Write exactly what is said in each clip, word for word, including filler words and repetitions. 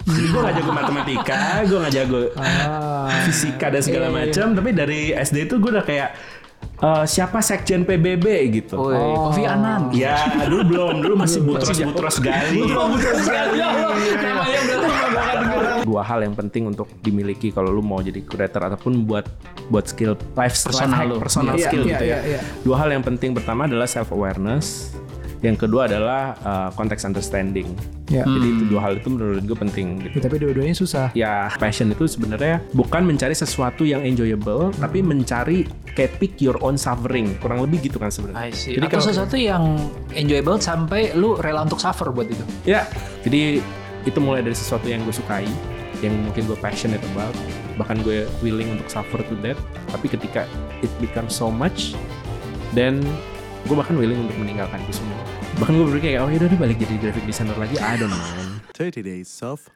Jadi gue gak jago matematika, gue gak jago ah, fisika dan segala macam. Tapi dari S D itu gue udah kayak uh, siapa sekjen P B B gitu. Oh, oh. Kofi Annan. Ya dulu belum, dulu masih Butros-Butros Gali. Butros Gali. Namanya berarti gak denger. Dua hal yang penting untuk dimiliki kalau lu mau jadi curator ataupun buat buat skill life personal, life personal yeah, skill yeah, gitu yeah, ya. Yeah. Dua hal yang penting, pertama adalah self awareness. Yang kedua adalah uh, context understanding. Ya. Jadi itu dua hal itu menurut gue penting. Gitu. Ya, tapi dua-duanya susah. Ya, passion itu sebenarnya bukan mencari sesuatu yang enjoyable, hmm. tapi mencari kayak pick your own suffering. Kurang lebih gitu kan sebenarnya. Jadi atau kalau sesuatu yang enjoyable sampai lu rela untuk suffer buat itu. Ya, jadi itu mulai dari sesuatu yang gue sukai, yang mungkin gue passionate about, bahkan gue willing untuk suffer to that. Tapi ketika it becomes so much, then gue bahkan willing untuk meninggalkan itu semua. Bahkan gue berpikir kayak, oh yaudah deh balik jadi graphic designer lagi. I don't know. thirty days of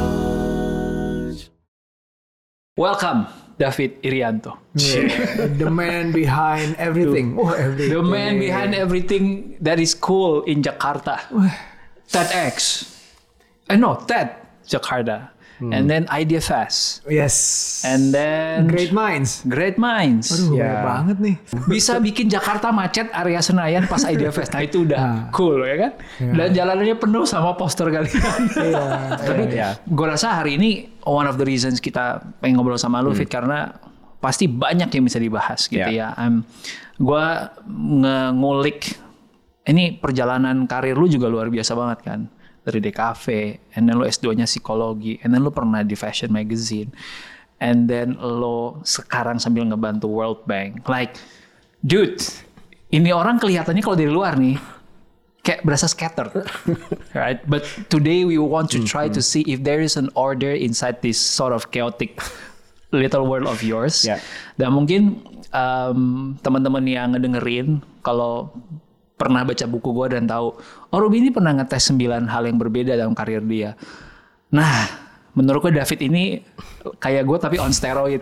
lunch. Welcome, David Irianto. Yeah. The man behind everything. Oh, everything. The man behind everything that is cool in Jakarta. TEDx. I know, TED Jakarta. Hmm. And then Idea Fest. Yes. And then Great Minds. Great Minds. Aduh, ya. banyak banget nih. Bisa bikin Jakarta macet area Senayan pas Idea Fest. Nah itu udah nah. cool ya kan. Ya. Dan jalanannya penuh sama poster kalian. Iya. Tapi ya. gue rasa hari ini one of the reasons kita pengen ngobrol sama lu, hmm. Fit, karena pasti banyak yang bisa dibahas gitu ya. ya. Um, gue ngulik ini perjalanan karir lu juga luar biasa banget kan. Dari D K V, and then lo S dua-nya psikologi, and then lo pernah di fashion magazine, and then lo sekarang sambil ngebantu World Bank. Like, dude, ini orang kelihatannya kalau dari luar nih, kayak berasa scatter. Right? But today we want to try to see if there is an order inside this sort of chaotic little world of yours. Yeah. Dan mungkin um, teman-teman yang ngedengerin, kalau pernah baca buku gue dan tahu, oh Ruby ini pernah ngetes sembilan hal yang berbeda dalam karir dia. Nah, menurut gue David ini kayak gue tapi on steroid.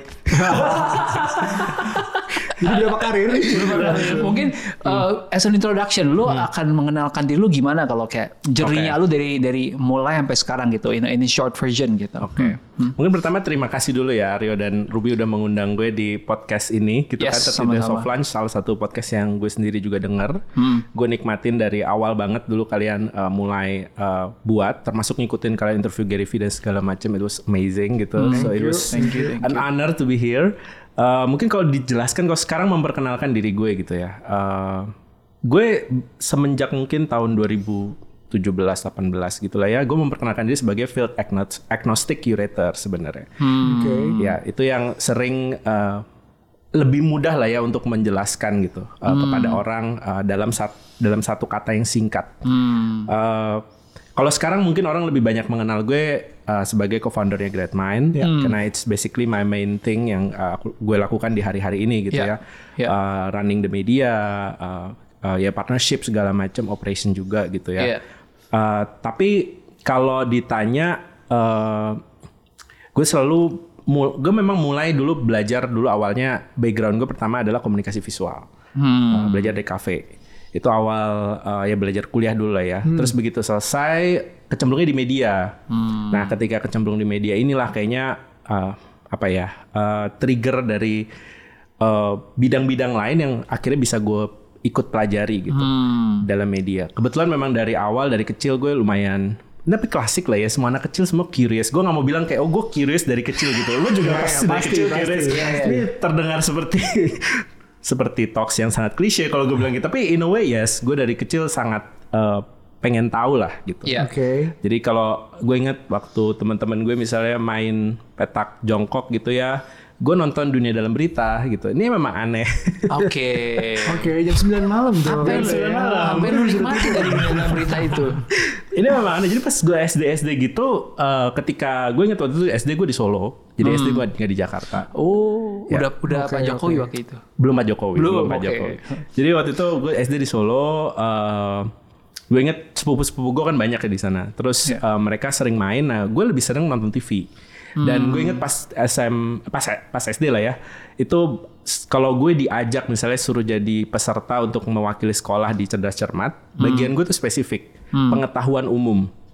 Jadi berapa karir? Mungkin uh, as an introduction, lu hmm. akan mengenalkan diri lu gimana kalau kayak journey-nya okay. lu dari dari mulai sampai sekarang gitu, in ini short version gitu. Oke. Okay. Hmm. Mungkin pertama terima kasih dulu ya Rio dan Ruby udah mengundang gue di podcast ini. Gitu yes, kan, thirty days of lunch, salah satu podcast yang gue sendiri juga denger. Hmm. Gue nikmatin dari awal banget dulu kalian uh, mulai uh, buat, termasuk ngikutin kalian interview Gary Vee dan segala macam. It was amazing gitu. Hmm. So it was thank you, thank an you. honor to be here. Uh, mungkin kalau dijelaskan, kalau sekarang memperkenalkan diri gue gitu ya. Uh, gue semenjak mungkin tahun dua ribu tujuh belas delapan belas gitu lah ya, gue memperkenalkan diri sebagai field agnostic curator sebenarnya. Hmm. Okay. Ya, itu yang sering uh, lebih mudah lah ya untuk menjelaskan gitu uh, hmm. kepada orang uh, dalam sat, dalam satu kata yang singkat. Hmm. Uh, Kalau sekarang mungkin orang lebih banyak mengenal gue uh, sebagai co-foundernya Great Mind, yeah. karena it's basically my main thing yang uh, gue lakukan di hari-hari ini gitu yeah. ya, yeah. Uh, running the media, uh, uh, ya partnership segala macam, operation juga gitu ya. Yeah. Uh, tapi kalau ditanya, uh, gue selalu, gue memang mulai dulu belajar dulu awalnya background gue pertama adalah komunikasi visual, hmm. uh, belajar di kafe. Itu awal uh, ya belajar kuliah dulu lah ya. Hmm. Terus begitu selesai kecemplungnya di media. Hmm. Nah ketika kecemplung di media inilah kayaknya uh, apa ya uh, trigger dari uh, bidang-bidang lain yang akhirnya bisa gue ikut pelajari gitu hmm. dalam media. Kebetulan memang dari awal dari kecil gue lumayan, tapi klasik lah ya, semua anak kecil semua curious. Gue gak mau bilang kayak, oh gue curious dari kecil gitu. Lo juga pasti dari kecil curious. Ya, ya. Ini terdengar seperti seperti talks yang sangat klise kalau gue bilang gitu. Tapi in a way yes, gue dari kecil sangat uh, pengen tahu lah gitu. Yeah. Oke. Okay. Jadi kalau gue inget waktu teman-teman gue misalnya main petak jongkok gitu ya, gue nonton Dunia Dalam Berita gitu. Ini memang aneh. Oke. Oke, jam sembilan malam tuh. Apa lu ya? Hampir lu nikmati dari Dunia Dalam Berita itu. Ini memang aneh. Jadi pas gue S D S D gitu, uh, ketika gue inget waktu itu S D gue di Solo. Jadi hmm. S D gue nggak di Jakarta. Oh, ya. udah udah okay, Pak Jokowi okay. waktu itu. Belum Pak Jokowi. Belum, belum Pak okay. Jokowi. Jadi waktu itu gue S D di Solo. Uh, gue inget sepupu-sepupu gue kan banyak ya di sana. Terus yeah. uh, mereka sering main. Nah, gue lebih sering nonton T V. Dan hmm. gue inget pas S M pas pas S D lah ya. Itu kalau gue diajak misalnya suruh jadi peserta untuk mewakili sekolah di Cerdas Cermat, hmm. bagian gue tuh spesifik, hmm. pengetahuan umum.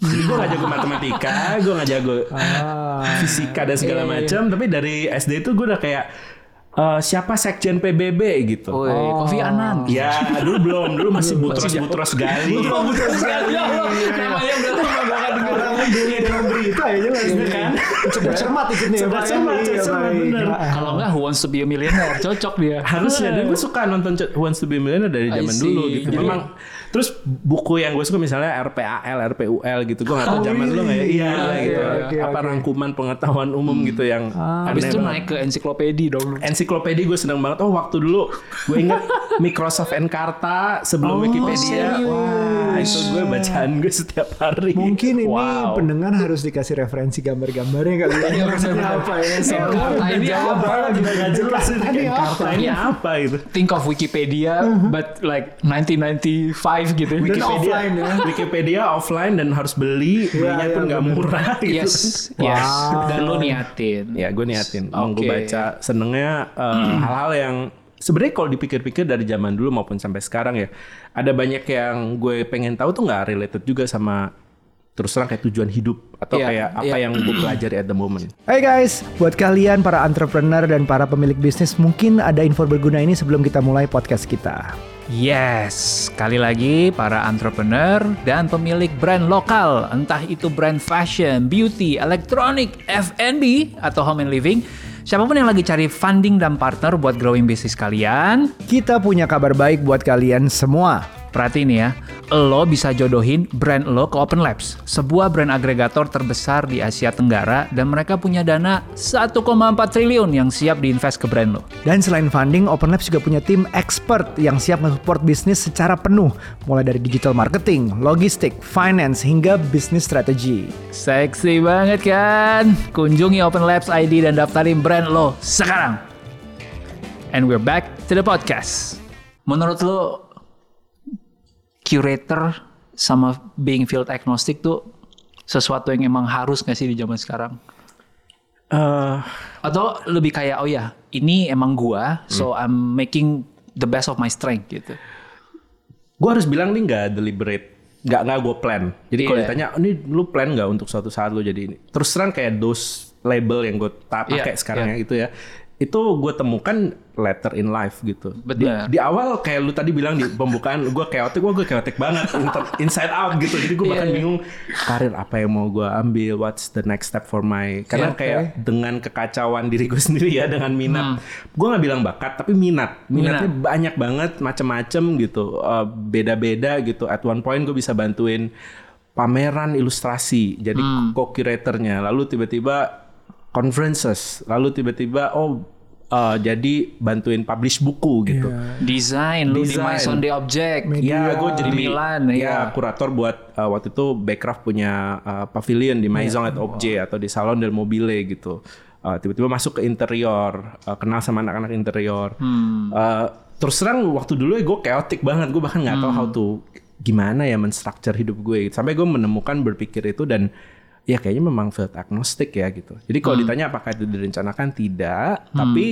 Jadi gue gak jago matematika, gue gak jago ah, fisika dan segala macam. Tapi dari S D itu gue udah kayak Uh, siapa sekjen P B B gitu. Oh, oh. Kofi Annan. Ya, dulu belum, dulu masih Butros-Butros Gali. Butros Gali. Namanya berarti enggak bakal dengar Dulu dalam berita ya jelas kan. Cermat ikutnya ya, Pak. Cermat, cermat bener. Kalau enggak Who Wants to be a Millionaire, cocok dia. Harusnya, dan gue suka nonton Who Wants to be a Millionaire dari zaman dulu gitu. Memang terus buku yang gue suka misalnya R P A L, R P U L gitu. Gue gak tahu zaman dulu gak ya? Iya gitu. Apa rangkuman pengetahuan umum gitu yang habis itu naik ke ensiklopedia dong. Ensiklopedia gue seneng banget. Oh waktu dulu gue inget Microsoft Encarta sebelum oh, Wikipedia. Serius? Wah itu gue bacaan gue setiap hari. Mungkin ini wow. pendengar harus dikasih referensi gambar-gambarnya kali ya. Maksudnya apa ya? Encarta ini apa? Kita gak jelas ini Encarta ini apa itu. Think of Wikipedia but like nineteen ninety-five gitu. Wikipedia offline ya. Wikipedia offline dan harus beli. Belinya ya, pun ya, gak murah gitu. Yes. Yes. Wow. Dan lo niatin. Ya gue niatin. Okay. Gue baca senengnya uh, hal-hal yang sebenarnya kalau dipikir-pikir dari zaman dulu maupun sampai sekarang ya, ada banyak yang gue pengen tahu tuh nggak related juga sama terus terang kayak tujuan hidup atau yeah, kayak apa yeah. yang gue pelajari at the moment. Hey guys, buat kalian para entrepreneur dan para pemilik bisnis, mungkin ada info berguna ini sebelum kita mulai podcast kita. Yes, sekali lagi para entrepreneur dan pemilik brand lokal, entah itu brand fashion, beauty, elektronik, F and B, atau home and living, siapapun yang lagi cari funding dan partner buat growing bisnis kalian, kita punya kabar baik buat kalian semua. Perhatiin ya, lo bisa jodohin brand lo ke Open Labs, sebuah brand agregator terbesar di Asia Tenggara, dan mereka punya dana satu koma empat triliun yang siap diinvest ke brand lo. Dan selain funding, Open Labs juga punya tim expert yang siap nge-support bisnis secara penuh, mulai dari digital marketing, logistik, finance, hingga business strategy. Seksi banget kan? Kunjungi Open Labs I D dan daftarin brand lo sekarang. And we're back to the podcast. Menurut lo, curator sama being field agnostic tuh sesuatu yang emang harus gak sih di zaman sekarang? Uh, Atau lebih kayak, oh ya, ini emang gua, hmm. so I'm making the best of my strength gitu. Gua harus bilang nih gak deliberate, gak, gak gue plan. Jadi yeah. kalau ditanya, ini lu plan gak untuk suatu saat lu jadi ini? Terus terang kayak those label yang gue pakai yeah. sekarang yeah. ya gitu ya. Itu gue temukan later in life gitu. Di, di awal kayak lu tadi bilang di pembukaan gue chaotic, gue gue chaotic banget inside out gitu. Jadi gue bahkan yeah, bingung karir apa yang mau gue ambil, what's the next step for my, karena yeah, kayak okay. dengan kekacauan diri gue sendiri ya, dengan minat. Hmm. Gue nggak bilang bakat tapi minat. Minatnya minat. Banyak banget, macem-macem gitu, uh, beda-beda gitu. At one point gue bisa bantuin pameran ilustrasi, jadi hmm. co-curatornya. Lalu tiba-tiba conferences, lalu tiba-tiba oh uh, jadi bantuin publish buku gitu. Yeah. Desain, lu di Maison des Objets. Iya, gue jadi Milan. Ya, kurator buat uh, waktu itu Backcraft punya uh, pavilion di Maison yeah. des Objets wow. atau di Salon del Mobile gitu. Uh, tiba-tiba masuk ke interior, uh, kenal sama anak-anak interior. Hmm. Uh, terus terang waktu dulu ya gue chaotic banget, gue bahkan nggak hmm. tahu how to gimana ya menstructure hidup gue. Gitu. Sampai gue menemukan berpikir itu dan ya kayaknya memang field agnostic ya gitu. Jadi kalau hmm. ditanya apakah itu direncanakan, tidak. Hmm. Tapi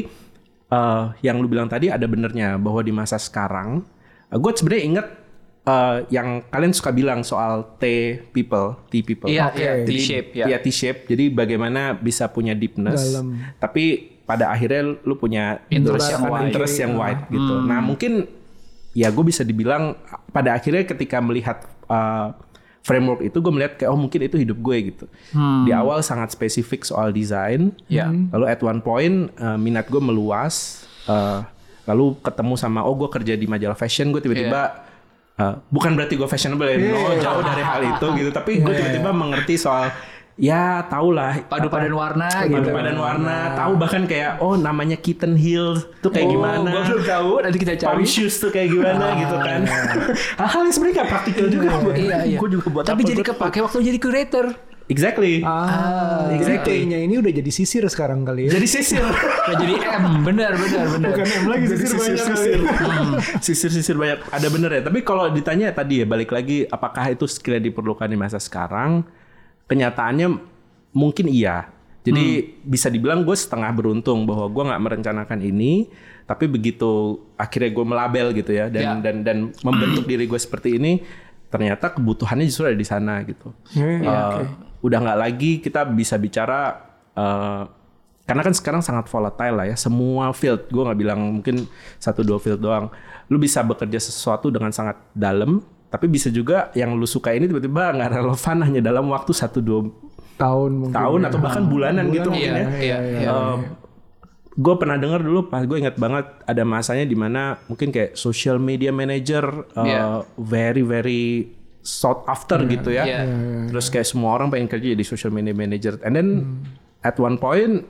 uh, yang lu bilang tadi ada benernya bahwa di masa sekarang, uh, gue sebenarnya inget uh, yang kalian suka bilang soal T people, T people. Iya, okay. Jadi, T-shape. Ya. Iya, T-shape. Jadi bagaimana bisa punya deepness, dalam. Tapi pada akhirnya lu punya interest yang wide, interest yang wide gitu. Hmm. Nah mungkin ya gue bisa dibilang pada akhirnya ketika melihat uh, framework itu gue melihat kayak oh mungkin itu hidup gue gitu. Hmm. Di awal sangat spesifik soal desain. Yeah. Lalu at one point uh, minat gue meluas. Uh, lalu ketemu sama oh gue kerja di majalah fashion, gue tiba-tiba yeah. uh, bukan berarti gue fashionable ya, yeah. no, jauh dari hal itu gitu. Tapi gue yeah. tiba-tiba mengerti soal ya tau lah padu-padan warna gitu. Padu-padan warna, tahu bahkan kayak oh namanya kitten heel tuh kayak oh, gimana. Gue belum tahu, nanti kita cari. Palm shoes tuh kayak gimana ah, gitu kan. Hal-hal yang sebenarnya gak praktikal juga. Iya, iya. Gue juga buat tapi apa, jadi kepake waktu jadi curator. Exactly. Ah, exactly. Jadi ini udah jadi sisir sekarang kali ya. Jadi sisir. Nah, jadi M, benar benar benar. Bukan M lagi, sisir, sisir banyak sisir. Hmm. Sisir-sisir banyak. Ada bener ya. Tapi kalau ditanya tadi ya balik lagi apakah itu skill yang diperlukan di masa sekarang? Kenyataannya mungkin iya. Jadi hmm. bisa dibilang gue setengah beruntung bahwa gue nggak merencanakan ini, tapi begitu akhirnya gue melabel gitu ya dan yeah. dan dan membentuk diri gue seperti ini, ternyata kebutuhannya justru ada di sana gitu. Hmm, uh, okay. Udah nggak lagi kita bisa bicara uh, karena kan sekarang sangat volatile lah ya, semua field. Gue nggak bilang mungkin satu dua field doang. Lu bisa bekerja sesuatu dengan sangat dalam, tapi bisa juga yang lu suka ini tiba-tiba nggak relevan hanya dalam waktu satu dua tahun mungkin tahun ya. atau bahkan bulanan Bulan, gitu iya, mungkin ya. Iya, iya, iya. Uh, gue pernah dengar dulu pas gue ingat banget ada masanya di mana mungkin kayak social media manager uh, Yeah. very very sought after Yeah. gitu ya. Yeah. Terus kayak semua orang pengen kerja jadi social media manager. And then hmm. at one point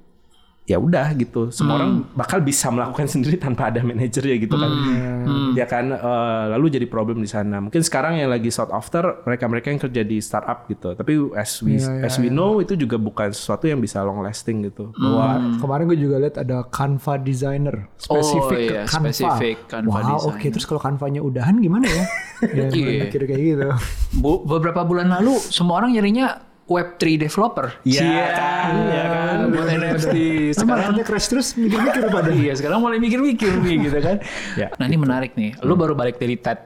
ya udah gitu. Semua hmm. orang bakal bisa melakukan sendiri tanpa ada manajer ya gitu kan. Hmm. Ya kan uh, lalu jadi problem di sana. Mungkin sekarang yang lagi sought after mereka-mereka yang kerja di startup gitu. Tapi as we yeah, yeah, as we yeah. know itu juga bukan sesuatu yang bisa long lasting gitu. Hmm. Bahwa kemarin gue juga lihat ada Canva designer spesifik oh, ke iya, Canva. Spesifik Canva wow, designer. oke. Okay. Terus kalau Canva-nya udahan gimana ya? Ya Iya. mikir kayak gitu. Bu, beberapa bulan lalu semua orang nyarinya web three developer. Iya yeah, kan, iya kan. Buat N F T. Sekarang crash terus mikir-mikir pada. Iya, sekarang mulai mikir-mikir nih gitu kan. Ya, nah ini menarik nih. Lu baru balik dari TED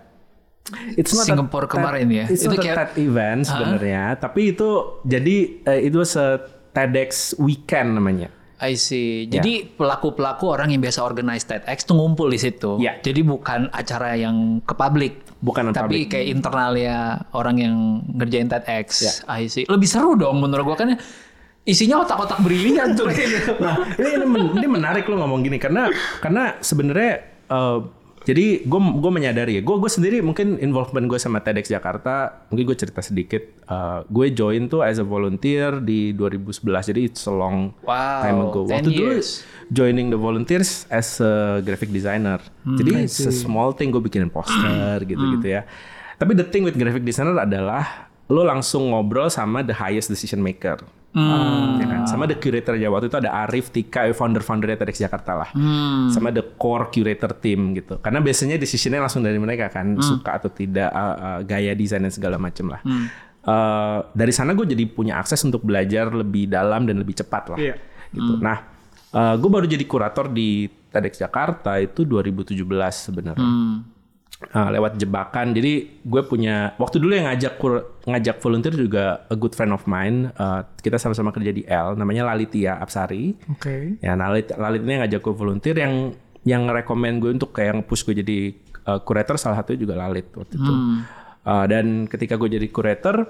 It's not Singapore a, kemarin ya. It's itu not kayak a TED event sebenarnya, tapi itu jadi uh, itu se TEDx weekend namanya. I see. Jadi pelaku-pelaku orang yang biasa organize TEDx tuh ngumpul di situ. Yeah. Jadi bukan acara yang ke publik. Bukan tapi public. kayak internalnya orang yang ngerjain TEDx. Yeah. I see. Lebih seru dong menurut gua kan isinya otak-otak brilian tuh. Nah, ini ini, men, ini menarik lo ngomong gini karena karena sebenarnya uh, jadi gue gue menyadari ya, gue gue sendiri mungkin involvement gue sama TEDx Jakarta, mungkin gue cerita sedikit. Uh, gue join tuh as a volunteer di dua ribu sebelas, jadi it's a long wow, time ago. Waktu dulu years. joining the volunteers as a graphic designer, hmm, jadi it's a small thing, gue bikin poster gitu-gitu ya. Tapi the thing with graphic designer adalah lo langsung ngobrol sama the highest decision maker. Hmm. Ya kan? Sama the curator ya, waktu itu ada Arif, Tika, founder-foundernya TEDx Jakarta lah. Hmm. Sama the core curator team gitu. Karena biasanya decisionnya langsung dari mereka kan, hmm. suka atau tidak, uh, uh, gaya desain dan segala macam lah. Hmm. Uh, dari sana gue jadi punya akses untuk belajar lebih dalam dan lebih cepat lah. Yeah. Gitu. Hmm. Nah, uh, gue baru jadi kurator di TEDx Jakarta itu dua ribu tujuh belas sebenarnya. Hmm. Uh, lewat jebakan. Jadi gue punya waktu dulu yang ngajak ngajak volunteer juga a good friend of mine. Uh, kita sama-sama kerja di L, namanya Lalitia Apsari. Oke. Okay. Ya, Lalit Lalit ini ngajak gue volunteer yang yang rekomend gue untuk kayak nge-push gue jadi uh, curator, salah satunya juga Lalit waktu itu. Hmm. Uh, dan ketika gue jadi curator,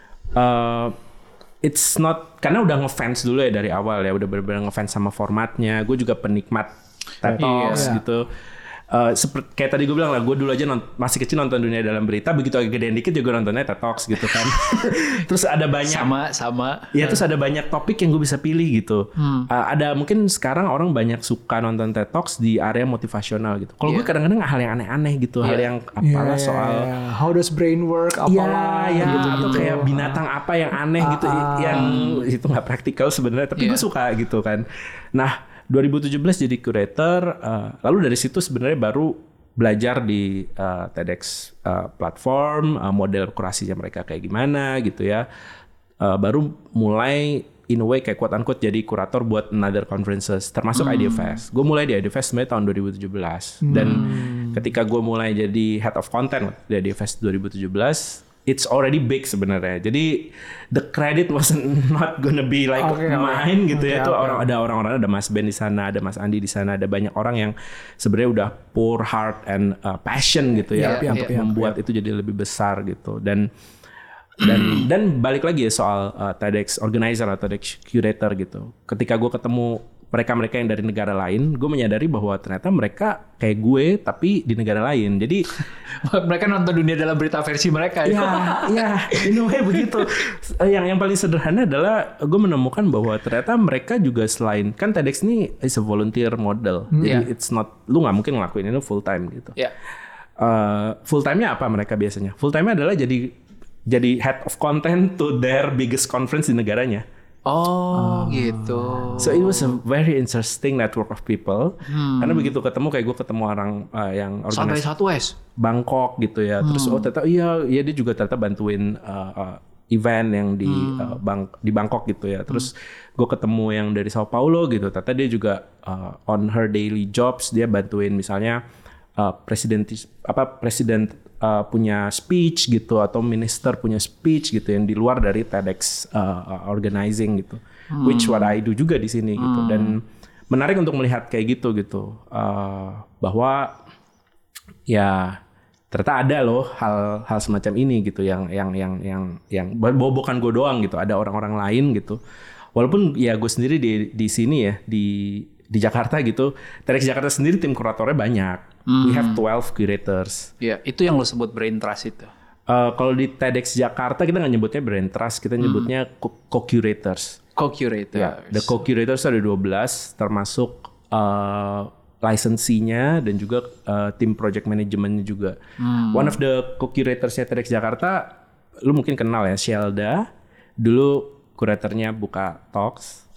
uh, it's not karena udah ngefans dulu ya dari awal ya, udah benar-benar ngefans sama formatnya. Gue juga penikmat TED Talks iya. gitu. Uh, seperti kayak tadi gue bilang lah, gue dulu aja nont- masih kecil nonton Dunia Dalam Berita, begitu agak gedean dikit juga nontonnya TED Talks gitu kan. Terus ada banyak sama sama ya, terus ada banyak topik yang gue bisa pilih gitu. Hmm. Uh, ada mungkin sekarang orang banyak suka nonton TED Talks di area motivasional gitu. Kalau yeah. gue kadang-kadang hal yang aneh-aneh gitu, yeah. hal yang apalah yeah, soal yeah. how does brain work, apalah ya, ya, gitu, atau gitu. kayak binatang apa yang aneh uh, gitu, uh, yang itu nggak praktikal sebenarnya, tapi yeah. gue suka gitu kan. Nah, dua ribu tujuh belas jadi curator, uh, lalu dari situ sebenarnya baru belajar di uh, TEDx uh, platform, uh, model kurasinya mereka kayak gimana gitu ya. Uh, baru mulai in a way kayak quote unquote jadi kurator buat another conferences, termasuk hmm. IdeaFest. Gue mulai di IdeaFest sebenarnya tahun dua ribu tujuh belas. Hmm. Dan ketika gue mulai jadi head of content di IdeaFest dua ribu tujuh belas, it's already big sebenarnya. Jadi the credit wasn't not gonna be like okay, mine okay. gitu okay, ya. Itu okay. orang ada orang-orang, ada Mas Ben di sana, ada Mas Andi di sana, ada banyak orang yang sebenarnya udah pour heart and uh, passion gitu ya yeah, untuk yeah, membuat yeah. itu jadi lebih besar gitu. Dan dan dan balik lagi ya soal uh, TEDx organizer atau TEDx curator gitu. Ketika gue ketemu mereka-mereka yang dari negara lain, gue menyadari bahwa ternyata mereka kayak gue tapi di negara lain. Jadi mereka nonton Dunia Dalam Berita versi mereka ya. Ya, ya, in a way begitu. Yang yang paling sederhana adalah gue menemukan bahwa ternyata mereka juga selain kan TEDx ini is a volunteer model. Hmm. Jadi yeah. it's not, lu nggak mungkin ngelakuin itu full time gitu. Yeah. Uh, full time-nya apa mereka biasanya? Full time-nya adalah jadi jadi head of content to their biggest conference di negaranya. Oh, oh gitu. So it was a very interesting network of people. Hmm. Karena begitu ketemu kayak gue ketemu orang uh, yang sampai satu S Bangkok gitu ya. Hmm. Terus oh ternyata iya, iya dia juga ternyata bantuin uh, uh, event yang di hmm. uh, Bang di Bangkok gitu ya. Terus hmm. gue ketemu yang dari Sao Paulo gitu. Ternyata dia juga uh, on her daily jobs dia bantuin misalnya uh, presiden apa presiden uh, punya speech gitu atau minister punya speech gitu yang di luar dari TEDx uh, organizing gitu, hmm. which what I do juga di sini hmm. gitu. Dan menarik untuk melihat kayak gitu gitu uh, bahwa ya ternyata ada loh hal-hal semacam ini gitu yang yang yang yang yang bukan gue doang gitu, ada orang-orang lain gitu. Walaupun ya gue sendiri di di sini ya di di Jakarta gitu, TEDx Jakarta sendiri tim kuratornya banyak. Hmm. We have twelve curators. Ya, itu yang lo sebut brain trust itu. Uh, kalau di TEDx Jakarta kita nggak nyebutnya brain trust, kita nyebutnya hmm. co-curators. Co-curators. Ya, the co-curators ada dua belas termasuk uh, lisensinya dan juga uh, tim project manajemennya juga. Hmm. One of the co-curatorsnya TEDx Jakarta, lu mungkin kenal ya, Shelda. Dulu kuratornya Buka Talks.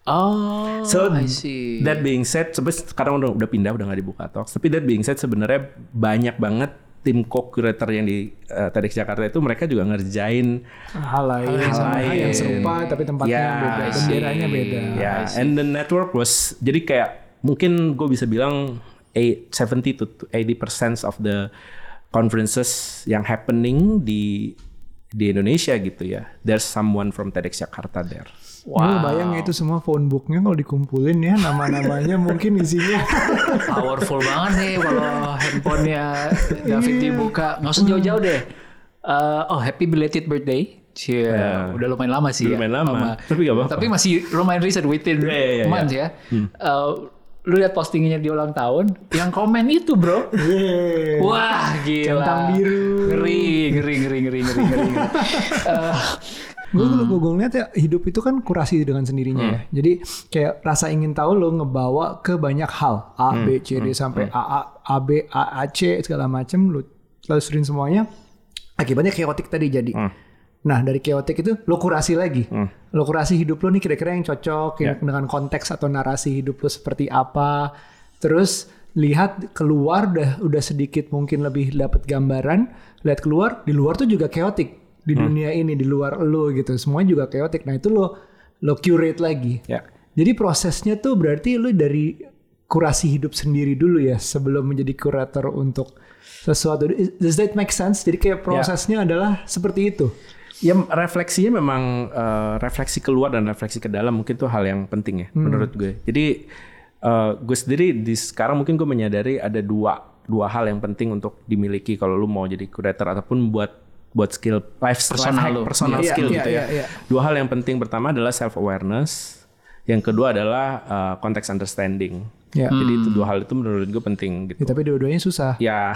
Oh, so, I see. That being said, sekarang udah, udah pindah, udah nggak di Buka Talks. Tapi that being said, sebenarnya banyak banget tim co-curator yang di uh, TEDx Jakarta itu mereka juga ngerjain hal lain, hal lain yang serupa tapi tempatnya yeah, beda, benderanya beda. Ya, yeah. And the network was jadi kayak mungkin gue bisa bilang seventy to eighty percent of the conferences yang happening di di Indonesia gitu ya. There's someone from TEDx Jakarta there. Wow. Bayang itu semua phone booknya kalau dikumpulin ya nama-namanya mungkin isinya. Powerful banget nih kalau handphonenya David dibuka. Nggak usah jauh-jauh deh. Uh, oh happy belated birthday. Cie, yeah. Udah lumayan lama sih. Lumayan ya. lama. lama. Tapi gak apa-apa. Tapi masih lumayan recent within yeah, yeah, yeah, months yeah. ya. Hmm. Uh, lu lihat postingnya di ulang tahun, yang komen itu bro, yeah. Wah gila, centang biru, ngeri, ngeri, ngeri, ngeri, ngeri, ngeri. uh, gue hmm. gue ngeliat ya hidup itu kan kurasi dengan sendirinya hmm. ya. Jadi kayak rasa ingin tahu lo ngebawa ke banyak hal A, hmm. B, C, D hmm. sampai hmm. A, A, A, B, A, A, C segala macam lo telusurin semuanya. Akibatnya chaotic tadi jadi. Hmm. Nah dari chaotic itu lo kurasi lagi. Hmm. Lo kurasi hidup lo nih kira-kira yang cocok yeah. yang dengan konteks atau narasi hidup lo seperti apa. Terus lihat keluar udah udah sedikit mungkin lebih dapat gambaran. Lihat keluar, di luar tuh juga chaotic. Di hmm. dunia ini, di luar lo gitu. Semuanya juga chaotic. Nah itu lo lo curate lagi. Yeah. Jadi prosesnya tuh berarti lo dari kurasi hidup sendiri dulu ya sebelum menjadi kurator untuk sesuatu. Does that make sense? Jadi kayak prosesnya yeah. adalah seperti itu. Ya refleksinya memang uh, refleksi keluar dan refleksi ke dalam mungkin tuh hal yang penting ya hmm. menurut gue. Jadi uh, gue sendiri di sekarang mungkin gue menyadari ada dua dua hal yang penting untuk dimiliki kalau lu mau jadi curator ataupun buat buat skill life personal, life personal yeah, skill yeah, gitu yeah, ya. Yeah, yeah. Dua hal yang penting, pertama adalah self awareness, yang kedua adalah uh, context understanding. Ya. Jadi hmm. itu dua hal itu menurut gue penting gitu. Ya, tapi dua-duanya susah. Ya.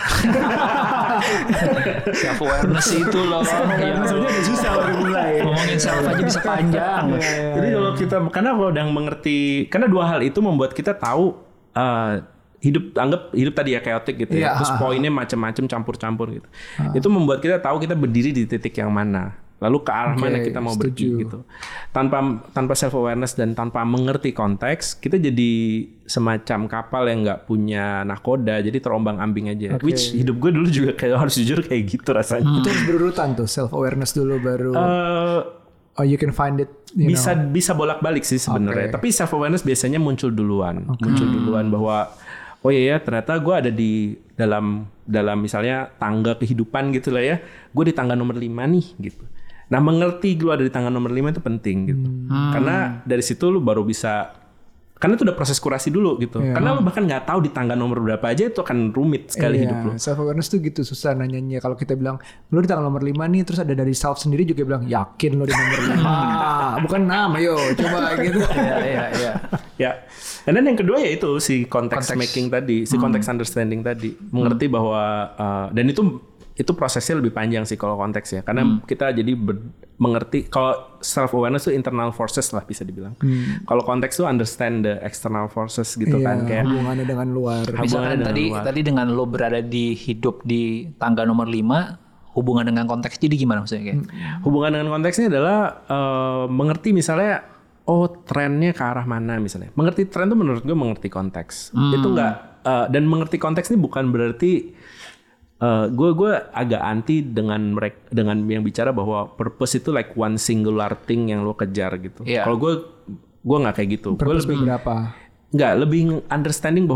Self awareness itu loh. Awareness aja udah susah baru mulai. Ngomongin self aja bisa panjang. Ya, ya, Jadi kalau kita karena kalau udah mengerti, karena dua hal itu membuat kita tahu uh, hidup anggap hidup tadi ya chaotic gitu ya. ya. Terus poinnya macam-macam campur-campur gitu. Ha. Itu membuat kita tahu kita berdiri di titik yang mana. Lalu ke arah okay, mana kita mau pergi gitu. Tanpa tanpa self awareness dan tanpa mengerti konteks, kita jadi semacam kapal yang nggak punya nahkoda, jadi terombang-ambing aja. Okay. Which hidup gue dulu juga kayak harus jujur kayak gitu rasanya. Hmm. Itu harus berurutan tuh, self awareness dulu baru. Uh, oh you can find it. You bisa know. bisa bolak-balik sih sebenarnya. Okay. Tapi self awareness biasanya muncul duluan, okay. muncul duluan bahwa oh iya ya ternyata gue ada di dalam dalam misalnya tangga kehidupan gitu lah ya. Gue di tangga nomor lima nih gitu. Nah mengerti gue ada di tangga nomor lima itu penting gitu. Hmm. Karena dari situ lu baru bisa, karena itu udah proses kurasi dulu gitu. Yeah. Karena lu bahkan nggak tahu di tangga nomor berapa aja itu akan rumit sekali yeah. hidup lu. Self awareness tuh gitu susah nanyanya. Kalau kita bilang lu di tangga nomor lima nih, terus ada dari self sendiri juga bilang yakin lu di nomor lima. Bukan nama yo, coba gitu. Iya iya iya. Ya. Dan yang kedua ya itu si context, context making tadi, si hmm. context understanding tadi, mengerti hmm. bahwa uh, dan itu itu prosesnya lebih panjang sih kalau konteks ya, karena hmm. kita jadi ber, mengerti kalau self awareness itu internal forces lah bisa dibilang. Hmm. Kalau konteks itu understand the external forces gitu iya, kan, kayak hubungannya dengan luar. Misalkan dengan tadi luar. tadi dengan lo berada di hidup di tangga nomor lima, hubungan dengan konteks jadi gimana maksudnya? Kayak? Hmm. Hubungan dengan konteksnya adalah uh, mengerti misalnya oh trennya ke arah mana misalnya. Mengerti tren itu menurut gue mengerti konteks. Hmm. Itu enggak uh, dan mengerti konteks ini bukan berarti Uh, gue gue agak anti dengan mereka dengan yang bicara bahwa purpose itu like one singular thing yang lo kejar gitu. Yeah. Kalau gue gue nggak kayak gitu. Gue lebih berapa? Nggak, lebih understanding bahwa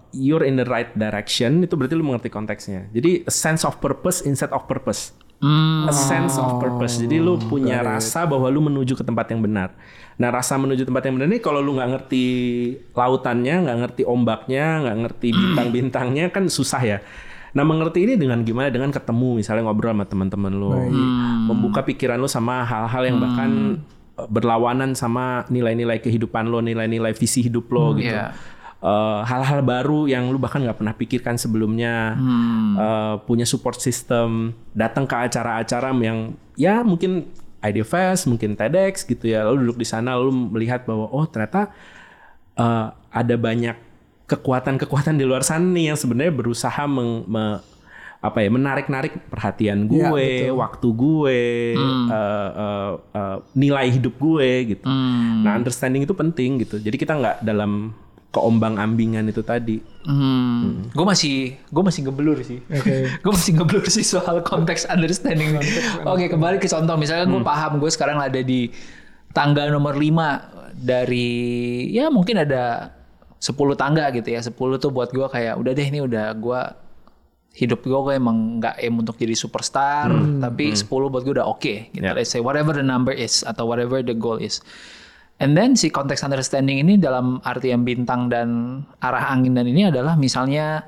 you're in the right direction, itu berarti lu mengerti konteksnya. Jadi a sense of purpose instead of purpose. Hmm. A sense of purpose. Jadi lu punya Got rasa it. bahwa lu menuju ke tempat yang benar. Nah, rasa menuju tempat yang benar ini kalau lu nggak ngerti lautannya, nggak ngerti ombaknya, nggak ngerti bintang-bintangnya kan susah ya. Nah, mengerti ini dengan gimana? Dengan ketemu, misalnya ngobrol sama teman-teman lu, hmm. membuka pikiran lu sama hal-hal yang bahkan hmm. berlawanan sama nilai-nilai kehidupan lo, nilai-nilai visi hidup lo hmm, gitu. Yeah. Uh, hal-hal baru yang lu bahkan nggak pernah pikirkan sebelumnya, hmm. uh, punya support system, datang ke acara-acara yang ya mungkin IdeaFest, mungkin TEDx gitu ya, lalu duduk di sana lalu melihat bahwa oh ternyata uh, ada banyak kekuatan-kekuatan di luar sana nih yang sebenarnya berusaha meng, me, apa ya menarik-narik perhatian gue, ya, waktu gue, hmm. uh, uh, uh, nilai hidup gue gitu. Hmm. Nah, understanding itu penting gitu. Jadi kita nggak dalam keombang-ambingan itu tadi. Hmm. Hmm. Gue masih, gue masih ngeblur sih. Okay. gue masih ngeblur sih soal konteks understanding. Oke, okay, kembali ke contoh. Misalnya gue hmm. paham, gue sekarang ada di tangga nomor lima dari, ya mungkin ada sepuluh tangga gitu ya. sepuluh tuh buat gue kayak, udah deh ini udah gue, hidup gue gue emang gak aim untuk jadi superstar. Hmm. Tapi hmm. sepuluh buat gue udah oke. Okay, gitu. Yeah. Let's say whatever the number is, atau whatever the goal is. And then si konteks understanding ini dalam artian bintang dan arah angin dan ini adalah misalnya,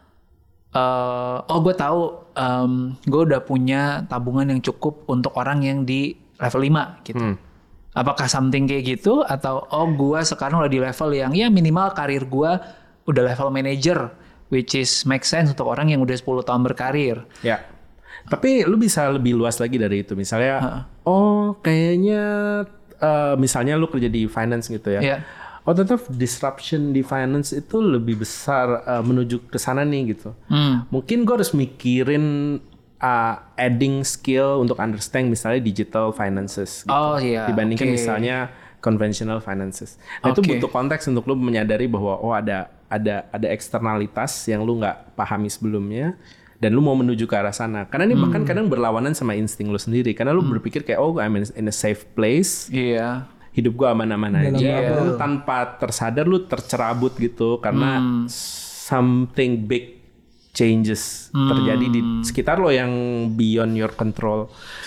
uh, oh gue tahu um, gue udah punya tabungan yang cukup untuk orang yang di level lima gitu. Hmm. Apakah something kayak gitu atau oh gue sekarang udah di level yang ya minimal karir gue udah level manager, which is make sense untuk orang yang udah sepuluh tahun berkarir. Ya. Tapi lu bisa lebih luas lagi dari itu. Misalnya, huh? oh kayaknya Uh, misalnya lu kerja di finance gitu ya, yeah. oh tetap disruption di finance itu lebih besar uh, menuju ke sana nih gitu. Mm. Mungkin gue harus mikirin uh, adding skill untuk understand misalnya digital finances gitu, oh, yeah. dibandingkan okay. misalnya conventional finances. Nah, okay. itu butuh konteks untuk lu menyadari bahwa oh ada ada ada eksternalitas yang lu nggak pahami sebelumnya. Dan lu mau menuju ke arah sana. Karena ini hmm. bahkan kadang berlawanan sama insting lu sendiri. Karena lu hmm. berpikir kayak, oh I'm in a safe place. Iya. Yeah. Hidup gue aman-aman aja. Yeah. Lu tanpa tersadar lu tercerabut gitu. Karena hmm. something big changes hmm. terjadi di sekitar lo yang beyond your control.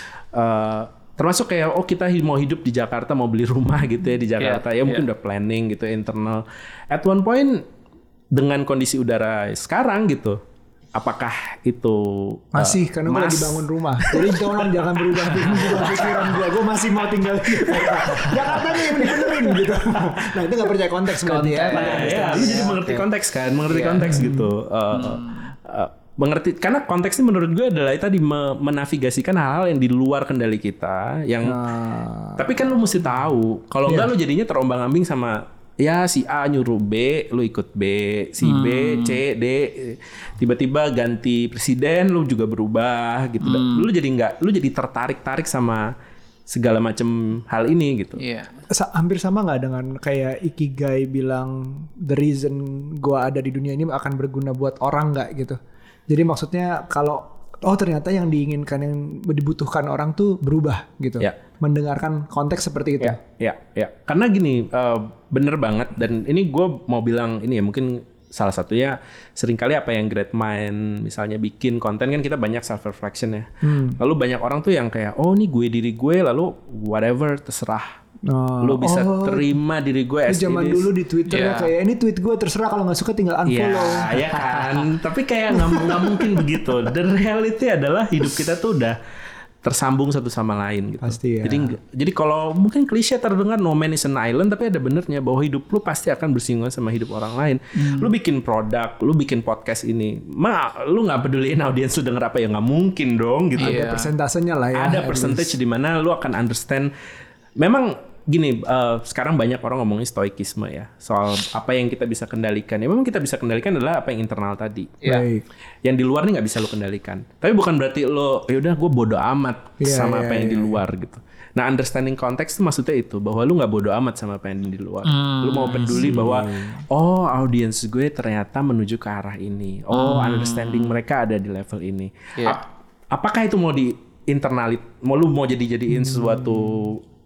Uh, termasuk kayak, oh kita mau hidup di Jakarta, mau beli rumah gitu ya di Jakarta. Yeah. Ya mungkin yeah. udah planning gitu internal. At one point, dengan kondisi udara sekarang gitu, apakah itu masih uh, karena gue lagi bangun rumah, jadi tolong jangan berubah pikiran gue. Gue masih mau tinggal di Jakarta nih yang dibenerin gitu. Nah itu nggak percaya konteks berarti ya. Ya, lu jadi mengerti konteks kan, mengerti yeah. konteks gitu. Uh, hmm. uh, mengerti karena konteks ini menurut gue adalah tadi menavigasikan hal-hal yang di luar kendali kita. Yang nah. tapi kan lu mesti tahu, kalau yeah. enggak lu jadinya terombang-ambing sama. Ya si A nyuruh B, lu ikut B, si hmm. B, C, D, tiba-tiba ganti presiden, lu juga berubah gitu. Hmm. Lu jadi nggak, lu jadi tertarik-tarik sama segala macam hal ini gitu. Iya. Yeah. Hampir sama nggak dengan kayak Ikigai bilang the reason gua ada di dunia ini akan berguna buat orang nggak gitu. Jadi maksudnya kalau oh ternyata yang diinginkan yang dibutuhkan orang tuh berubah gitu. Yeah. Mendengarkan konteks seperti itu. Ya, ya, ya. Karena gini, uh, bener banget. Dan ini gue mau bilang ini ya mungkin salah satunya seringkali apa yang great mind misalnya bikin konten kan kita banyak self reflection ya. Hmm. Lalu banyak orang tuh yang kayak oh ini gue diri gue lalu whatever terserah. Oh, lu bisa oh, terima diri gue as zaman dulu di Twitter yeah. ya kayak ini tweet gue terserah kalau nggak suka tinggal unfollow. Iya ya kan. Tapi kayak nggak mungkin begitu. The reality adalah hidup kita tuh udah tersambung satu sama lain gitu. Pasti ya. Jadi jadi kalau mungkin klise terdengar no man is an island, tapi ada benernya bahwa hidup lu pasti akan bersinggungan sama hidup orang lain. Hmm. Lu bikin produk, lu bikin podcast ini, ma lu nggak peduliin audiens lu denger apa ya nggak mungkin dong gitu. Ada persentasenya lah ya. Ada percentage di mana lu akan understand. Memang gini, uh, sekarang banyak orang ngomongin stoikisme ya soal apa yang kita bisa kendalikan. Ya memang kita bisa kendalikan adalah apa yang internal tadi. Ya. Yang di luar nih nggak bisa lo kendalikan. Tapi bukan berarti lo, yaudah gue bodo amat yeah, sama yeah, apa yang yeah. di luar gitu. Nah understanding konteks itu maksudnya itu bahwa lo nggak bodo amat sama apa yang di luar. Hmm, lo mau peduli bahwa oh audiens gue ternyata menuju ke arah ini. Oh hmm. understanding mereka ada di level ini. Yeah. Ap- apakah itu mau di internalit? Mau lo mau jadi jadiin hmm. sesuatu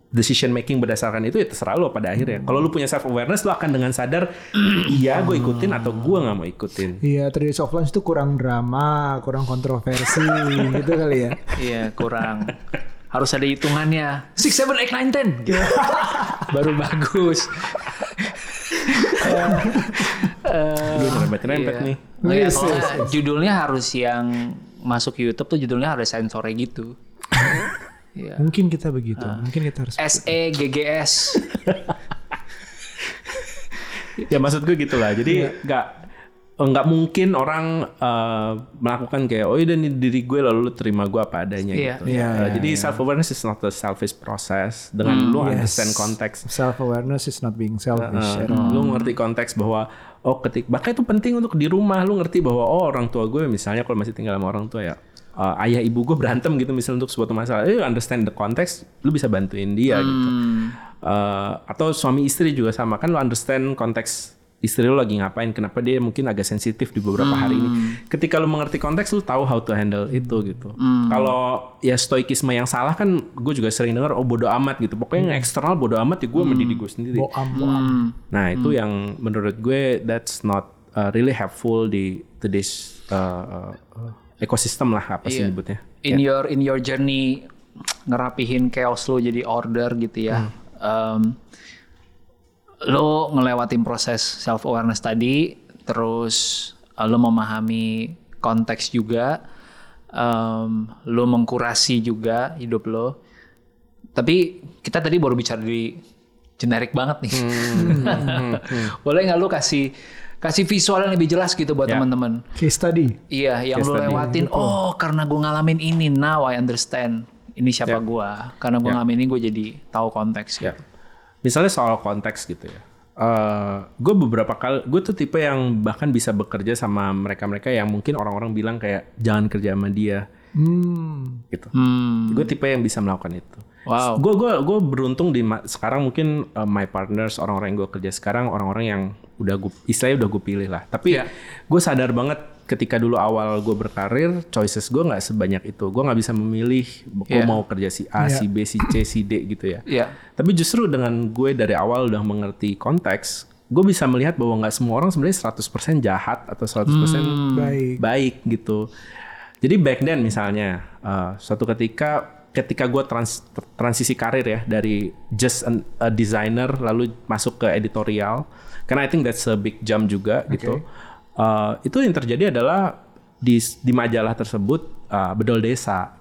decision making berdasarkan itu ya terserah lo pada akhirnya. Kalau lu punya self awareness, lu akan dengan sadar, iya gue ikutin atau gue nggak mau ikutin. Iya, tiga days of lunch itu kurang drama, kurang kontroversi, gitu kali ya. Iya, kurang. Harus ada hitungannya. Six, seven, eight, nine, ten. Baru bagus. Gue rempet-rempet nih. Oh, ya, judulnya harus yang masuk YouTube tuh judulnya harus sensornya gitu. Ya. Mungkin kita begitu, uh, mungkin kita harus S E G G S. Ya maksud gue gitulah. Jadi nggak yeah. nggak mungkin orang uh, melakukan kayak oh ini diri gue lalu lu terima gue apa adanya yeah. gitu. Yeah, uh, yeah, jadi yeah. self awareness is not a selfish process. Dengan hmm, lu yes. understand konteks. Self awareness is not being selfish. Uh, uh, lu ngerti konteks bahwa oh ketik bahkan itu penting untuk di rumah lu ngerti bahwa oh orang tua gue misalnya kalau masih tinggal sama orang tua ya. Uh, ayah ibu gue berantem gitu misalnya untuk suatu masalah, you understand the context, lu bisa bantuin dia hmm. gitu. Uh, atau suami istri juga sama kan, lu understand konteks istri lu lagi ngapain, kenapa dia mungkin agak sensitif di beberapa hmm. hari ini. Ketika lu mengerti konteks, lu tahu how to handle itu gitu. Hmm. Kalau ya stoikisme yang salah kan, gue juga sering dengar oh bodo amat gitu. Pokoknya yang eksternal bodo amat ya gue hmm. mendidik gue sendiri. Boam, boam. Hmm. Nah itu hmm. yang menurut gue that's not uh, really helpful di today's uh, uh, ekosistem lah apa sih yeah. nyebutnya. In yeah. your in your journey ngerapihin chaos lo jadi order gitu ya. Hmm. Um, lo ngelewatin proses self awareness tadi, terus uh, lo memahami konteks juga, um, lo mengkurasi juga hidup lo. Tapi kita tadi baru bicara di generik banget nih. Hmm. hmm. hmm. Boleh nggak lo kasih kasih visual yang lebih jelas gitu buat yeah. teman-teman. Case study. Iya, yang Case lo lewatin. Study. Oh, karena gue ngalamin ini, now I understand. Ini siapa yeah. gue. Karena gue yeah. ngalamin ini, gue jadi tahu konteks. Yeah. Gitu. Misalnya soal konteks gitu ya. Uh, gue beberapa kali, gue tuh tipe yang bahkan bisa bekerja sama mereka-mereka yang mungkin orang-orang bilang kayak jangan kerja sama dia. Hmm. Gitu. Hmm. Gue tipe yang bisa melakukan itu. Wow. Gue gue gue beruntung di sekarang mungkin uh, my partners orang-orang yang gue kerja sekarang orang-orang yang udah gue istilahnya udah gue pilih lah. Tapi yeah. gue sadar banget ketika dulu awal gue berkarir choices gue nggak sebanyak itu. Gue nggak bisa memilih gue yeah. mau kerja si A, yeah. si B, si C, si D gitu ya. Yeah. Tapi justru dengan gue dari awal udah mengerti konteks, gue bisa melihat bahwa nggak semua orang sebenarnya seratus persen jahat atau seratus persen hmm. baik. baik gitu. Jadi back then misalnya uh, suatu ketika ketika gue trans, transisi karir ya dari just an, a designer lalu masuk ke editorial, karena I think that's a big jump juga okay. gitu. Uh, itu yang terjadi adalah di di majalah tersebut uh, Bedol Desa.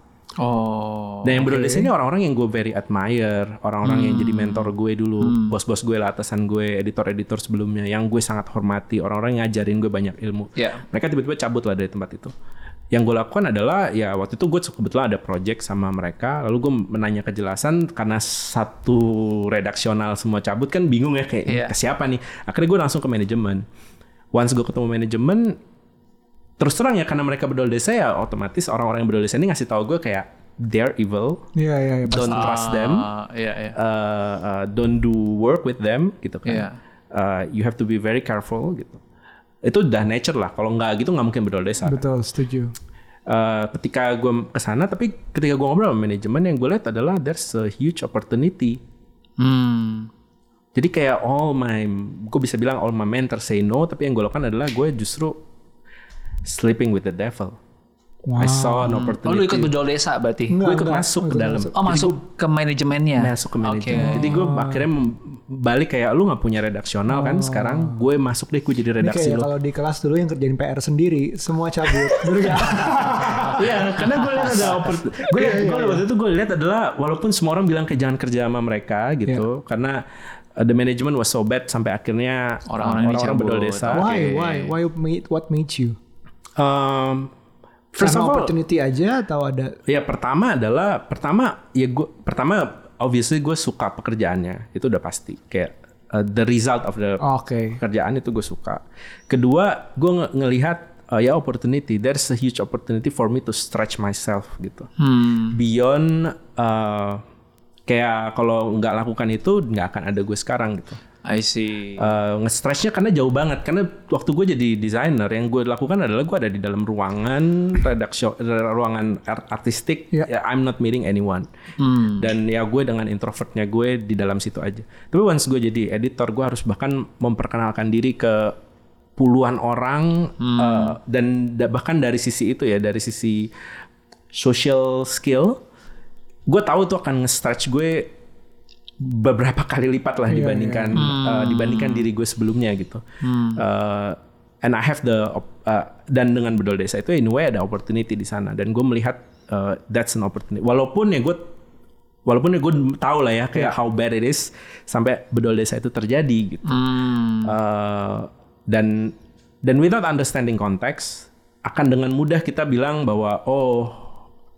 Oh. Dan yang Bedol okay. Desa ini orang-orang yang gue very admire, orang-orang hmm. yang jadi mentor gue dulu, hmm. bos-bos gue lah, atasan gue, editor-editor sebelumnya, yang gue sangat hormati, orang-orang yang ngajarin gue banyak ilmu. Yeah. Mereka tiba-tiba cabut lah dari tempat itu. Yang gue lakukan adalah ya waktu itu gue kebetulan ada project sama mereka, lalu gue menanya kejelasan karena satu redaksional semua cabut kan bingung ya kayak yeah. ke siapa nih. Akhirnya gue langsung ke manajemen. Once gue ketemu manajemen, terus terang ya karena mereka Bedol Desa ya otomatis orang-orang yang Bedol Desa ini ngasih tahu gue kayak they're evil, yeah, yeah, yeah, don't pasti. trust them, uh, yeah, yeah. Uh, uh, don't do work with them gitu kan. Yeah. Uh, you have to be very careful gitu. Itu udah nature lah. Kalau nggak gitu nggak mungkin Bedol Desa. Betul, setuju. Uh, ketika gue kesana, tapi ketika gue ngobrol sama manajemen yang gue lihat adalah there's a huge opportunity. Hmm. Jadi kayak all my, gue bisa bilang all my mentors say no, tapi yang gue lakukan adalah gue justru sleeping with the devil. Wow. I saw an opportunity. Oh, lu ikut Bedol Desa berarti? Gue ikut enggak, masuk enggak, ke dalam. Oh, masuk gua, ke manajemennya? Masuk ke manajemen. Okay. Jadi gue akhirnya balik kayak lu gak punya redaksional oh. kan. Sekarang gue masuk deh, gue jadi redaksi lu. Kalau di kelas dulu yang kerjain P R sendiri, semua cabut. Iya, karena gue lihat ada opportunity. Gue lihat, gue waktu itu gue lihat adalah walaupun semua orang bilang kayak jangan kerja sama mereka gitu. Yeah. Karena uh, the management was so bad sampai akhirnya orang-orang, orang-orang Bedol Desa. Why? Okay. Why? Why? What made you? Um, First Karena of all, opportunity aja atau ada? Ya pertama adalah pertama ya gue pertama obviously gue suka pekerjaannya itu udah pasti kayak uh, the result of the okay. pekerjaan itu gue suka. Kedua gue ng- ngelihat uh, ya opportunity, there's a huge opportunity for me to stretch myself gitu hmm. beyond uh, kayak kalau nggak lakukan itu nggak akan ada gue sekarang gitu. I see. Uh, nge-stretchnya karena jauh banget. Karena waktu gue jadi desainer, yang gue lakukan adalah gue ada di dalam ruangan redaksi, ruangan art- artistik. Yeah. Ya, I'm not meeting anyone. Hmm. Dan ya gue dengan introvertnya gue di dalam situ aja. Tapi once gue jadi editor, gue harus bahkan memperkenalkan diri ke puluhan orang. Hmm. Uh, dan da- bahkan dari sisi itu ya, dari sisi social skill, gue tahu tuh akan nge-stretch gue beberapa kali lipat lah yeah, dibandingkan yeah. Uh, dibandingkan diri gue sebelumnya gitu. Hmm. Uh, and I have the uh, dan dengan Bedol Desa itu in a way ada opportunity di sana dan gue melihat uh, that's an opportunity. Walaupun ya gue walaupun ya gue tahu lah ya kayak yeah. how bad it is sampai Bedol Desa itu terjadi gitu. Hmm. Uh, dan dan without understanding context akan dengan mudah kita bilang bahwa oh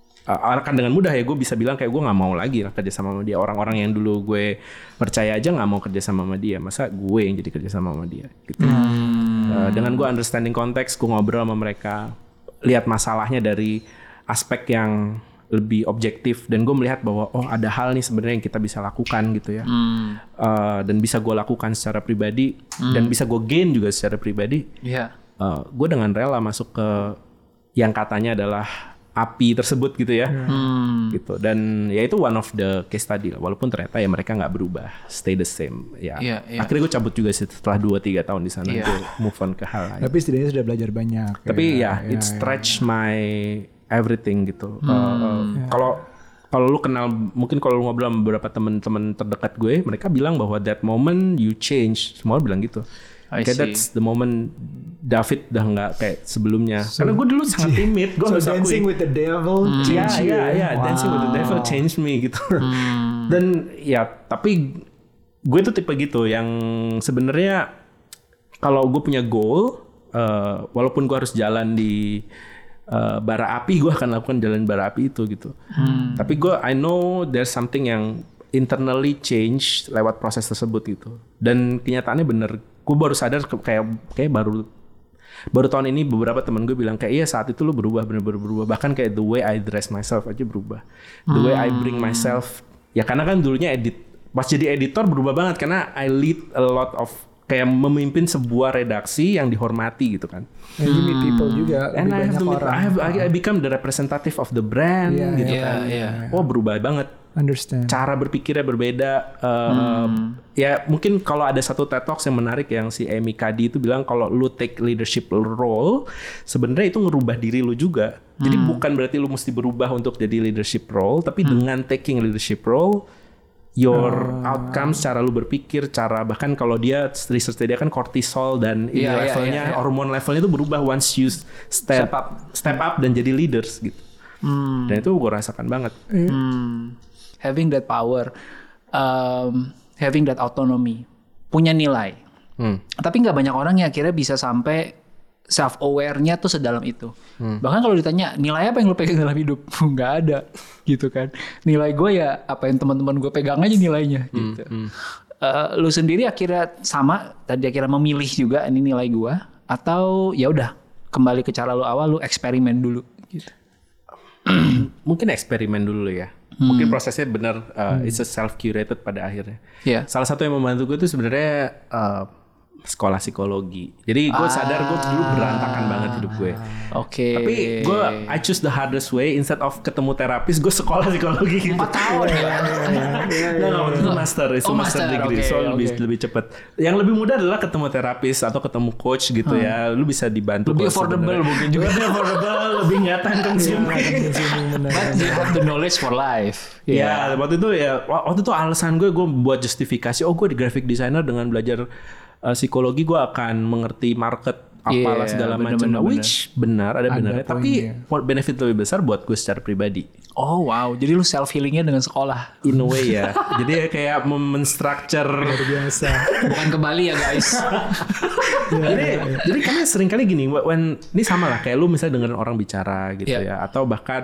akan dengan mudah ya gue bisa bilang kayak gue nggak mau lagi lah kerja sama sama dia. Orang-orang yang dulu gue percaya aja nggak mau kerja sama sama dia, masa gue yang jadi kerja sama sama dia gitu. Hmm. Uh, dengan gue understanding konteks, gue ngobrol sama mereka, lihat masalahnya dari aspek yang lebih objektif dan gue melihat bahwa oh ada hal nih sebenarnya yang kita bisa lakukan gitu ya. Hmm. Uh, dan bisa gue lakukan secara pribadi hmm. dan bisa gue gain juga secara pribadi. Yeah. Uh, gue dengan rela masuk ke yang katanya adalah api tersebut gitu ya, hmm. gitu. Dan ya itu one of the case study lah. Walaupun ternyata ya mereka nggak berubah, stay the same. Ya, yeah, yeah. Akhirnya gue cabut juga setelah dua tiga tahun di sana, yeah. gue move on ke hal lain. Tapi setidaknya sudah belajar banyak. Tapi ya, ya it stretch ya, ya. my everything gitu. Kalau hmm. uh, yeah. kalau kalau lu kenal, mungkin kalau lu ngobrol sama beberapa teman-teman terdekat gue, mereka bilang bahwa that moment you change. Semua orang bilang gitu. Kayak that's the moment David udah nggak kayak sebelumnya. So, karena gue dulu sangat timid. Gue so dancing with the devil hmm. change you. Ya, ya, ya. Wow. Dancing with the devil change me gitu. Hmm. Dan ya, tapi gue tuh tipe gitu yang sebenarnya kalau gue punya goal, uh, walaupun gue harus jalan di uh, bara api, gue akan lakukan jalan bara api itu gitu. Hmm. Tapi gue, I know there's something yang internally change lewat proses tersebut gitu. Dan kenyataannya bener. Gue baru sadar kayak kayak baru baru tahun ini beberapa teman gue bilang kayak iya saat itu lu berubah bener-bener berubah, bahkan kayak the way I dress myself aja berubah, the hmm. way I bring myself ya karena kan dulunya edit pas jadi editor berubah banget karena I lead a lot of kayak memimpin sebuah redaksi yang dihormati gitu kan. And you meet people juga. And I have, to meet, orang. I have I become the representative of the brand yeah, gitu yeah, kan. Yeah, yeah. Oh berubah banget. Understand. Cara berpikirnya berbeda. Uh, hmm. Ya mungkin kalau ada satu TED Talks yang menarik yang si Amy Cuddy itu bilang kalau lu take leadership role, sebenarnya itu ngerubah diri lu juga. Hmm. Jadi bukan berarti lu mesti berubah untuk jadi leadership role, tapi hmm. dengan taking leadership role, your uh. outcomes, cara lu berpikir, cara bahkan kalau dia research dia kan cortisol dan ini yeah, levelnya, yeah, yeah, yeah. hormon levelnya itu berubah once you step, step up, step up dan jadi leaders gitu. Hmm. Dan itu gue rasakan banget. Hmm. Having that power, um, having that autonomy, punya nilai. Hmm. Tapi nggak banyak orang yang akhirnya bisa sampai self aware-nya tuh sedalam itu. Hmm. Bahkan kalau ditanya nilai apa yang lu pegang dalam hidup, nggak ada, gitu kan. Nilai gue ya apa yang teman-teman gue pegang aja nilainya, hmm. gitu. Hmm. Uh, lu sendiri akhirnya sama, tadi akhirnya memilih juga ini nilai gue, atau ya udah kembali ke cara lu awal, lu eksperimen dulu, gitu. Mungkin eksperimen dulu ya. Hmm. Mungkin prosesnya benar uh, hmm. it's a self curated pada akhirnya. Yeah. Salah satu yang membantu gue itu sebenarnya uh, sekolah psikologi. Jadi gue ah. sadar gue dulu berantakan banget hidup gue. Oke. Okay. Tapi gue I choose the hardest way instead of ketemu terapis, gue sekolah psikologi gitu. Empat tahun ya. Nah, waktu itu master, itu oh, master, master degree, okay, so okay. lebih lebih cepat. Yang lebih mudah adalah ketemu terapis atau ketemu coach gitu hmm. ya. Lu bisa dibantu. Lebih affordable mungkin juga. Lebih affordable, lebih nggak time consuming. But you have the knowledge for life. Ya, yeah. waktu itu ya, waktu itu alasan gue gue buat justifikasi. Oh, gue di graphic designer dengan belajar uh, psikologi gue akan mengerti market apalah yeah, segala macam, which benar ada, ada benarnya, tapi benefit lebih besar buat gue secara pribadi. Oh wow, jadi lu self healingnya dengan sekolah. In a way ya, jadi kayak menstructure luar biasa. Bukan ke Bali ya guys. ya, jadi ya, ya. jadi karena sering kali gini, when ini sama lah kayak lu misalnya dengerin orang bicara gitu yeah. ya, atau bahkan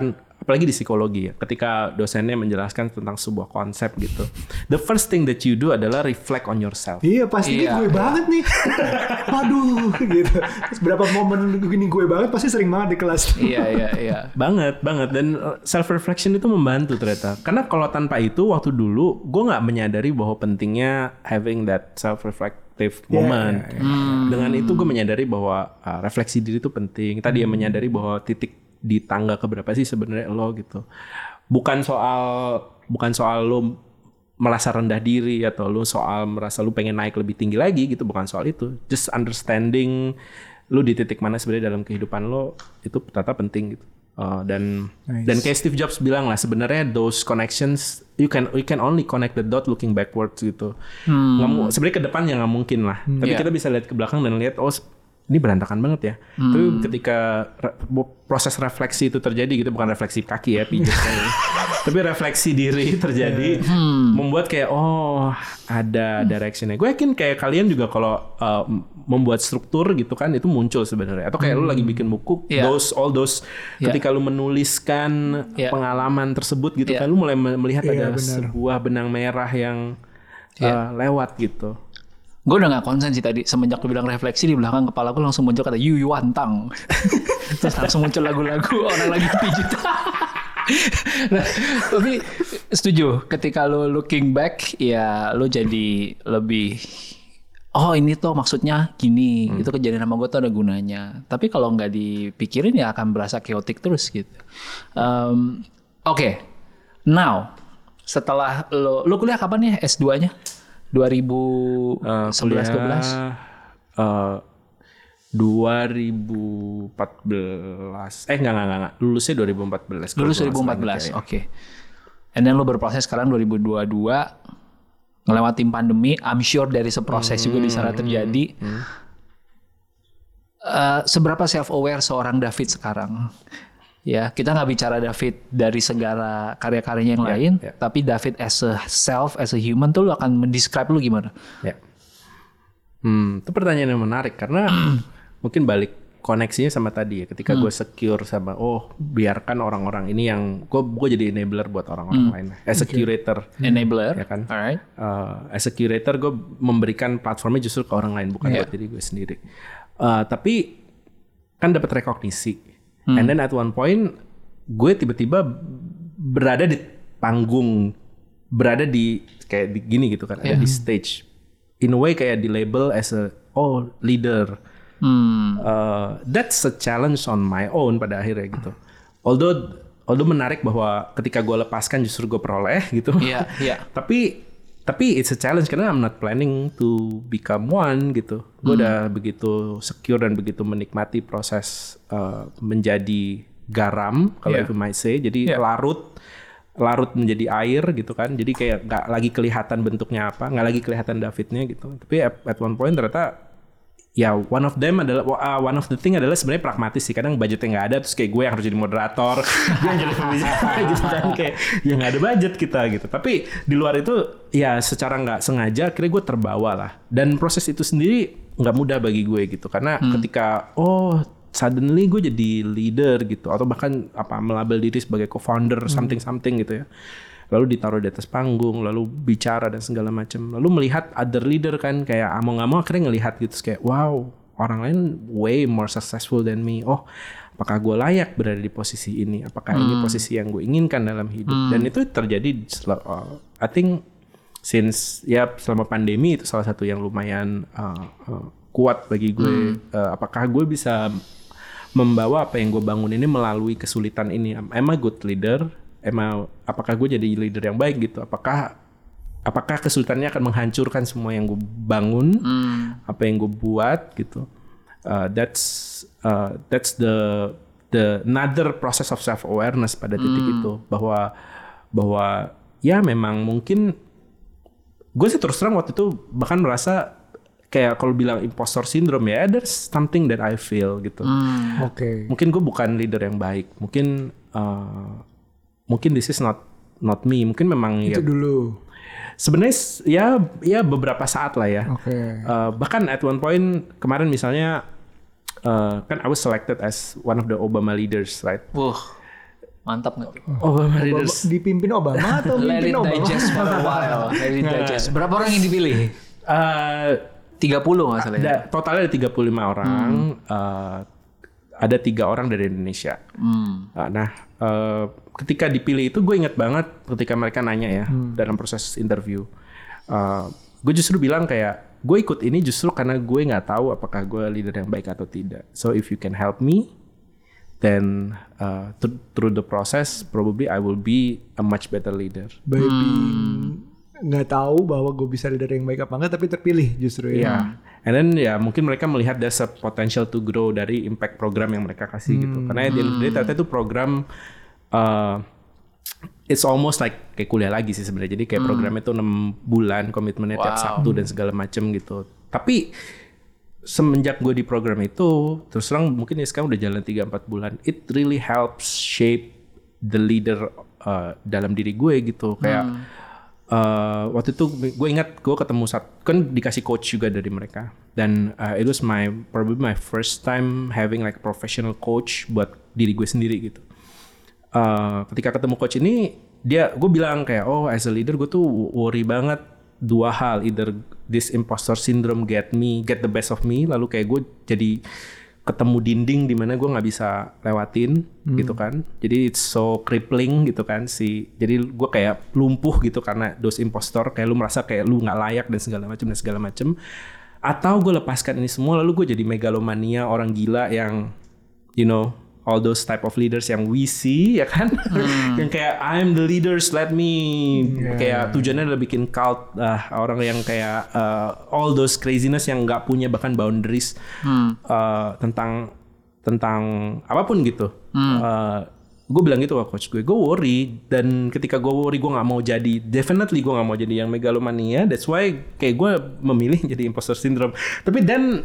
apalagi di psikologi ya, ketika dosennya menjelaskan tentang sebuah konsep gitu, the first thing that you do adalah reflect on yourself. Iya pasti iya. Gue banget nih. Waduh gitu. Terus berapa momen gini gue banget pasti sering banget di kelas. Iya iya iya. Banget banget dan self reflection itu membantu ternyata. Karena kalau tanpa itu waktu dulu gue nggak menyadari bahwa pentingnya having that self reflective moment. Yeah, yeah, yeah. Hmm. Dengan itu gue menyadari bahwa uh, refleksi diri itu penting. Tadi hmm. ya menyadari bahwa titik di tangga keberapa sih sebenarnya lo gitu. Bukan soal bukan soal lo merasa rendah diri atau lo soal merasa lo pengen naik lebih tinggi lagi gitu, bukan soal itu. Just understanding lo di titik mana sebenarnya dalam kehidupan lo itu ternyata penting gitu. Uh, dan nice. Dan kayak Steve Jobs bilang lah sebenarnya those connections you can you can only connect the dot looking backwards gitu. Hmm. Nggak, sebenarnya ke depan ya nggak mungkin lah. Hmm. Tapi yeah. kita bisa lihat ke belakang dan lihat oh ini berantakan banget ya. Hmm. Tapi ketika re- proses refleksi itu terjadi gitu, bukan refleksi kaki ya, pijat kayak tapi refleksi diri terjadi, hmm. membuat kayak oh ada directionnya. Gue yakin kayak kalian juga kalau uh, membuat struktur gitu kan itu muncul sebenarnya. Atau kayak hmm. lu lagi bikin buku, yeah. those all those yeah. ketika lu menuliskan yeah. pengalaman tersebut gitu yeah. kan, lu mulai melihat yeah, ada bener. sebuah benang merah yang yeah. uh, lewat gitu. Gue udah gak konsen sih tadi. Semenjak lu bilang refleksi, di belakang kepala gue langsung muncul kata Yu Yuantang. Terus langsung muncul lagu-lagu orang lagi pijit. Nah, tapi setuju. Ketika lu looking back, ya lu jadi lebih oh ini tuh maksudnya gini. Hmm. Itu kejadian sama gue tuh ada gunanya. Tapi kalau gak dipikirin ya akan berasa chaotic terus gitu. Um, Oke. Okay. Now, setelah lu, lu kuliah kapan ya S dua-nya? dua ribu sebelas dua belas uh, dua ribu empat belas eh enggak enggak enggak lulusnya dua ribu empat belas lulus dua ribu empat belas oke okay. And then lo berproses sekarang dua ribu dua puluh dua ngelewatin pandemi. I'm sure dari seproses hmm, juga di sana terjadi. hmm. Uh, seberapa self aware seorang David sekarang? Ya, kita nggak bicara David dari segala karya-karyanya yang yeah, lain, yeah. tapi David as a self, as a human tuh lu akan mendescribe lu gimana? Ya, yeah. hmm, itu pertanyaan yang menarik karena mungkin balik koneksinya sama tadi ya. Ketika hmm. gue secure sama, oh biarkan orang-orang ini yang gue gue jadi enabler buat orang-orang hmm. lain, as a curator, enabler, ya kan? Alright. Uh, as a curator gue memberikan platformnya justru ke orang lain bukan yeah. buat diri gue sendiri. Uh, tapi kan dapat rekognisi. Hmm. And then at one point gue tiba-tiba berada di panggung, berada di kayak di, gini gitu kan, yeah. ada di stage. In a way kayak di label as a oh leader. Hmm. Uh, that's a challenge on my own pada akhirnya gitu. Although although menarik bahwa ketika gue lepaskan justru gue peroleh gitu. Iya, yeah, iya. Yeah. tapi tapi it's a challenge karena I'm not planning to become one gitu. Gue hmm. udah begitu secure dan begitu menikmati proses uh, menjadi garam kalau yeah. if you might say. Jadi yeah. larut larut menjadi air gitu kan. Jadi kayak nggak lagi kelihatan bentuknya apa, nggak lagi kelihatan Davidnya gitu. Tapi at, at one point ternyata ya one of them adalah uh, one of the thing adalah sebenarnya pragmatis sih. Kadang budgetnya nggak ada, terus kayak gue yang harus jadi moderator, gue yang jadi pembicara gitu kan, kayak ya nggak ada budget kita gitu. Tapi di luar itu ya secara nggak sengaja akhirnya gue terbawa lah. Dan proses itu sendiri nggak mudah bagi gue gitu karena hmm. ketika oh suddenly gue jadi leader gitu atau bahkan apa melabel diri sebagai co-founder hmm. something something gitu ya. Lalu ditaruh di atas panggung, lalu bicara dan segala macam. Lalu melihat other leader kan kayak mau nggak mau akhirnya ngelihat gitu kayak wow orang lain way more successful than me. Oh apakah gue layak berada di posisi ini? Apakah hmm. ini posisi yang gue inginkan dalam hidup? Hmm. Dan itu terjadi uh, I think since ya selama pandemi itu salah satu yang lumayan uh, uh, kuat bagi gue. Hmm. Uh, apakah gue bisa membawa apa yang gue bangun ini melalui kesulitan ini? Am I a good leader? Emang apakah gue jadi leader yang baik gitu? Apakah apakah kesulitannya akan menghancurkan semua yang gue bangun, hmm. apa yang gue buat gitu? Uh, that's uh, that's the the another process of self awareness pada titik hmm. itu bahwa bahwa ya memang mungkin gue sih terus terang waktu itu bahkan merasa kayak kalau bilang impostor syndrome ya, there's something that I feel gitu. Hmm. Oke. Okay. Mungkin gue bukan leader yang baik, mungkin uh, mungkin this is not not me. Mungkin memang itu ya, dulu. Sebenarnya ya ya beberapa saat lah ya. Okay. Uh, bahkan at one point kemarin misalnya uh, kan I was selected as one of the Obama leaders, right? Wah. Mantap nggak tuh? Obama Leaders. Obama, dipimpin Obama atau Let mimpin it Obama? digest for a while. Let it digest. Berapa orang yang dipilih? Uh, tiga puluh nggak salah ya? Ada, totalnya ada tiga puluh lima orang. Hmm. Uh, ada tiga orang dari Indonesia. Hmm. Nah, uh, ketika dipilih itu gue ingat banget ketika mereka nanya ya hmm. dalam proses interview. Uh, gue justru bilang kayak gue ikut ini justru karena gue nggak tahu apakah gue leader yang baik atau tidak. So if you can help me, then uh, th- through the process probably I will be a much better leader. Baby nggak hmm. tahu bahwa gue bisa leader yang baik apa enggak, tapi terpilih justru ya. Yeah. And then ya mungkin mereka melihat there's a potential to grow dari impact program yang mereka kasih hmm. gitu. Karena di end of the day ternyata itu program uh, it's almost like kayak kuliah lagi sih sebenarnya. Jadi kayak hmm. programnya itu enam bulan, komitmennya wow. tiap Sabtu dan segala macam gitu. Tapi semenjak gue di program itu, terus terang mungkin ya sekarang udah jalan tiga empat bulan. It really helps shape the leader uh, dalam diri gue gitu. Kayak hmm. uh, waktu itu gue ingat gue ketemu saat kan dikasih coach juga dari mereka. Dan uh, it was my probably my first time having like a professional coach buat diri gue sendiri gitu. Uh, ketika ketemu coach ini, dia gue bilang kayak oh as a leader gue tuh worry banget dua hal, either this imposter syndrome get me get the best of me, lalu kayak gue jadi ketemu dinding di mana gue nggak bisa lewatin hmm. gitu kan, jadi it's so crippling gitu kan sih, jadi gue kayak lumpuh gitu karena those impostor, kayak lu merasa kayak lu nggak layak dan segala macam dan segala macam, atau gue lepaskan ini semua lalu gue jadi megalomania orang gila yang you know all those type of leaders yang we see ya kan, hmm. yang kayak I'm the leaders, let me yeah. kayak tujuannya adalah bikin cult uh, orang yang kayak uh, all those craziness yang nggak punya bahkan boundaries hmm. uh, tentang tentang apapun gitu. Hmm. Uh, gue bilang gitu ke coach gue, gue worry, dan ketika gue worry gue nggak mau jadi, definitely gue nggak mau jadi yang megalomania, that's why kayak gue memilih jadi imposter syndrome. Tapi then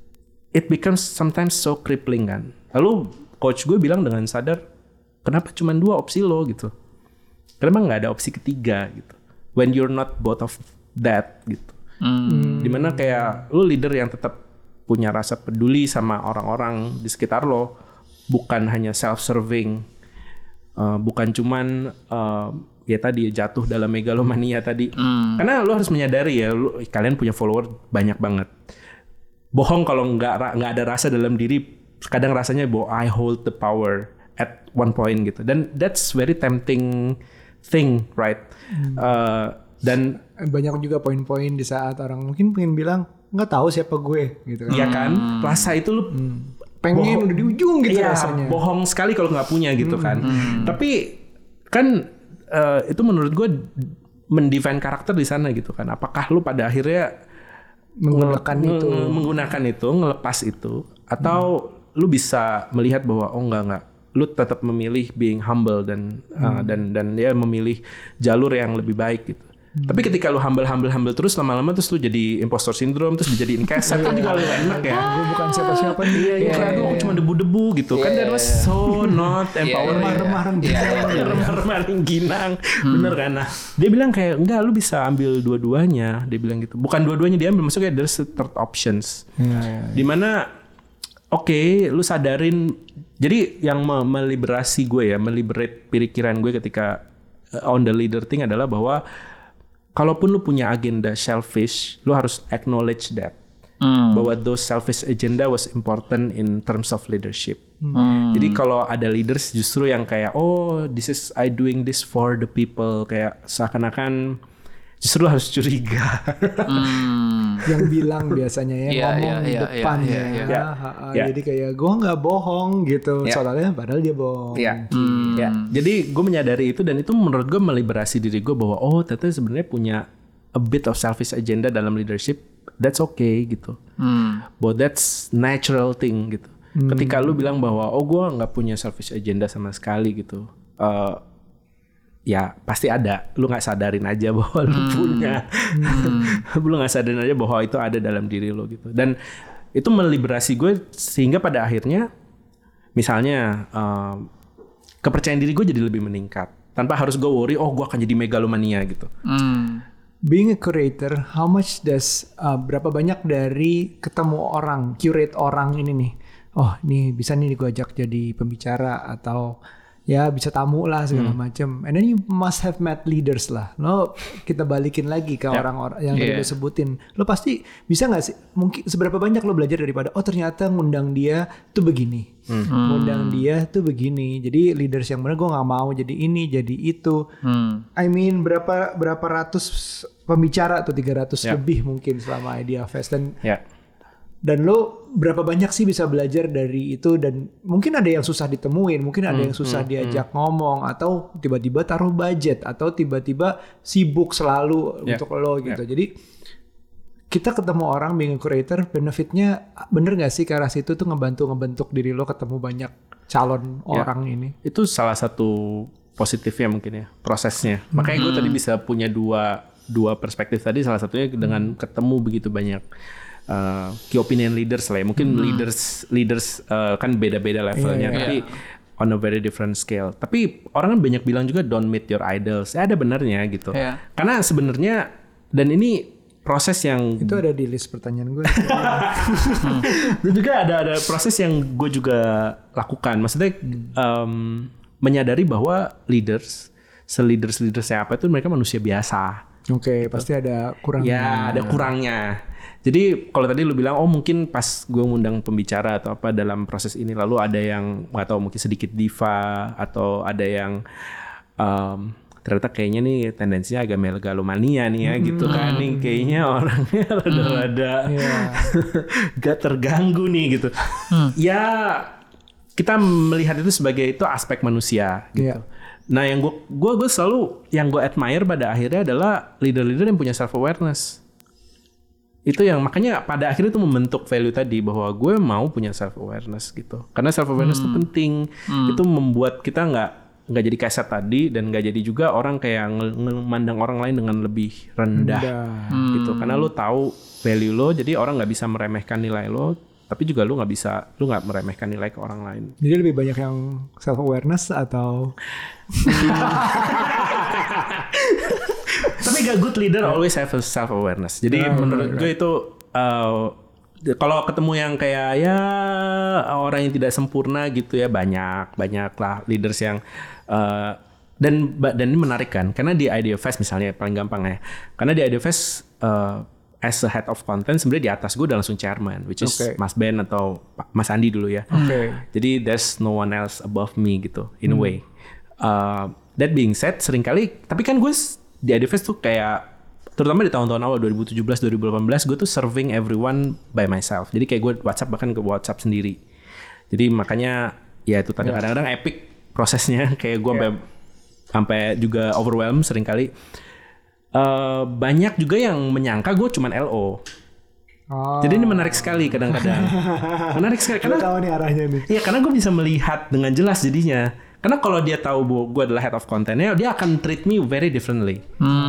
it becomes sometimes so crippling kan. Lalu coach gue bilang dengan sadar, kenapa cuma dua opsi lo gitu? Kenapa nggak ada opsi ketiga gitu? When you're not both of that gitu. Hmm. Dimana kayak lo leader yang tetap punya rasa peduli sama orang-orang di sekitar lo, bukan hanya self-serving, uh, bukan cuman uh, ya tadi jatuh dalam megalomania tadi. Hmm. Karena lo harus menyadari ya, lo, kalian punya follower banyak banget. Bohong kalau nggak nggak ada rasa dalam diri. Kadang rasanya bahwa I hold the power at one point gitu, dan that's very tempting thing, right? Hmm. Uh, dan banyak juga poin-poin di saat orang mungkin pengen bilang nggak tahu siapa gue gitu kan? Iya kan, hmm. rasa itu lu hmm. pengen bohong, udah di ujung gitu iya, rasanya. Bohong sekali kalau nggak punya gitu hmm. kan. Hmm. Tapi kan uh, itu menurut gue mendefine karakter di sana gitu kan. Apakah lu pada akhirnya menggunakan nge- itu, menggunakan itu, ngelepas itu, atau hmm. lu bisa melihat bahwa oh enggak enggak, lu tetap memilih being humble dan hmm. uh, dan dan dia memilih jalur yang lebih baik gitu. Hmm. Tapi ketika lu humble humble humble terus lama-lama terus lu jadi impostor syndrome, terus dijadiin keset kan juga gak enak ya. Gue bukan siapa-siapa nih. Iya, iya, iya, aku cuma debu-debu gitu kan, that was so not empowering. Remah-remah ginang. Remah-remah ginang. Bener kan? Nah, dia bilang kayak enggak, lu bisa ambil dua-duanya. Dia bilang gitu. Bukan dua-duanya diambil, maksudnya there's third options. Dimana oke, okay, lu sadarin. Jadi yang me- meliberasi gue ya, meliberate pikiran gue ketika uh, on the leader thing adalah bahwa kalaupun lu punya agenda selfish, lu harus acknowledge that. Mm. Bahwa those selfish agenda was important in terms of leadership. Mm. Jadi kalau ada leaders justru yang kayak, oh this is I doing this for the people. Kayak seakan-akan justru lu harus curiga. Mm. Yang bilang biasanya ya, yeah, ngomong di yeah, depan yeah, yeah, ya. Yeah, yeah. Yeah. Jadi kayak gue gak bohong gitu. Yeah. Soalnya padahal dia bohong. Yeah. Mm. Yeah. Jadi gue menyadari itu, dan itu menurut gue meliberasi diri gue bahwa oh ternyata sebenarnya punya a bit of selfish agenda dalam leadership. That's okay gitu. Mm. But that's natural thing gitu. Mm. Ketika lu bilang bahwa oh gue gak punya selfish agenda sama sekali gitu. Uh, ya pasti ada, lu nggak sadarin aja bahwa lu hmm. punya, hmm. lu nggak sadarin aja bahwa itu ada dalam diri lu gitu. Dan itu meliberasi gue sehingga pada akhirnya, misalnya uh, kepercayaan diri gue jadi lebih meningkat tanpa harus gue worry, oh gue akan jadi megalomania gitu. Hmm. Being a curator, how much does uh, berapa banyak dari ketemu orang, curate orang ini nih, oh nih bisa nih gue ajak jadi pembicara atau ya bisa tamu lah segala hmm. macam. And then you must have met leaders lah. Lo kita balikin lagi ke yeah. orang-orang yang yeah. tadi lo sebutin. Lo pasti bisa nggak sih? Mungkin seberapa banyak lo belajar daripada oh ternyata ngundang dia tuh begini, hmm. ngundang dia tuh begini. Jadi leaders yang benar gue nggak mau jadi ini jadi itu. Hmm. I mean berapa berapa ratus pembicara atau tiga ratus yeah. lebih mungkin selama Idea Fest dan. Yeah. Dan lo berapa banyak sih bisa belajar dari itu dan mungkin ada yang susah ditemuin, mungkin ada hmm, yang susah hmm, diajak hmm. ngomong atau tiba-tiba taruh budget atau tiba-tiba sibuk selalu yeah. untuk lo gitu. Yeah. Jadi kita ketemu orang being a creator, benefitnya bener gak sih ke arah situ tuh ngebantu ngebentuk diri lo ketemu banyak calon yeah. orang ini? Itu salah satu positifnya mungkin ya prosesnya. Hmm. Makanya gue tadi bisa punya dua dua perspektif tadi. Salah satunya dengan ketemu begitu banyak. Uh, key opinion leaders lah ya. Mungkin hmm. leaders leaders uh, kan beda-beda levelnya, yeah, yeah, tapi yeah. on a very different scale. Tapi orang kan banyak bilang juga don't meet your idols. Ya ada benarnya gitu. Yeah. Karena sebenarnya dan ini proses yang itu ada di list pertanyaan gue. Dan juga ada ada proses yang gue juga lakukan. Maksudnya um, menyadari bahwa leaders, se-leaders leaders siapa itu mereka manusia biasa. Oke, okay, gitu. Pasti ada kurangnya. Ya, ada kurangnya. Jadi kalau tadi lu bilang, oh mungkin pas gue ngundang pembicara atau apa dalam proses ini, lalu ada yang nggak tahu mungkin sedikit diva atau ada yang um, ternyata kayaknya nih tendensinya agak megalomania nih ya hmm. gitu kan nih kayaknya orangnya rada-rada yeah. gak terganggu nih gitu. Hmm. Ya kita melihat itu sebagai itu aspek manusia gitu. Yeah. Nah yang gue gue gue selalu yang gue admire pada akhirnya adalah leader-leader yang punya self awareness. Itu yang makanya pada akhirnya itu membentuk value tadi bahwa gue mau punya self awareness gitu. Karena self awareness itu hmm. penting. Hmm. Itu membuat kita nggak nggak jadi kaset tadi dan nggak jadi juga orang kayak memandang orang lain dengan lebih rendah hmm. gitu. Karena lo tahu value lo, jadi orang nggak bisa meremehkan nilai lo. Tapi juga lu nggak bisa, lu nggak meremehkan nilai ke orang lain. Jadi lebih banyak yang self awareness atau? Tapi gak good leader always have a self awareness. Jadi oh, menurut right. gue itu uh, kalau ketemu yang kayak ya orang yang tidak sempurna gitu ya banyak banyak lah leaders yang uh, dan dan ini menarik kan karena di Idea Fest misalnya paling gampang ya. Karena di Idea Fest uh, as a head of content sebenarnya di atas gue udah langsung chairman which is okay. Mas Ben atau Mas Andi dulu ya. Okay. Jadi there's no one else above me gitu in hmm. a way. Uh, that being said seringkali tapi kan gue di Idea Fest tuh kayak terutama di tahun-tahun awal dua ribu tujuh belas dua ribu delapan belas gue tuh serving everyone by myself. Jadi kayak gue WhatsApp bahkan ke WhatsApp sendiri. Jadi makanya ya itu yeah. kadang-kadang epic prosesnya kayak gue sampai yeah. sampai juga overwhelmed seringkali. Uh, banyak juga yang menyangka gue cuman L O. Oh. Jadi ini menarik sekali kadang-kadang. Menarik sekali karena tahu nih arahnya nih. Iya, karena gue bisa melihat dengan jelas jadinya. Karena kalau dia tahu bahwa gue adalah head of content-nya, dia akan treat me very differently.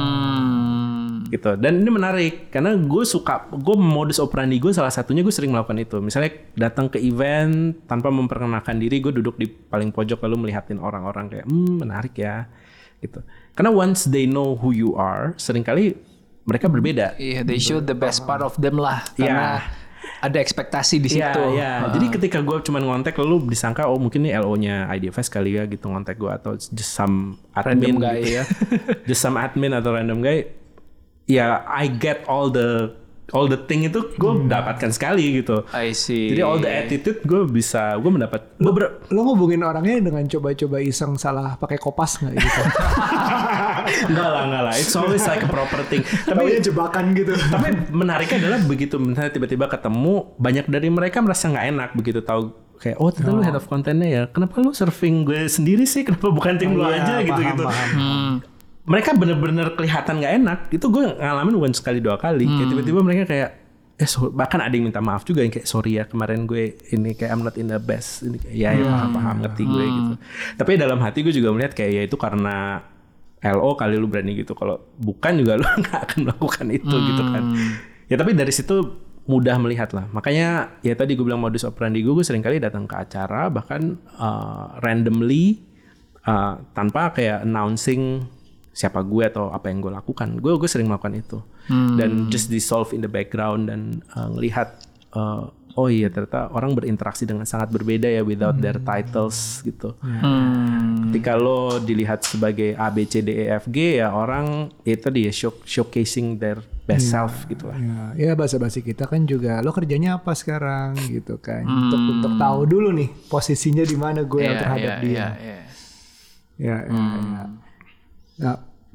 Hmm. Gitu. Dan ini menarik karena gue suka, gue modus operandi gue salah satunya gue sering melakukan itu. Misalnya datang ke event tanpa memperkenalkan diri, gue duduk di paling pojok lalu melihatin orang-orang kayak, hmm menarik ya. Gitu. Karena once they know who you are, seringkali mereka berbeda. Iya, yeah, they show the best part of them lah. Karena yeah. ada ekspektasi di situ. Yeah, yeah. Uh. Jadi ketika gue cuma ngontek, lalu disangka oh mungkin ini L O-nya Idea Fest kali ya gitu ngontek gue atau just some admin guy gitu ya, just some admin atau random guy. Ya, yeah, I get all the all the thing itu gue hmm. dapatkan sekali gitu. I see. Jadi all the attitude gue bisa gue mendapat. Lo, ber- lo ngubungin orangnya dengan coba-coba iseng salah pakai kopas nggak gitu? Enggak lah, enggak lah. It's always like a proper thing. Tapi jebakan gitu. Tapi menariknya adalah begitu misalnya tiba-tiba ketemu banyak dari mereka merasa nggak enak begitu tahu kayak oh ternyata oh. lu head of content-nya ya. Kenapa lu serving gue sendiri sih? Kenapa bukan tim oh, lu iya, aja paham, gitu-gitu. Paham. Hmm. Mereka bener-bener kelihatan gak enak. Itu gue ngalamin bukan sekali dua kali. Hmm. Kayak tiba-tiba mereka kayak, eh so, bahkan ada yang minta maaf juga yang kayak sorry ya kemarin gue ini kayak I'm not in the best. Ini kayak, ya, ya paham-paham ngerti gue hmm. gitu. Tapi dalam hati gue juga melihat kayak ya itu karena L O kali lu berani gitu. Kalau bukan juga lu gak akan melakukan itu hmm. gitu kan. Ya tapi dari situ mudah melihat lah. Makanya ya tadi gue bilang modus operandi gue, gue sering kali datang ke acara bahkan uh, randomly uh, tanpa kayak announcing siapa gue atau apa yang gue lakukan. Gue gue sering melakukan itu. Hmm. Dan just dissolve in the background dan uh, ngelihat uh, oh iya ternyata orang berinteraksi dengan sangat berbeda ya without hmm. their titles gitu. Hmm. Ketika lo dilihat sebagai A B C D E F G ya orang itu dia show, showcasing their best yeah. self gitu lah. Ya, ya bahasa-bahasa kita kan juga lo kerjanya apa sekarang gitu kan. Hmm. Untuk untuk tahu dulu nih posisinya di mana gue yeah, terhadap yeah, dia. Yeah, yeah. Ya, ya, hmm. ya. Nah,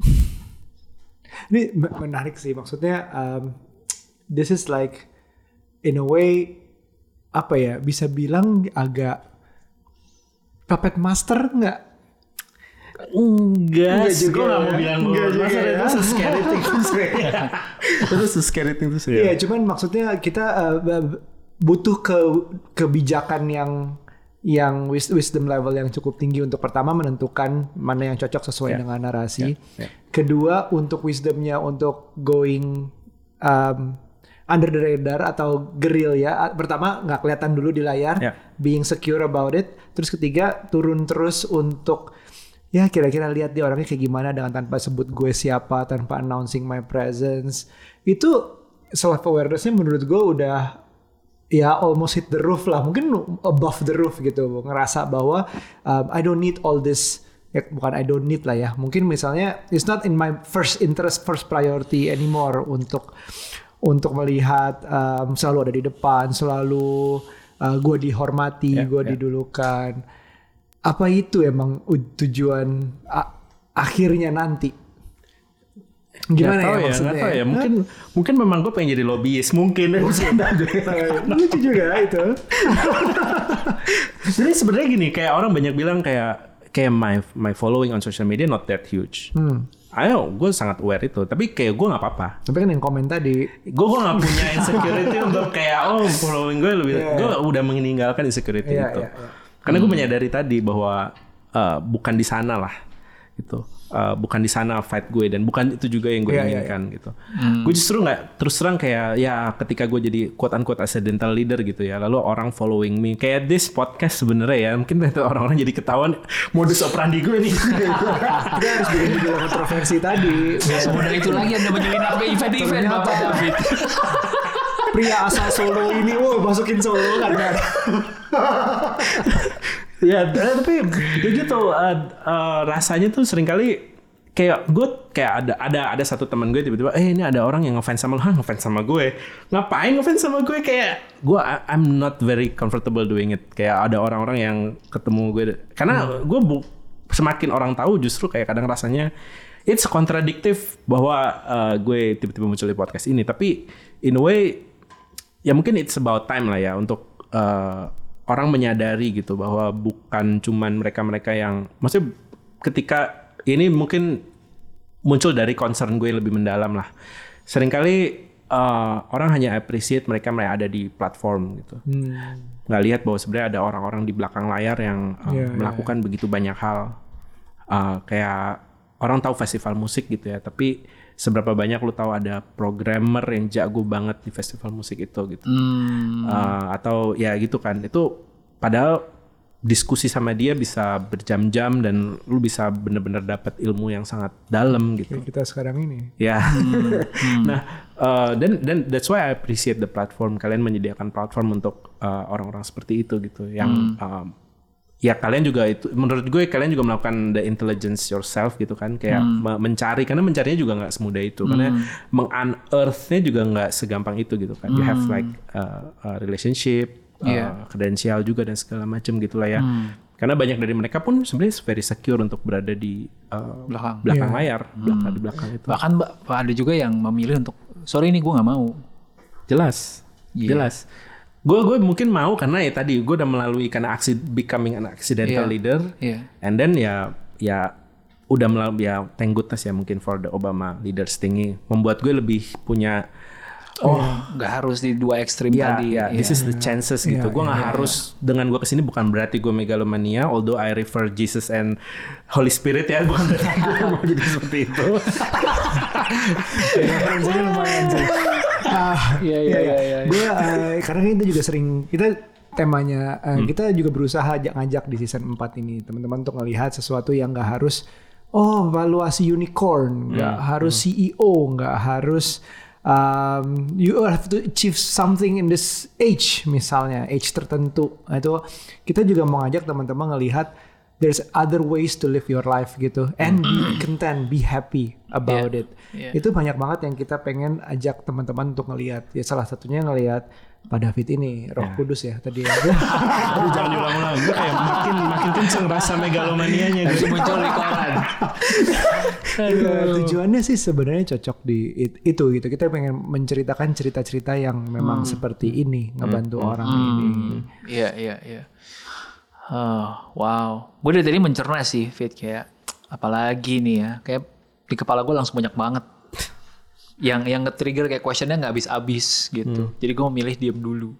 ini menarik sih maksudnya. Um, this is like in a way apa ya bisa bilang agak puppet master nggak? Enggak, gue nggak mau bilang enggak juga master ya. itu scary thing tuh sih. Itu scary thing tuh sih. Iya, cuman maksudnya kita uh, butuh ke kebijakan yang yang wisdom level yang cukup tinggi untuk pertama menentukan mana yang cocok sesuai yeah. dengan narasi. Yeah. Yeah. Kedua untuk wisdomnya untuk going um, under the radar atau geril ya. Pertama nggak kelihatan dulu di layar, yeah. being secure about it. Terus ketiga turun terus untuk ya kira-kira lihat dia orangnya kayak gimana dengan tanpa sebut gue siapa, tanpa announcing my presence. Itu self awareness-nya menurut gue udah ya almost hit the roof lah, mungkin above the roof gitu, ngerasa bahwa um, I don't need all this, ya bukan I don't need lah ya, mungkin misalnya it's not in my first interest, first priority anymore untuk untuk melihat um, selalu ada di depan, selalu uh, gue dihormati, yeah, gue yeah. didulukan. Apa itu emang tujuan a- akhirnya nanti? Gimana gak ya, ya maksudnya? Gak tahu ya, mungkin Hah? mungkin memang gue pengen jadi lobbyis mungkin. Lucu juga itu. Jadi sebenarnya gini, kayak orang banyak bilang kayak kayak my my following on social media not that huge. Hmm. Ayo, gue sangat aware itu, tapi kayak gue nggak apa-apa. Tapi kan yang komen tadi, gue gue nggak punya insecurity untuk kayak oh following gue lebih, yeah. gue udah meninggalkan insecurity yeah, itu. Yeah, yeah. Karena hmm. gue menyadari tadi bahwa uh, bukan di sana lah, gitu. Uh, bukan di sana fight gue dan bukan itu juga yang gue yeah, inginkan yeah, yeah. gitu. Hmm. Gue justru nggak terus terang kayak ya ketika gue jadi quote unquote accidental leader gitu ya, lalu orang following me kayak this podcast sebenarnya ya mungkin orang-orang jadi ketahuan modus operandi gue nih. Kita harus bikin video kontroversi tadi. Ya semudah itu lagi Anda menyelinap ke event-event Bapak David. Pria asal Solo ini, wow masukin Solo kan? Ya, tapi ya gitu uh, uh, rasanya tuh seringkali kayak gue kayak ada ada ada satu teman gue tiba-tiba eh ini ada orang yang ngefans sama lo, hah ngefans sama gue, ngapain ngefans sama gue, kayak gue I'm not very comfortable doing it, kayak ada orang-orang yang ketemu gue karena hmm. gue bu, semakin orang tahu justru kayak kadang rasanya it's contradictive bahwa uh, gue tiba-tiba muncul di podcast ini, tapi in a way ya mungkin it's about time lah ya untuk uh, orang menyadari gitu bahwa bukan cuman mereka-mereka yang maksudnya ketika ini mungkin muncul dari concern gue lebih mendalam lah. Seringkali uh, orang hanya appreciate mereka yang ada di platform gitu. Hmm. Nggak lihat bahwa sebenarnya ada orang-orang di belakang layar yang uh, yeah, melakukan yeah. begitu banyak hal. Uh, kayak orang tahu festival musik gitu ya, tapi seberapa banyak lu tahu ada programmer yang jago banget di festival musik itu gitu. Hmm. Uh, atau ya gitu kan. Itu padahal diskusi sama dia bisa berjam-jam dan lu bisa bener-bener dapat ilmu yang sangat dalam gitu. Kayak kita sekarang ini. Ya. Hmm. Nah, uh, dan dan that's why I appreciate the platform. Kalian menyediakan platform untuk uh, orang-orang seperti itu gitu yang hmm. um, ya kalian juga itu menurut gue kalian juga melakukan the intelligence yourself gitu kan, kayak hmm. mencari, karena mencarinya juga nggak semudah itu, hmm. karena meng-unearth-nya juga nggak segampang itu gitu kan. Hmm. You have like uh, a relationship, yeah. uh, kredensial juga dan segala macam gitulah ya. Hmm. Karena banyak dari mereka pun sebenarnya very secure untuk berada di uh, belakang belakang yeah. layar, hmm. belakang di belakang itu. Bahkan ada juga yang memilih untuk sorry ini gue nggak mau. Jelas, yeah. jelas. Gue gue mungkin mau karena ya tadi gue udah melalui karena aksi becoming an accidental yeah. leader, yeah. and then ya ya udah melalui ya thank goodness ya mungkin for the Obama leaders thingy membuat gue lebih punya oh nggak oh, harus di dua ekstrim yeah, tadi. Yeah, this yeah. is the chances yeah, gitu. Gue nggak yeah, harus yeah. dengan gue kesini bukan berarti gue megalomania, although I refer Jesus and Holy Spirit ya, bukan berarti gue mau jadi seperti itu. Referensinya lumayan sih. Ah, iya iya iya. Gue uh, karena kita juga sering kita temanya uh, hmm. kita juga berusaha ngajak di season empat ini teman-teman untuk ngelihat sesuatu yang nggak harus oh valuasi unicorn, nggak hmm. harus hmm. C E O, nggak harus um, you have to achieve something in this age, misalnya age tertentu. Nah, itu kita juga mau ngajak teman-teman ngelihat there's other ways to live your life gitu, and be content, be happy about yeah. it. Yeah. Itu banyak banget yang kita pengen ajak teman-teman untuk ngelihat. Ya salah satunya ngelihat Pak David ini, Roh yeah. Kudus ya tadi. Aduh jangan diulang-ulang, gue kayak makin makin kenceng rasa megalomanianya gitu. Muncul di koran. Ya, tujuannya sih sebenarnya cocok di it, itu gitu. Kita pengen menceritakan cerita-cerita yang memang hmm. seperti ini, ngebantu hmm. orang hmm. ini. Iya iya iya. Oh, wow, gue dari tadi mencerna sih, Fit, kayak apalagi nih ya, kayak di kepala gue langsung banyak banget yang yang nge-trigger kayak questionnya nggak habis-habis gitu. Hmm. Jadi gue memilih diem dulu,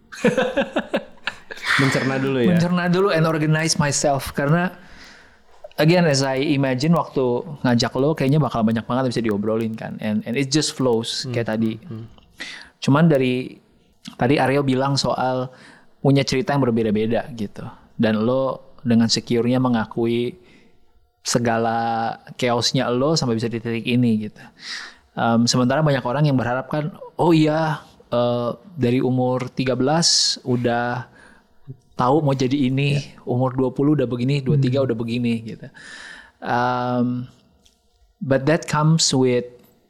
mencerna dulu ya, mencerna dulu and organize myself, karena again as I imagine waktu ngajak lo kayaknya bakal banyak banget bisa diobrolin kan, and and it just flows hmm. kayak tadi. Hmm. Cuman dari tadi Aryo bilang soal punya cerita yang berbeda-beda gitu. Dan lo dengan secure-nya mengakui segala chaos-nya lo sampai bisa di titik ini gitu. Um, sementara banyak orang yang berharap kan, oh iya uh, dari umur tiga belas udah tahu mau jadi ini, yeah. umur dua puluh udah begini, dua puluh tiga hmm. udah begini gitu. Um, but that comes with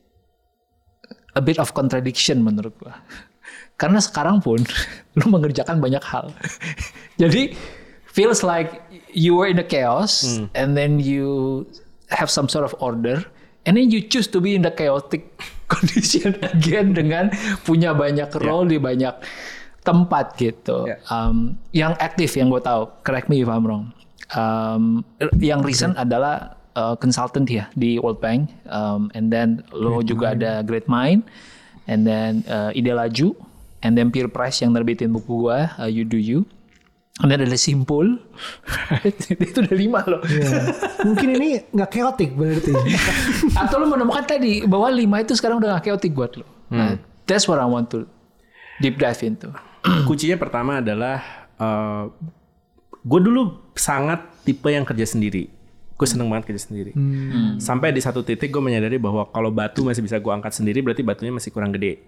a bit of contradiction menurut gua. Karena sekarang pun lo mengerjakan banyak hal. Jadi feels like you were in a chaos hmm. and then you have some sort of order and then you choose to be in the chaotic condition again dengan punya banyak role yeah. di banyak tempat gitu. Yeah. Um, yang aktif yang gue tahu, correct me if I'm wrong. Um, yang recent okay. adalah uh, consultant ya di World Bank, um, and then lo Great juga Mind. Ada Great Mind, and then uh, Ide Laju, and then Peer Press yang nerbitin buku gue, uh, You Do You. Ini ada Simpul. Itu udah lima loh. Yeah. Mungkin ini gak chaotic berarti. Atau lo menemukan tadi bahwa lima itu sekarang udah gak chaotic buat lo. Hmm. Nah, that's what I want to deep dive into. Kuncinya pertama adalah uh, gue dulu sangat tipe yang kerja sendiri. Gue seneng banget kerja sendiri. Hmm. Sampai di satu titik gue menyadari bahwa kalau batu masih bisa gue angkat sendiri, berarti batunya masih kurang gede.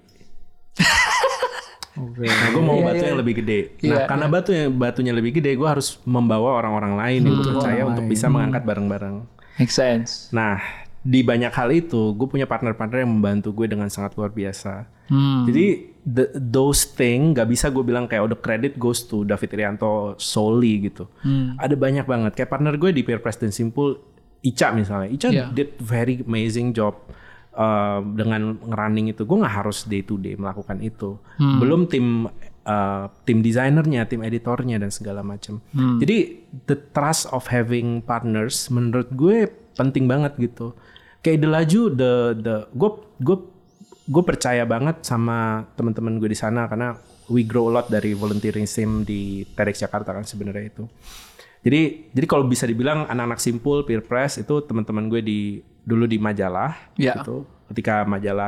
Okay. Nah, gue mau yeah, batu yeah. yang lebih gede. Nah, yeah, karena yeah. batu yang batunya lebih gede, gue harus membawa orang-orang lain hmm. yang percaya untuk lain. bisa hmm. mengangkat bareng-bareng. Make sense. Nah, di banyak hal itu, gue punya partner-partner yang membantu gue dengan sangat luar biasa. Hmm. Jadi the, those thing gak bisa gue bilang kayak oh, the credit goes to David Irianto solely gitu. Hmm. Ada banyak banget. Kayak partner gue di Peer Press dan Simpul, Ica misalnya. Ica yeah. did very amazing job. Uh, dengan ngerunning itu, gue nggak harus day to day melakukan itu. Hmm. Belum tim uh, tim desainernya, tim editornya dan segala macam. Hmm. Jadi the trust of having partners menurut gue penting banget gitu. Kayak Ide Laju, the the gue gue gue percaya banget sama teman-teman gue di sana karena we grow a lot dari volunteerism di TEDx Jakarta kan sebenarnya itu. Jadi jadi kalau bisa dibilang anak-anak Simpul, Peer Press itu teman-teman gue di dulu di majalah ya. Gitu. Ketika majalah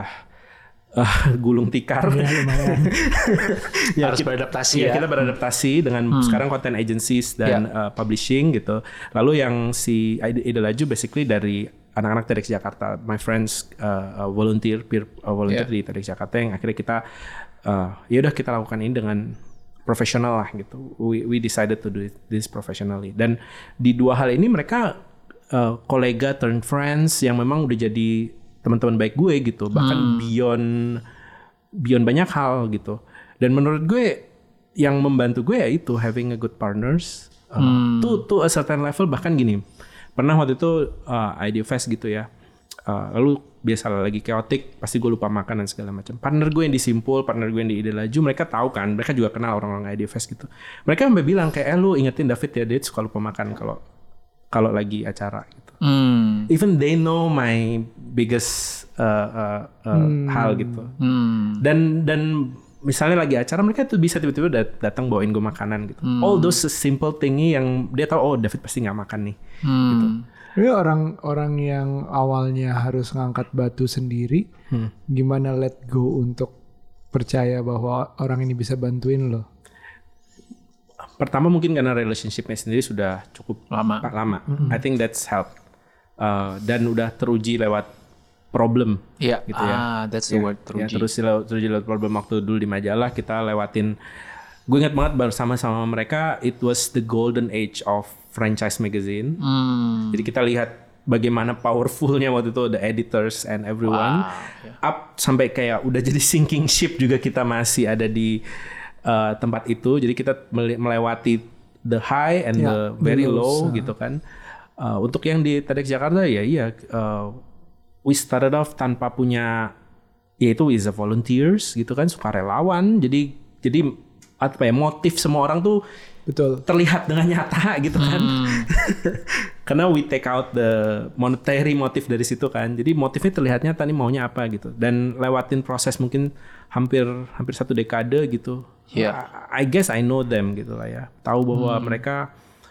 uh, gulung tikar ya, lumayan. ya, harus kita, beradaptasi ya, ya. Kita beradaptasi dengan hmm. sekarang content agencies dan ya. uh, publishing gitu. Lalu yang si Ide Laju basically dari anak-anak TEDx Jakarta, my friends uh, uh, volunteer peer uh, volunteer yeah. di TEDx Jakarta yang akhirnya kita uh, ya udah kita lakukan ini dengan profesional lah gitu. We we decided to do this professionally. Dan di dua hal ini mereka uh, kolega turn friends yang memang udah jadi teman-teman baik gue gitu. Bahkan hmm. beyond beyond banyak hal gitu. Dan menurut gue yang membantu gue ya itu having a good partners uh, hmm. to to a certain level. Bahkan gini, pernah waktu itu uh, Idea Fest gitu ya. Uh, lalu biasa lagi chaotic, pasti gue lupa makan dan segala macam. Partner gue yang di Simpul, partner gue yang di Ide Laju, mereka tahu kan, mereka juga kenal orang-orang Idea Fest gitu. Mereka sampai bilang kayak, eh lu ingetin David ya, dia suka lupa makan kalau kalau lagi acara gitu. Mm. Even they know my biggest uh, uh, uh, mm. hal gitu. Mm. Dan dan misalnya lagi acara, mereka tuh bisa tiba-tiba dat- datang bawain gue makanan gitu. Mm. All those simple thingy yang dia tahu, oh David pasti nggak makan nih. Mm. Gitu. Jadi orang-orang yang awalnya harus ngangkat batu sendiri, hmm. gimana let go untuk percaya bahwa orang ini bisa bantuin lo? Pertama mungkin karena relationship-nya sendiri sudah cukup lama. lama. Mm-hmm. I think that's help. Uh, dan udah teruji lewat problem. Iya. Gitu ya. Ah, that's the ya, word. Ya, terus terus lewat problem waktu dulu di majalah kita lewatin. Gue ingat banget bersama-sama mereka, it was the golden age of franchise magazine. Hmm. Jadi kita lihat bagaimana powerfulnya waktu itu the editors and everyone. Wow. Up sampai kayak udah jadi sinking ship juga kita masih ada di uh, tempat itu. Jadi kita melewati the high and ya, the very low gitu kan. Uh, untuk yang di TEDx Jakarta ya iya. Uh, we started off tanpa punya, yaitu is a volunteers gitu kan, sukarelawan. Jadi jadi apa ya, motif semua orang tuh betul terlihat dengan nyata gitu kan. Hmm. Karena we take out the monetary motif dari situ kan. Jadi motifnya terlihatnya tadi maunya apa gitu. Dan lewatin proses mungkin hampir hampir satu dekade gitu. Yeah. I, I guess I know them gitu lah ya. Tahu bahwa hmm. mereka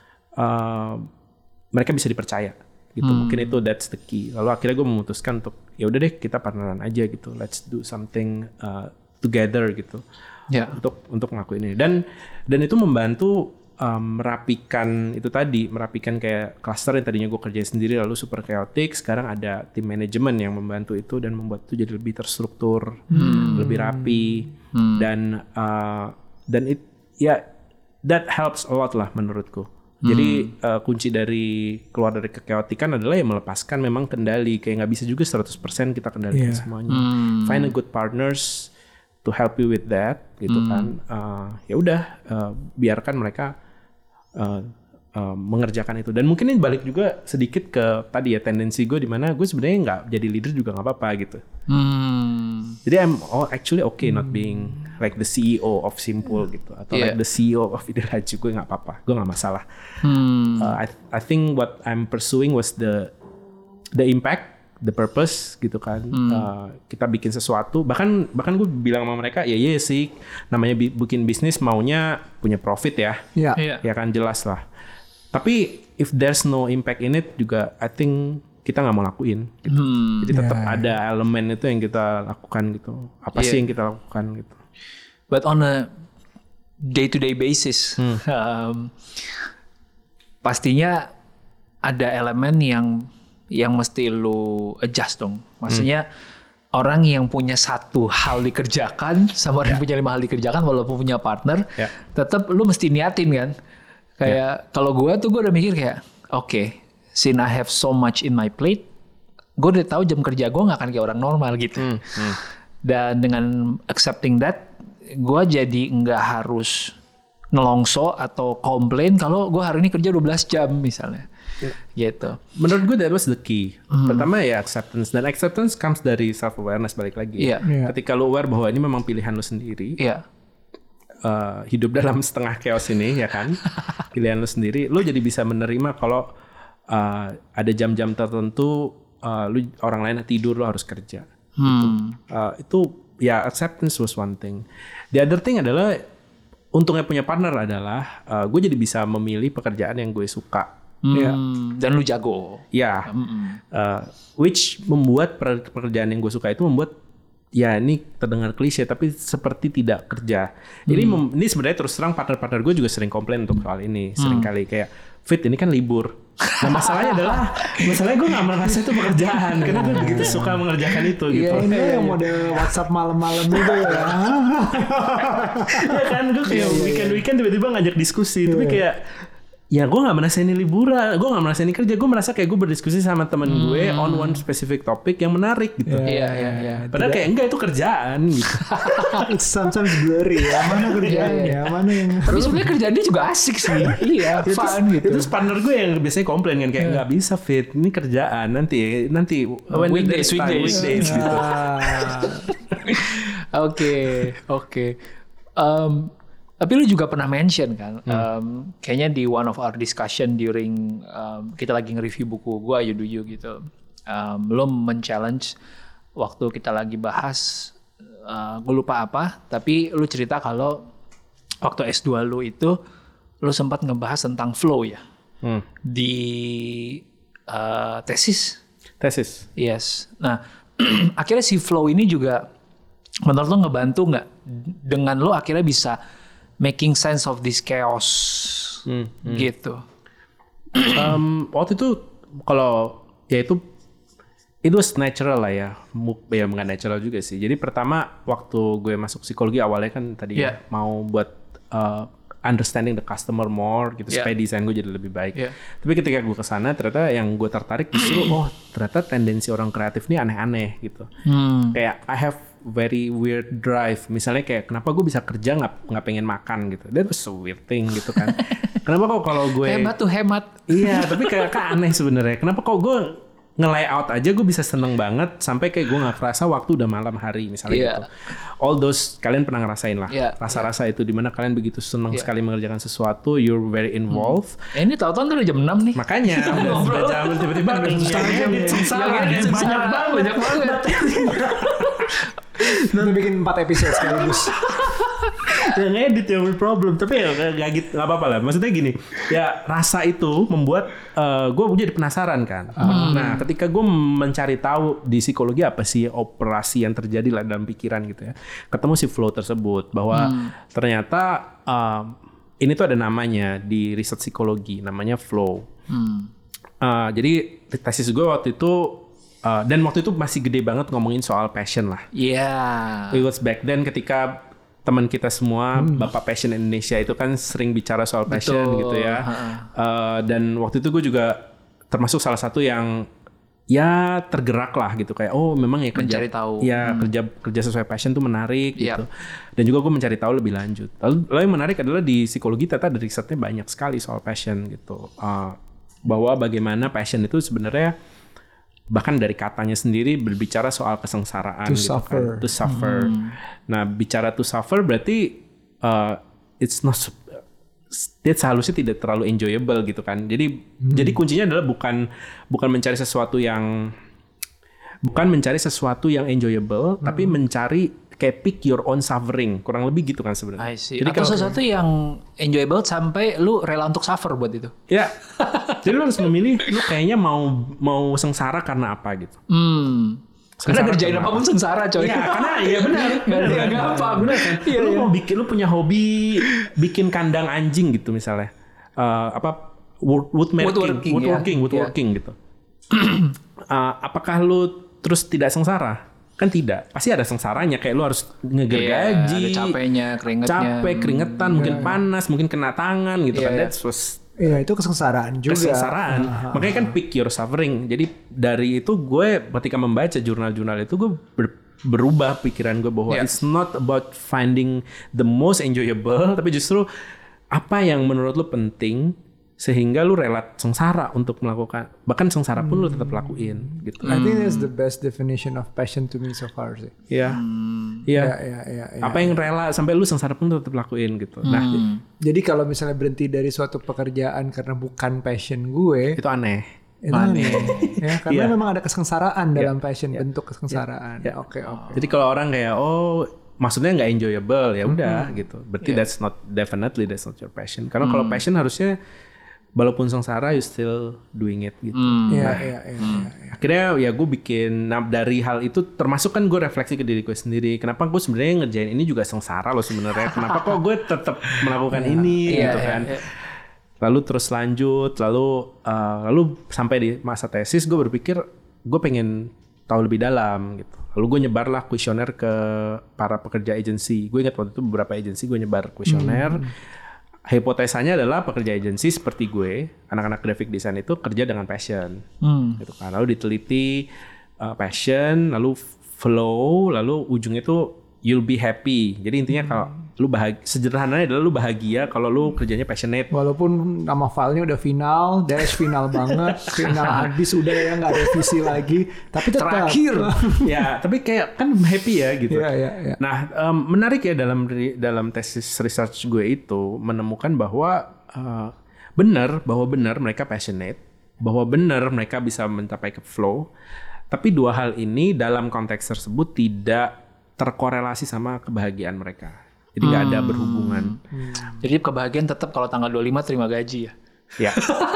uh, mereka bisa dipercaya gitu. Hmm. Mungkin itu that's the key. Lalu akhirnya gue memutuskan untuk ya udah deh kita partneran aja gitu. Let's do something uh, together gitu. Ya. Untuk untuk ngelakuin ini dan dan itu membantu um, merapikan itu tadi merapikan kayak cluster yang tadinya gue kerjain sendiri lalu super chaotic, sekarang ada tim manajemen yang membantu itu dan membuat itu jadi lebih terstruktur, hmm. lebih rapi hmm. dan uh, dan it ya that helps a lot lah menurutku. Jadi hmm. uh, kunci dari keluar dari kekeotikan adalah ya melepaskan memang kendali, kayak nggak bisa juga seratus persen kita kendalikan yeah. semuanya. Hmm. Find a good partners to help you with that gitu hmm. kan. Uh, ya udah uh, biarkan mereka uh, uh, mengerjakan itu. Dan mungkin ini balik juga sedikit ke tadi ya tendensi gue di mana gue sebenarnya nggak jadi leader juga nggak apa-apa gitu. Hmm. Jadi I'm oh, actually okay hmm. not being like the C E O of Simpul gitu atau yeah. like the C E O of Ide Laju, gue nggak apa-apa, gue nggak masalah. Hmm. Uh, I I think what I'm pursuing was the the impact, the purpose gitu kan. Hmm. Uh, kita bikin sesuatu, bahkan bahkan gue bilang sama mereka ya iya sih namanya bi- bikin bisnis maunya punya profit ya, yeah. Yeah. ya kan jelas lah. Tapi if there's no impact in it juga, I think kita nggak mau lakuin. Gitu. Hmm. Jadi tetap yeah. ada elemen itu yang kita lakukan gitu. Apa yeah. sih yang kita lakukan gitu. But on a day-to-day basis, hmm. um, pastinya ada elemen yang yang mesti lu adjust dong. Maksudnya hmm. orang yang punya satu hal dikerjakan sama orang yeah. yang punya lima hal dikerjakan walaupun punya partner, yeah. tetap lu mesti niatin kan. Kayak yeah. kalau gue tuh gue udah mikir kayak, oke, okay, since I have so much in my plate, gue udah tahu jam kerja gue nggak akan kayak orang normal gitu. Hmm. Hmm. Dan dengan accepting that, gue jadi nggak harus ngelongso atau komplain kalau gue hari ini kerja dua belas jam misalnya. Yeah. Gitu. Menurut gue that was the key. Mm. Pertama ya acceptance, dan acceptance comes dari self awareness balik lagi. Yeah. Yeah. Ketika lu aware bahwa ini memang pilihan lu sendiri. Yeah. Uh, hidup dalam setengah chaos ini ya kan. Pilihan lu sendiri, lu jadi bisa menerima kalau uh, ada jam-jam tertentu uh, lu orang lain tidur, lu harus kerja. Hmm. Gitu. Uh, itu ya acceptance was one thing. The other thing adalah untungnya punya partner adalah uh, gue jadi bisa memilih pekerjaan yang gue suka. Hmm, ya. Dan lu jago. Ya, uh, which membuat pekerjaan yang gue suka itu membuat ya ini terdengar klise tapi seperti tidak kerja. Hmm. Ini mem- ini sebenarnya terus terang partner-partner gue juga sering komplain untuk soal ini, hmm. sering kali kayak Fit ini kan libur. Nah masalahnya adalah masalahnya gue nggak merasa itu pekerjaan karena gue begitu suka mengerjakan itu gitu. Iya ini yang mode WhatsApp malam-malam itu ya. Ya kan gue kayak weekend-weekend tiba-tiba ngajak diskusi, tapi kayak ya gue nggak merasa ini liburan, gue nggak merasa ini kerja, gue merasa kayak gue berdiskusi sama temen hmm. gue on one specific topic yang menarik gitu. Iya iya iya. Padahal kayak enggak itu kerjaan gitu. It's sometimes blurry ya, mana kerjaan ya, mana yang. Tapi sebenarnya kerjaan dia juga asik sih. Iya, fun gitu. Itu partner gue yang biasanya komplain kan kayak nggak yeah. bisa Fit, ini kerjaan nanti nanti when weekdays weekdays, weekdays gitu. Oke oke. Tapi lu juga pernah mention kan, hmm. um, kayaknya di one of our discussion during um, kita lagi nge-review buku gua You Do You gitu, um, lu men-challenge waktu kita lagi bahas, uh, gue lupa apa, tapi lu cerita kalau waktu S dua lu itu lu sempat ngebahas tentang flow ya, hmm. di uh, tesis. Tesis. Yes. Nah akhirnya si flow ini juga menurut lu ngebantu nggak dengan lu akhirnya bisa making sense of this chaos hmm, hmm. gitu. Um, waktu itu kalau ya itu It was natural lah ya, ya nggak natural juga sih. Jadi pertama waktu gue masuk psikologi awalnya kan tadi yeah. mau buat uh, understanding the customer more gitu yeah. supaya desain gue jadi lebih baik. Yeah. Tapi ketika gue kesana ternyata yang gue tertarik justru oh ternyata tendensi orang kreatif ini aneh-aneh gitu. Hmm. Kayak I have very weird drive. Misalnya kayak kenapa gue bisa kerja nggak nggak pengen makan gitu. That was a weird thing gitu kan. Kenapa kok kalau gue hemat tuh hemat. Iya tapi kayak kan aneh sebenarnya. Kenapa kok gue nge-layout aja gue bisa seneng banget sampai kayak gue nggak kerasa waktu udah malam hari misalnya yeah. gitu. All those kalian pernah ngerasain lah yeah. rasa-rasa yeah. itu dimana kalian begitu seneng yeah. sekali mengerjakan sesuatu, you're very involved. Hmm. Eh, ini tahu-tahu udah jam enam nih. Makanya udah jam tiba-tiba yang edit sengsara banyak banget banyak banget. Nanti bikin empat episode sekaligus. Ya ngedit yang problem, tapi ya nggak gitu, nggak apa-apa lah. Maksudnya gini, ya rasa itu membuat uh, gue jadi penasaran kan. Hmm. Nah, ketika gue mencari tahu di psikologi apa sih operasi yang terjadi lah dalam pikiran gitu ya, ketemu si flow tersebut bahwa hmm. ternyata uh, ini tuh ada namanya di riset psikologi, namanya flow. Hmm. Uh, jadi tesis gue waktu itu Uh, dan waktu itu masih gede banget ngomongin soal passion lah. Iya. Yeah. It was back then ketika teman kita semua, hmm. Bapak Passion Indonesia itu kan sering bicara soal passion Betul. gitu ya. Uh, dan waktu itu gue juga termasuk salah satu yang ya tergerak lah gitu kayak oh memang ya kerja mencari tahu. Ya hmm. kerja kerja sesuai passion tuh menarik yep. gitu. Dan juga gue mencari tahu lebih lanjut. Lalu, lalu yang menarik adalah di psikologi ternyata ada risetnya banyak sekali soal passion gitu. Uh, bahwa bagaimana passion itu sebenarnya bahkan dari katanya sendiri berbicara soal kesengsaraan to gitu suffer. kan, to suffer. Hmm. Nah, bicara to suffer berarti uh, it's not that seharusnya tidak terlalu enjoyable gitu kan. Jadi hmm. jadi kuncinya adalah bukan bukan mencari sesuatu yang bukan mencari sesuatu yang enjoyable, hmm. tapi mencari kayak pick your own suffering, kurang lebih gitu kan sebenarnya. Jadi atau kalau sesuatu yang enjoyable sampai lu rela untuk suffer buat itu. Ya. Jadi lu harus memilih lu kayaknya mau mau sengsara karena apa gitu. Hmm. Karena kerjain apapun sengsara coy. Iya, karena iya benar. Enggak ada yang apa, benar kan? Iya, lu iya. mau bikin lu punya hobi bikin kandang anjing gitu misalnya. Uh, apa wood, woodworking, woodworking, woodworking, ya. woodworking yeah. gitu. uh, apakah lu terus tidak sengsara? Kan tidak, pasti ada sengsaranya kayak lu harus ngegergaji, yeah, ada capeknya, keringetnya, capek, keringetan, hmm, mungkin yeah. panas, mungkin kena tangan gitu yeah, kan. That's was Iya itu kesengsaraan juga. Kesengsaraan. Uh, Makanya kan pick your suffering. Jadi dari itu gue ketika membaca jurnal-jurnal itu gue ber, berubah pikiran gue bahwa yeah. it's not about finding the most enjoyable, tapi justru apa yang menurut lu penting sehingga lu rela sengsara untuk melakukan, bahkan sengsara pun hmm. lu tetap lakuin gitu. I think that's the best definition of passion to me so far sih. Iya. Hmm. Iya. Ya, ya, ya, ya, apa yang rela sampai lu sengsara pun lu tetap lakuin gitu. Hmm. Nah, jadi kalau misalnya berhenti dari suatu pekerjaan karena bukan passion gue, itu aneh. Itu aneh. Ya, karena yeah. memang ada kesengsaraan dalam yeah. passion, yeah. bentuk kesengsaraan. Oke, yeah. oke. Okay, okay. Jadi kalau orang kayak oh maksudnya nggak enjoyable ya udah mm-hmm. gitu. Berarti yeah. that's not definitely that's not your passion. Karena mm. kalau passion harusnya walaupun sengsara you still doing it gitu. Mm. Nah, yeah, yeah, yeah, yeah, yeah. akhirnya ya gue bikin nah, dari hal itu termasuk kan gue refleksi ke diri gue sendiri. Kenapa gue sebenarnya ngerjain ini juga sengsara loh sebenarnya. Kenapa kok gue tetap melakukan yeah. ini yeah, gitu yeah, kan. yeah. Lalu terus lanjut, lalu uh, lalu sampai di masa tesis gue berpikir gue pengen tahu lebih dalam gitu. Lalu gue nyebarlah kuesioner ke para pekerja agensi. Gue ingat waktu itu beberapa agensi gue nyebar kuesioner. Hmm. Hipotesanya adalah pekerja agensi seperti gue, anak-anak graphic design itu kerja dengan passion, hmm. gitu kan. Lalu diteliti uh, passion, lalu flow, lalu ujungnya itu you'll be happy. Jadi intinya hmm. kalau lu bahagia, sederhananya adalah lu bahagia kalau lu kerjanya passionate. Walaupun nama filenya udah final, dash final banget, final habis udah ya nggak revisi lagi, tapi tetap terakhir. Ya, tapi kayak kan happy ya gitu. Yeah, yeah, yeah. Nah, um, menarik ya dalam dalam tesis research gue itu menemukan bahwa uh, benar bahwa benar mereka passionate, bahwa benar mereka bisa mencapai ke flow. Tapi dua hal ini dalam konteks tersebut tidak terkorelasi sama kebahagiaan mereka. Jadi nggak hmm. ada berhubungan. Hmm. Jadi kebahagiaan tetap kalau tanggal dua puluh lima terima gaji ya? Ya.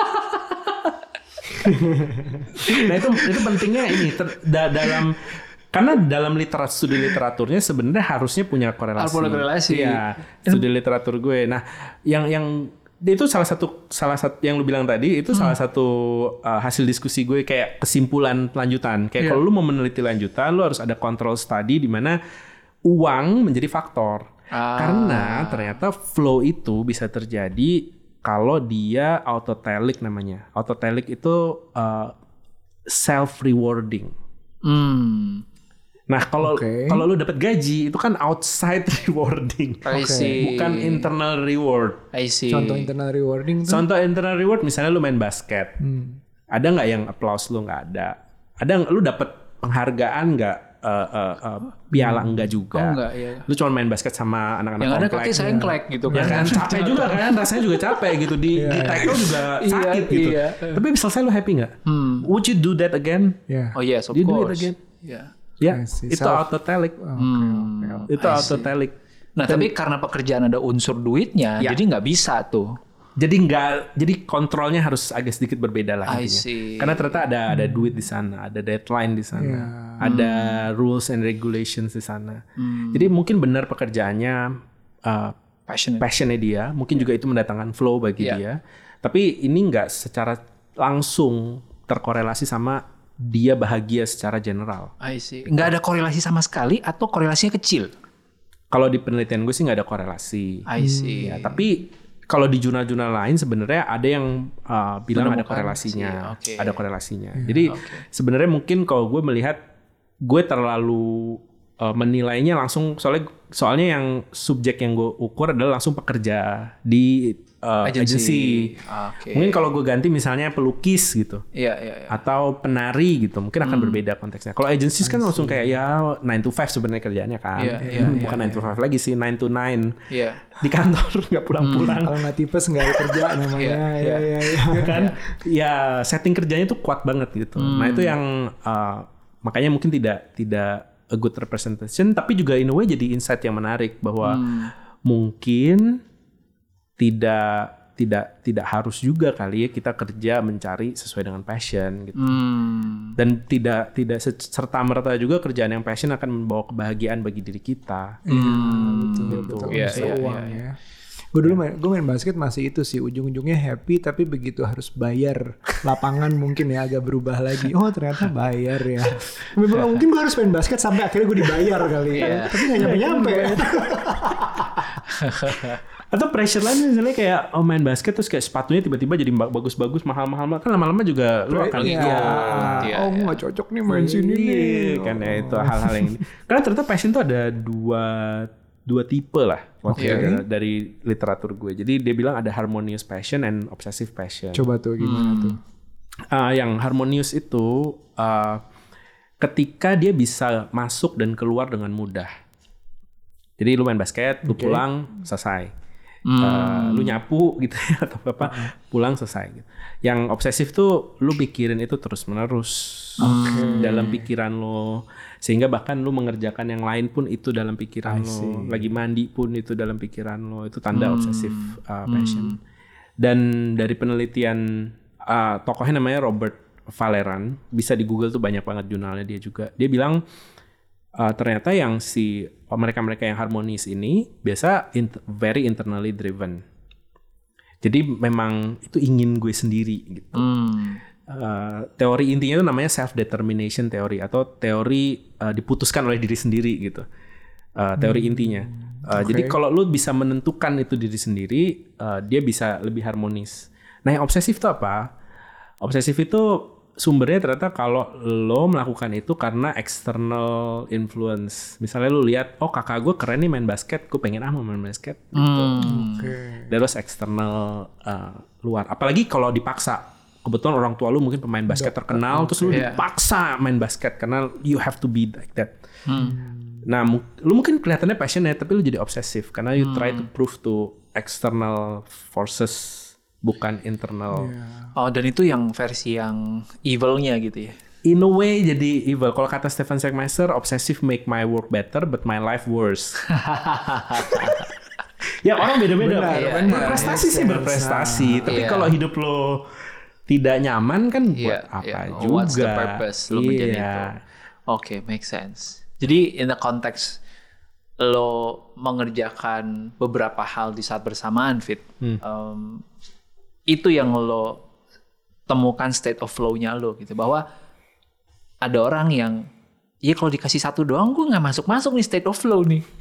Nah itu itu pentingnya ini ter, da, dalam karena dalam literatur studi literaturnya sebenarnya harusnya punya korelasi. Harus korelasi. Ya, studi literatur gue. Nah, yang yang itu salah satu salah satu yang lu bilang tadi itu hmm. salah satu uh, hasil diskusi gue kayak kesimpulan lanjutan. Kayak yeah. kalau lu mau meneliti lanjutan, lu harus ada control study di mana uang menjadi faktor. Ah. Karena ternyata flow itu bisa terjadi kalau dia autotelic namanya. Autotelic itu uh, self rewarding. Hmm. Nah, kalau okay. kalau lu dapat gaji itu kan outside rewarding. I see. Bukan internal reward. I see. Contoh internal rewarding tuh? Contoh internal reward misalnya lu main basket. Hmm. Ada nggak yang applause lu? Nggak ada. Ada lu dapat penghargaan nggak? Uh, uh, uh, piala hmm. enggak juga. Oh, enggak, iya. Lu cuma main basket sama anak-anak yang komplek. Yang ada kaki saya ngelek gitu kan. Ya kan capek juga kan, rasanya juga capek gitu di yeah, di tackle juga sakit iya, gitu. Iya. Tapi selesai lu happy nggak? Hmm. Would you do that again? Yeah. Oh yes, of you course. Do it again? Yeah. Ya, itu Self. autotelic. Oh, okay, hmm. okay. Itu autotelic. Nah, Dan, tapi karena pekerjaan ada unsur duitnya, ya. jadi nggak bisa tuh. Jadi nggak, jadi kontrolnya harus agak sedikit berbeda lah intinya. Karena ternyata ada ada hmm. duit di sana, ada deadline di sana, yeah. ada hmm. rules and regulations di sana. Hmm. Jadi mungkin benar pekerjaannya uh, passionate. passionnya dia, mungkin yeah. juga itu mendatangkan flow bagi yeah. dia. Tapi ini nggak secara langsung terkorelasi sama dia bahagia secara general. I see. Nggak ada korelasi sama sekali atau korelasinya kecil? Kalau di penelitian gue sih nggak ada korelasi. I see. Ya, tapi kalau di jurnal-jurnal lain sebenarnya ada yang uh, bilang ada korelasinya. Okay. Ada korelasinya. Hmm. Jadi okay. sebenarnya mungkin kalau gue melihat gue terlalu uh, menilainya langsung soalnya soalnya yang subjek yang gue ukur adalah langsung pekerja di Uh, agency. agency. Okay. Mungkin kalau gue ganti misalnya pelukis gitu, yeah, yeah, yeah. atau penari gitu, mungkin akan hmm. berbeda konteksnya. Kalau agency kan langsung kayak ya nine to five sebenarnya kerjaannya kan, yeah, yeah, bukan yeah, nine to five lagi sih, nine to nine yeah. di kantor nggak pulang-pulang. Hmm. Kalau nggak tipes nggak ada kerja namanya, yeah, ya, yeah. ya, ya, ya kan, ya setting kerjanya tuh kuat banget gitu. Hmm. Nah itu yang uh, makanya mungkin tidak tidak a good representation, tapi juga in a way jadi insight yang menarik bahwa hmm. mungkin tidak tidak tidak harus juga kali ya kita kerja mencari sesuai dengan passion gitu. Hmm. Dan tidak tidak serta merta juga kerjaan yang passion akan membawa kebahagiaan bagi diri kita. Hmm, hmm. betul gitu. betul. Ya, ya, uang ya, ya. Gue dulu main, gue main basket masih itu sih ujung-ujungnya happy tapi begitu harus bayar lapangan mungkin ya agak berubah lagi. Oh ternyata bayar ya. Memang mungkin gue harus main basket sampai akhirnya gue dibayar kali. Yeah. Tapi nggak nyampe-nyampe. Atau pressure lain misalnya kayak oh main basket terus kayak sepatunya tiba-tiba jadi bagus-bagus mahal-mahal kan lama-lama juga lu akan ya, ya, oh gue nggak cocok nih main sini nih kan ya itu hal-hal yang ini karena ternyata passion tuh ada dua dua tipe lah okay. ya, dari literatur gue jadi dia bilang ada harmonious passion and obsessive passion. Coba tuh gimana hmm. tuh uh, yang harmonious itu uh, ketika dia bisa masuk dan keluar dengan mudah. Jadi lu main basket, lu okay. pulang, selesai. Hmm. Uh, lu nyapu gitu ya atau apa, uh-huh. pulang selesai. Gitu. Yang obsesif tuh lu pikirin itu terus menerus okay. dalam pikiran lo, sehingga bahkan lu mengerjakan yang lain pun itu dalam pikiran lo. Lagi mandi pun itu dalam pikiran lo. Itu tanda hmm. obsesif uh, passion. Hmm. Dan dari penelitian uh, tokohnya namanya Robert Valeran, bisa di Google tuh banyak banget jurnalnya dia juga. Dia bilang Uh, ternyata yang si oh, mereka-mereka yang harmonis ini biasa int- very internally driven. Jadi memang itu ingin gue sendiri gitu. Hmm. Uh, teori intinya itu namanya self determination theory atau teori uh, diputuskan oleh diri sendiri gitu. Uh, teori hmm. intinya. Uh, okay. Jadi kalau lu bisa menentukan itu diri sendiri, uh, dia bisa lebih harmonis. Nah yang obsesif itu apa? Obsesif itu sumbernya ternyata kalau lo melakukan itu karena external influence. Misalnya lo lihat, oh kakak gue keren nih main basket, gue pengen ah mau main basket. Gitu. Hmm. Okay. Terus external uh, luar. Apalagi kalau dipaksa. Kebetulan orang tua lo mungkin pemain basket terkenal, okay. terus lo yeah. dipaksa main basket karena you have to be like that. Hmm. Nah, lo mungkin kelihatannya passionate, tapi lo jadi obsesif karena you hmm. try to prove to external forces. Bukan internal. Yeah. Oh, dan itu yang versi yang evil-nya gitu ya? In a way jadi evil. Kalau kata Stephen Sagmeister, obsessive make my work better, but my life worse. Ya orang beda-beda. Benar, ya, benar. Berprestasi sih berprestasi. Nah, tapi yeah. kalau hidup lo tidak nyaman kan buat yeah, apa yeah. juga. What's the purpose lo yeah. menjadi itu? Oke, okay, make sense. Jadi in the context lo mengerjakan beberapa hal di saat bersamaan, Fit, hmm. um, itu yang lo temukan state of flow-nya lo gitu, bahwa ada orang yang ya kalau dikasih satu doang gue nggak masuk-masuk nih state of flow nih.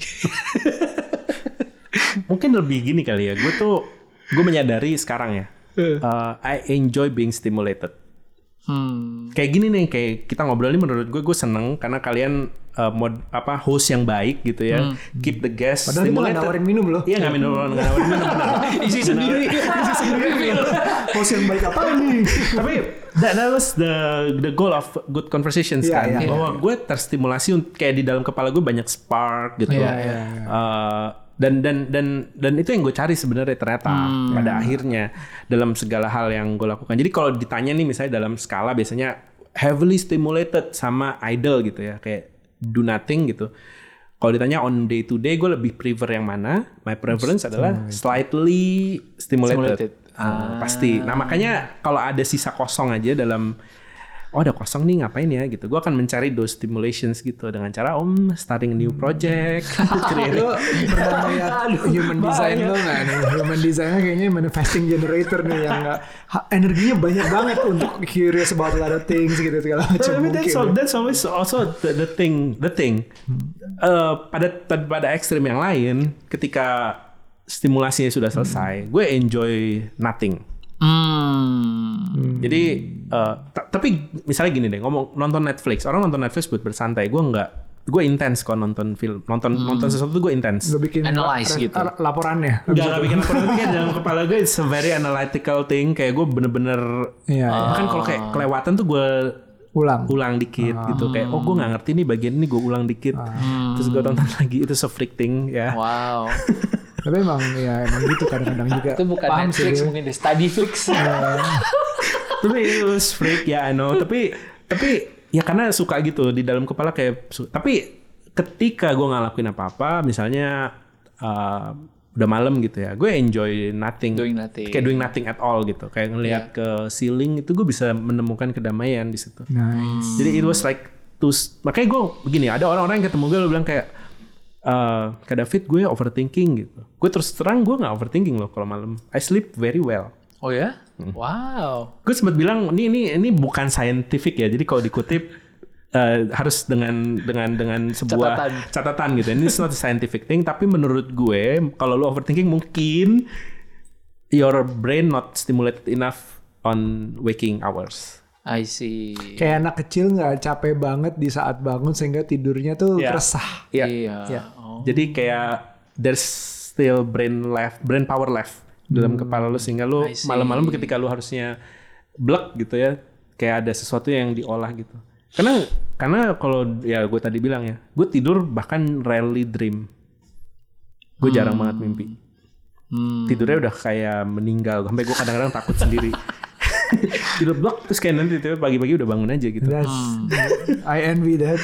Mungkin lebih gini kali ya, gue tuh gue menyadari sekarang ya, uh, I enjoy being stimulated. Hmm. Kayak gini nih, kayak kita ngobrol ini menurut gue gue seneng karena kalian uh, mod apa host yang baik gitu ya, hmm. keep the guest padahal stimulated. Padahal nawarin minum loh. Iya nggak minum, nggak nawarin minum benar. Isi sendiri, isi sendiri. Host yang baik apa nih? Tapi that, that was the the goal of good conversations yeah, kan, yeah, bahwa yeah. gue terstimulasi kayak di dalam kepala gue banyak spark gitu. Yeah, yeah, yeah. Uh, dan dan dan dan itu yang gue cari sebenarnya ternyata hmm. pada akhirnya dalam segala hal yang gue lakukan. Jadi kalau ditanya nih misalnya dalam skala biasanya heavily stimulated sama idle gitu ya, kayak do nothing gitu. Kalau ditanya on day to day gue lebih prefer yang mana? My preference adalah slightly stimulated, stimulated. Uh, ah. pasti. Nah makanya kalau ada sisa kosong aja dalam oh ada kosong nih ngapain ya gitu, gue akan mencari those stimulations gitu dengan cara om starting a new project. Lo pernah lihat human design lo nggak nih? Human design kayaknya manifesting generator nih yang gak, energinya banyak banget untuk curious about a lot of things gitu segala macam. I mean, that's, all, that's always also the, the thing, the thing. Uh, pada pada ekstrim yang lain, ketika stimulasinya sudah selesai, hmm. gue enjoy nothing. Hmm. Jadi uh, t- tapi misalnya gini deh, ngomong nonton Netflix, orang nonton Netflix buat bersantai, gue nggak, gue intens kok nonton film, nonton hmm. nonton sesuatu tuh gue intens. Gue bikin analyze la- gitu, la- laporannya. Nggak nggak bikin laporan, tapi kayak dalam kepala gue it's a very analytical thing, kayak gue bener-bener, yeah, uh, kan kalau kayak kelewatan tuh gue ulang ulang dikit uh, gitu, kayak oh gue nggak ngerti nih bagian ini, gue ulang dikit, uh, terus gue tonton lagi, itu so freak thing ya. Wow. Tapi emang ya emang gitu kadang-kadang juga. Itu bukan paham Netflix sih, mungkin di Studyflix. Tapi it was freak ya, I know. Tapi tapi ya karena suka gitu di dalam kepala kayak. Tapi ketika gue nggak lakuin apa-apa, misalnya uh, udah malam gitu ya, gue enjoy nothing. Doing nothing. Kayak doing nothing at all gitu. Kayak ngelihat yeah. ke ceiling itu gue bisa menemukan kedamaian di situ. Nice. Jadi it was like to, makanya gue begini, ada orang-orang yang ketemu gue lo bilang kayak, Uh, Kak David gue overthinking gitu. Gue terus terang gue nggak overthinking loh kalau malam. I sleep very well. Oh ya? Hmm. Wow. Gue sempat bilang ini ini ini bukan scientific ya. Jadi kalau dikutip uh, harus dengan dengan dengan sebuah catatan, catatan gitu. Ini not a scientific thing. Tapi menurut gue kalau lo overthinking mungkin your brain not stimulated enough on waking hours. I see. Kayak anak kecil nggak capek banget di saat bangun sehingga tidurnya tuh yeah. resah. Yeah. Iya. Yeah. Oh. Jadi kayak there's still brain left, brain power left hmm. dalam kepala lu sehingga lu malam-malam ketika lu harusnya blek gitu ya, kayak ada sesuatu yang diolah gitu. Karena karena kalau ya gue tadi bilang ya, gue tidur bahkan rarely dream. Gue hmm. jarang banget mimpi. Hmm. Tidurnya udah kayak meninggal, sampai gue kadang-kadang takut sendiri. Tidur blok terus kayak nanti tiba pagi-pagi udah bangun aja gitu. Hmm. I envy that.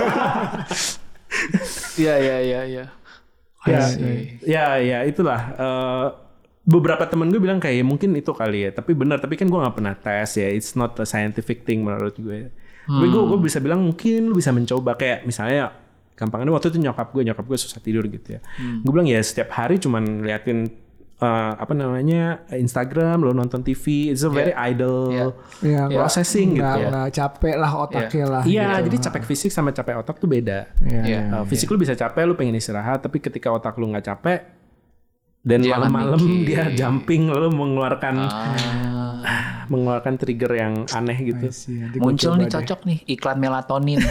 Iya iya iya iya. Ya ya ya itulah. Uh, beberapa temen gue bilang kayak mungkin itu kali ya. Tapi benar. Tapi kan gue nggak pernah tes ya. It's not a scientific thing menurut gue. Hmm. Tapi gue gue bisa bilang mungkin lu bisa mencoba kayak misalnya. Gampangnya waktu itu nyokap gue nyokap gue susah tidur gitu ya. Hmm. Gue bilang ya setiap hari cuman liatin. Uh, apa namanya Instagram, lo nonton T V, it's a very yeah. idle yeah. Yeah. processing yeah. gitu ya. Nggak capek lah otaknya yeah. lah. Iya, gitu. jadi capek fisik sama capek otak tuh beda. Yeah. Yeah. Uh, fisik yeah. lu bisa capek, lu pengen istirahat, tapi ketika otak lu nggak capek, dan malam-malam dia jumping, lalu mengeluarkan ah. mengeluarkan trigger yang aneh gitu. Muncul nih cocok deh. nih iklan melatonin.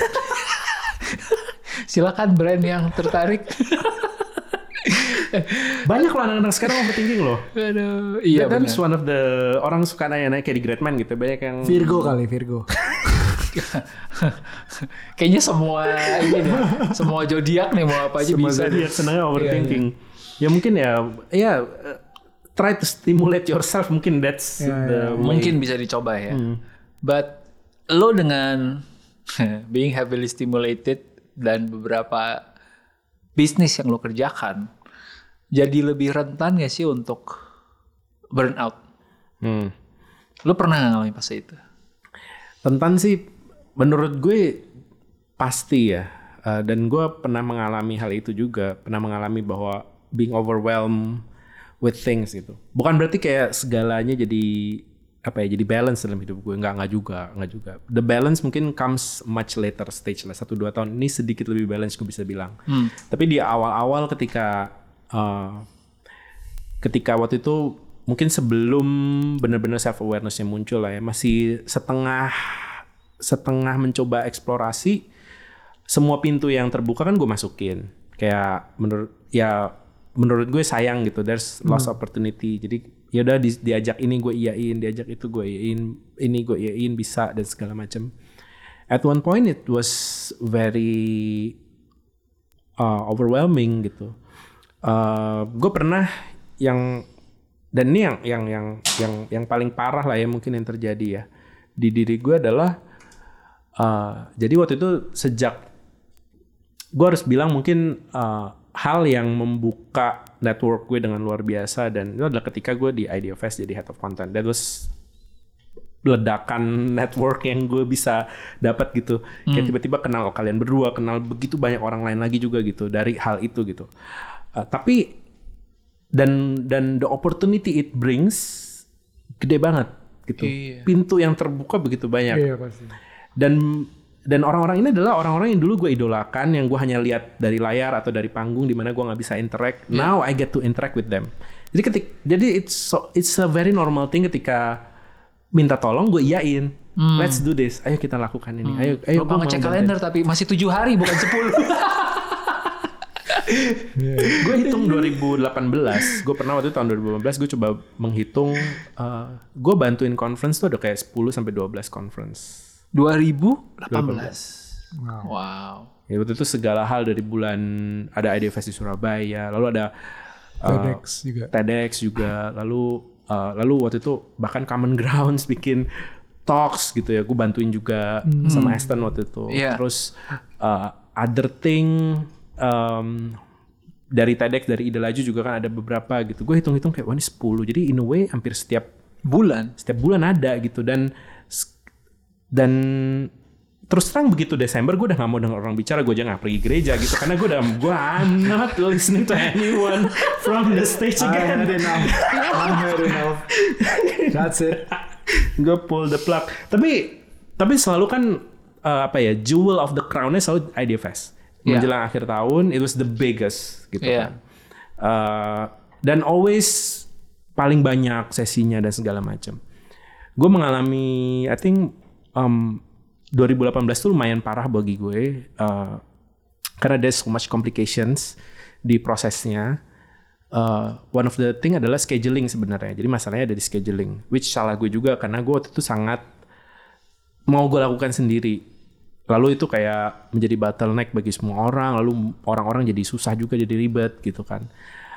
Silakan brand yang tertarik. Banyak loh anak-anak sekarang overthinking loh. Aduh, iya benar. That's one of the orang suka nanya-nanya kayak di Greatman gitu, banyak yang Virgo kali Virgo. Kayaknya semua ini deh, semua zodiak nih mau apa aja semua bisa. Semua zodiak senangnya overthinking. Iya, iya. Ya mungkin ya, ya uh, try to stimulate yourself, mungkin that's yeah, the yeah. Mungkin bisa dicoba ya. Hmm. But lo dengan being heavily stimulated dan beberapa bisnis yang lo kerjakan, jadi lebih rentan gak sih untuk burnout? Hmm. Lo pernah gak ngalamin fase itu? Rentan sih, menurut gue pasti ya. uh, dan gue pernah mengalami hal itu juga, pernah mengalami bahwa being overwhelmed with things gitu. Bukan berarti kayak segalanya jadi apa ya, jadi balance dalam hidup gue, nggak nggak juga, nggak juga. The balance mungkin comes much later stage lah, satu dua tahun ini sedikit lebih balance gue bisa bilang. Hmm. Tapi di awal-awal ketika uh, ketika waktu itu mungkin sebelum benar-benar self awareness-nya muncul lah ya, masih setengah setengah mencoba eksplorasi, semua pintu yang terbuka kan gue masukin. Kayak menurut ya menurut gue sayang gitu, there's lost hmm. opportunity. Jadi ya udah di, diajak ini gue iyain, diajak itu gue iyain, ini gue iyain bisa dan segala macam. At one point it was very uh, overwhelming gitu. Uh, gue pernah yang dan ini yang yang yang yang yang paling parah lah ya mungkin yang terjadi ya di diri gue adalah uh, jadi waktu itu sejak gue harus bilang mungkin uh, hal yang membuka network gue dengan luar biasa dan itu adalah ketika gue di IdeaFest jadi head of content. That was ledakan network yang gue bisa dapat gitu. Hmm. Kayak tiba-tiba kenal kalian berdua, kenal begitu banyak orang lain lagi juga gitu dari hal itu gitu. Uh, tapi dan dan the opportunity it brings gede banget gitu. Iya. Pintu yang terbuka begitu banyak. Iya, pasti. Dan Dan orang-orang ini adalah orang-orang yang dulu gue idolakan, yang gue hanya lihat dari layar atau dari panggung di mana gue nggak bisa interact. Yeah. Now I get to interact with them. Jadi ketik, jadi it's so, it's a very normal thing ketika minta tolong gue iyain. Hmm. Let's do this. Ayo kita lakukan ini. Hmm. Ayo, ayo. Lupa ngecek kalender tapi masih tujuh hari bukan sepuluh. Gue hitung dua ribu delapan belas. Gue pernah waktu itu tahun dua ribu delapan belas gue coba menghitung. Uh, gue bantuin conference tuh ada kayak sepuluh sampai dua belas conference. dua ribu delapan belas. Wow. wow. Ya waktu itu segala hal dari bulan ada IdeaFest di Surabaya, lalu ada uh, TEDx juga. TEDx juga, lalu uh, lalu waktu itu bahkan Common Grounds bikin talks gitu ya, gue bantuin juga hmm. sama Aston waktu itu. Yeah. Terus uh, other thing um, dari TEDx, dari Ide Laju juga kan ada beberapa gitu. Gue hitung-hitung kayak wah ini sepuluh. Jadi in a way hampir setiap bulan, setiap bulan ada gitu dan Dan terus terang begitu Desember gue udah gak mau denger orang bicara, gue aja gak pergi gereja gitu karena gue udah gue I'm not listening to anyone from the stage again. I heard enough. I heard enough. That's it. Gue pull the plug. Tapi tapi selalu kan uh, apa ya, jewel of the crown-nya selalu IdeaFest. Yeah. Menjelang akhir tahun it was the biggest gitu yeah. kan. Uh, dan always paling banyak sesinya dan segala macam. Gue mengalami I think Um, dua ribu delapan belas tuh lumayan parah bagi gue uh, karena there's so much complications di prosesnya. Uh, one of the thing adalah scheduling sebenarnya. Jadi masalahnya ada di scheduling, which salah gue juga karena gue waktu itu sangat mau gue lakukan sendiri. Lalu itu kayak menjadi bottleneck bagi semua orang. Lalu orang-orang jadi susah juga, jadi ribet gitu kan.